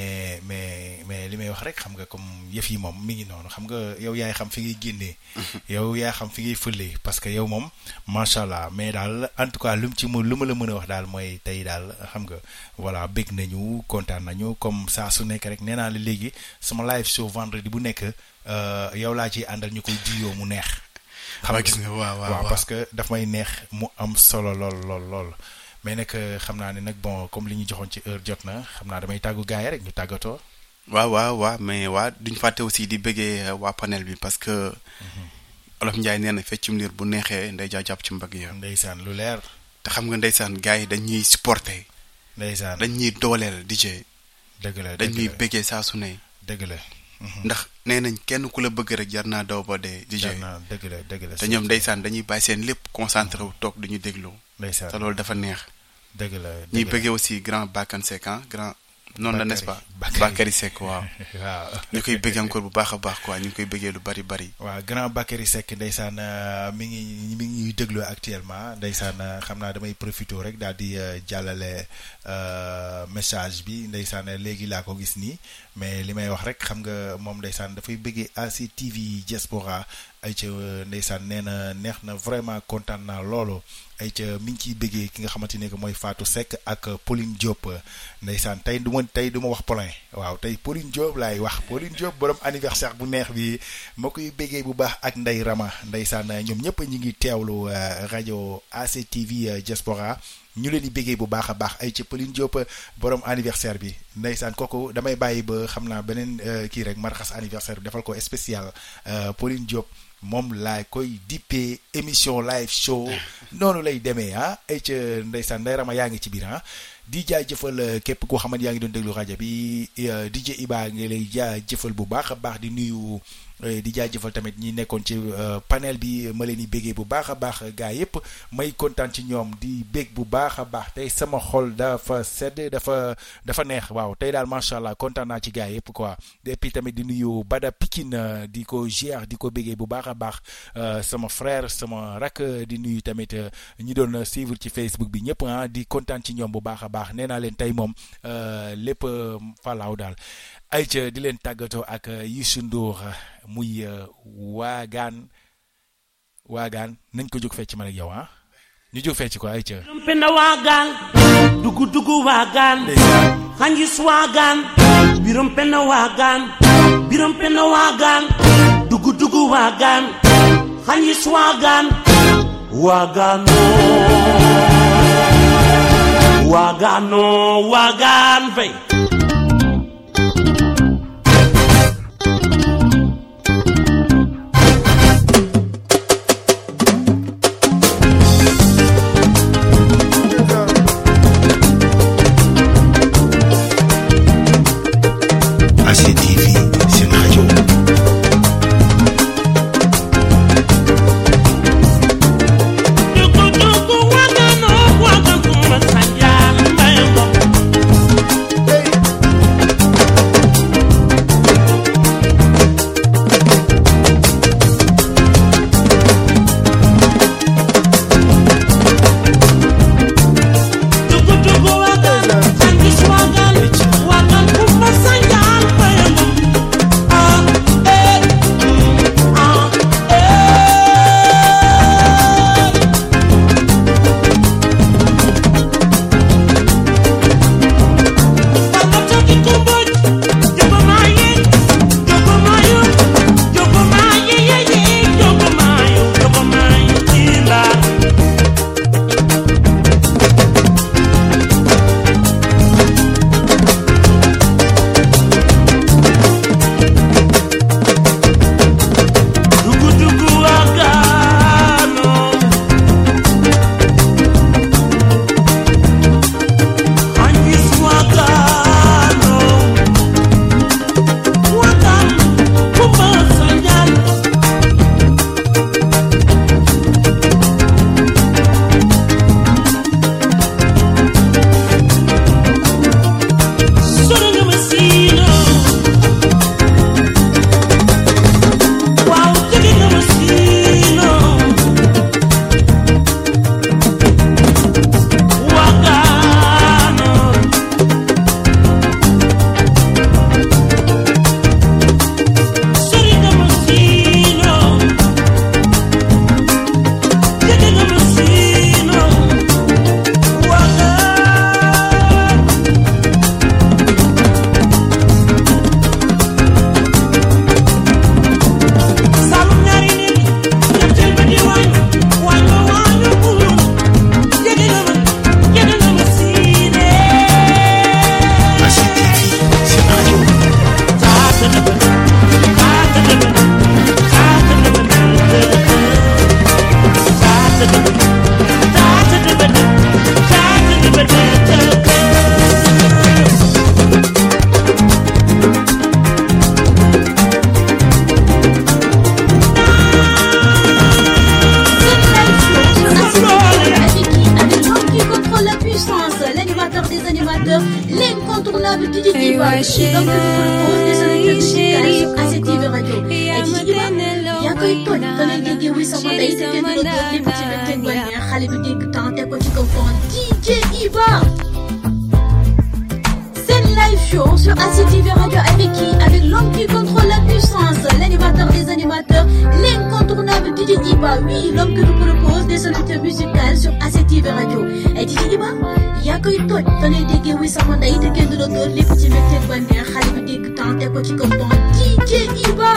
mais li may wax rek xam nga comme yëf yi moom mi ngi noonu xam nga yow yaay xam fi ngay génnee. yow yaa xam fi ngay fëlee parce que yow moom macha allah mais daal en tout cas lu ma la mën a wax daal mooy tey daal xam nga voilà bég nañu kontaan nañu comme saa su nekk rek nee naa la léegi sama live show vendredi bu nekk yow laa ciy àndal ñu koy diyoo mu neex. xam nga gis nga waaw parce que daf may neex mu am solo lool mais nag xam naa ne nag bon comme li ñu joxoon ci heure jot na xam naa damay tàggu gars yi rek ñu tàggatoo. waaw mais duñ fàtte aussi di bëggee waa panel bi parce que. Olof Ndiaye nee na feccum liir bu neexee nday jaa jàpp ci mbagg ya. ndeysaan lu leer. te xam nga ndeysaan gars yi dañuy supporter. ndeysaan dañuy dooleel DJ. dëgg la dañuy bëggee saa su ne. dëgg la. ndax nee nañ kenn ku la bëgg rek jar naa daw ba dee DJ. dëgg la te ñoom ndeysaan dañuy bàyyi seen lépp concentré wu toog duñu déglu. ndeysaan te loolu dafa neex. dëgg la ñuy bëggee aussi grand Bakane Seck grand. noonu la n'est-ce pas Bakary Seck waaw. ñu koy bëggee encore bu baax a baax quoi ñu ngi koy bëggee lu bari. waaw grand Bakary Seck ndeysaan mi ngi ñuy déglu actuellement ndeysaan xam naa damay profité rek daal di jàllale message bi ndeysaan léegi laa ko gis nii mais li may wax rek xam nga moom ndeysaan dafay bëggee ACTV Diaspora ay ca ndeysaan nee na neex na vraiment kontaan naa loolu. ay ca mi ngi ciy bëggee ki nga xamante ne que mooy Fatou Seck ak Pauline Diop ndeysaan tey du ma wax Paulin waaw tey Pauline Diop laay wax Pauline Diop borom anniversaire bu neex bi ma koy bëggee bu baax ak Ndey Rama ndeysaan ñoom ñëpp ñi ngi teewlu rajo ACTV Diaspora ñu leen di bëggee bu baax a baax ay ca Pauline Diop borom anniversaire bi ndeysaan kooku damay bàyyi ba xam naa beneen kii rek marxas anniversaire bi defal ko spécial Pauline Diop. moom laa koy dippee émission live show noonu lay demee ay ca ndeysaan Ndey Rama yaa ngi ci biir di jaajëfal képp koo xamante yaa ngi doon déglu rajo bi DJ Iba ngi lay jaajëfal bu baax a baax di nuyu di jaajëfal tamit ñi nekkoon ci panel bi ma leen di béggee bu baax a baax gaa yëpp may kontaan ci ñoom di bég bu baax a baax tey sama xol dafa sedd dafa neex waaw tey daal macha allah kontaan naa ci gaa yëpp quoi et puis tamit di nuyu Bada Pikine di ko ziar di ko béggee bu baax a baax sama frère sama rak di nuyu tamit ñi doon suivre ci Facebook bi ñëpp di kontaan ci ñoom bu baax a baax nee naa leen tey moom lépp falaaw daal ayca di leen tàggatoo ak Youssou Ndour muy waagaan nañ ko jóg fecc man ak yow ñu jóg fecc ko ayca penda waagaan dugu waagaan xanjis waagaan birom penda waagaan dugu waagaan xanjis waagaan waagaan fay Hey animateurs, l'incontournable DJ Iba, l'homme que vous propose des solutions musicales sur ACTV Radio. Et DJ Iba, yaa koy toj fa lay déggee wuy sama ndey te kenn du la dóor lépp ci mbégteeg bànneex xale bi dégg temps teg ko ci kaw fond DJ Iba. Live show sur ACTV Radio avec qui? Avec l'homme qui contrôle la puissance, l'animateur des animateurs, l'incontournable DJ Iba. Oui, l'homme que nous propose des solutions musicales sur ACTV Radio. Et DJ Iba, yaa koy toj fa lay déggee wuy sama ndey te kenn du la dóor lépp ci mbégteeg bànneex xale bi dégg temps teg ko ci kaw fond DJ Iba.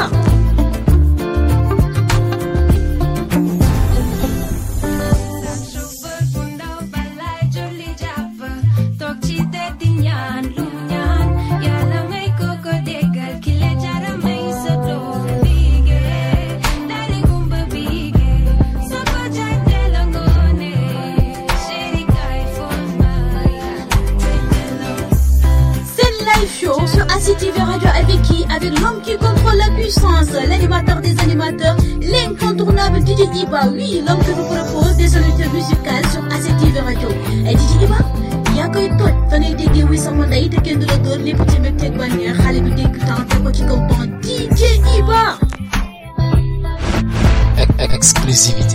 ACTV Radio avec qui? Avec l'homme qui contrôle la puissance, l'animateur des animateurs, l'incontournable DJ Iba. Oui, l'homme que vous propose des solutions musicales sur ACTV Radio. Et DJ Iba, yaa koy toj fa lay déggee wuy sama ndey te kenn du la dóor lépp ci mbégteeg bànneex xale bi dégg temps teg ko ci kaw temps DJ Iba. Exclusivité.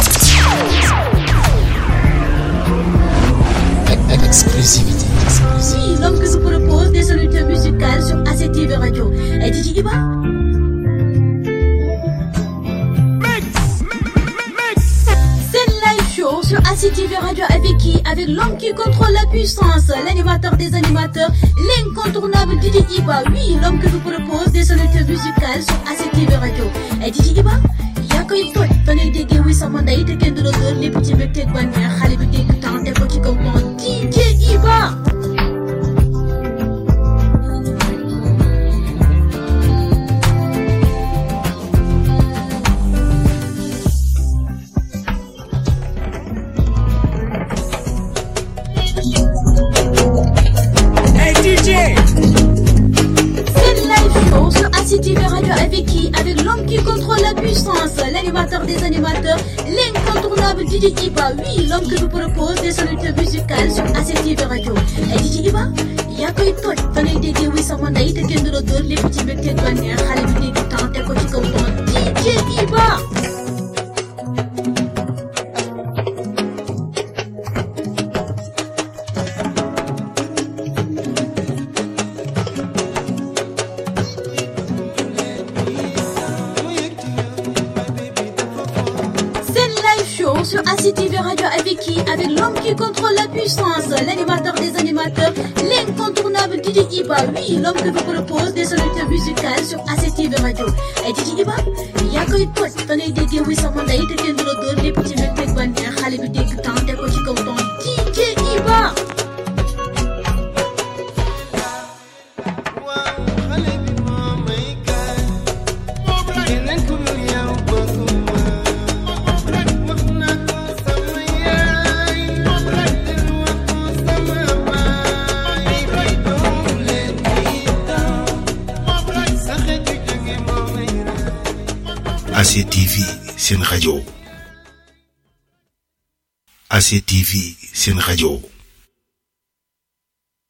Exclusivité. Oui, l'homme que vous propose des solutions musicales sur ACTV Radio. Et DJ Iba. C'est live show sur ACTV Radio avec qui? Avec l'homme qui contrôle la puissance, l'animateur des animateurs, l'incontournable DJ Iba. Oui, l'homme que vous propose des solutions musicales sur ACTV Radio. Et DJ Iba, yaa koy toj fa lay déggee wuy sama ndey te kenn du la dóor lépp ci mbégteeg bànneex xale bi dégg temps teg ko ci kaw temps DJ Iba. ACTV Radio avec qui? Avec l'homme qui contrôle la puissance, l'animateur des animateurs, l'incontournable DJ Iba. Oui, l'homme que vous propose des solutions musicales sur ACTV Radio. Et DJ Iba, yaa koy toj fa lay déggee wuy sama ndey te kenn du la dóor lépp ci mbégteeg bànneex xale bi dégg temps teg ko ci kaw temps DJ Iba. Sur ACTV Radio avec qui? Avec l'homme qui contrôle la puissance, l'animateur des animateurs, l'incontournable DJ Iba. Oui, l'homme que vous propose des solutions musicales sur ACTV Radio. Et DJ Iba, yaa koy toj fa lay déggee wuy sama ndey te kenn du la dóor lépp ci mbégteeg bànneex xale bi dégg temps teg ko ci kaw temps DJ Iba. ACTV Sen Radio. ACTV Sen Radio.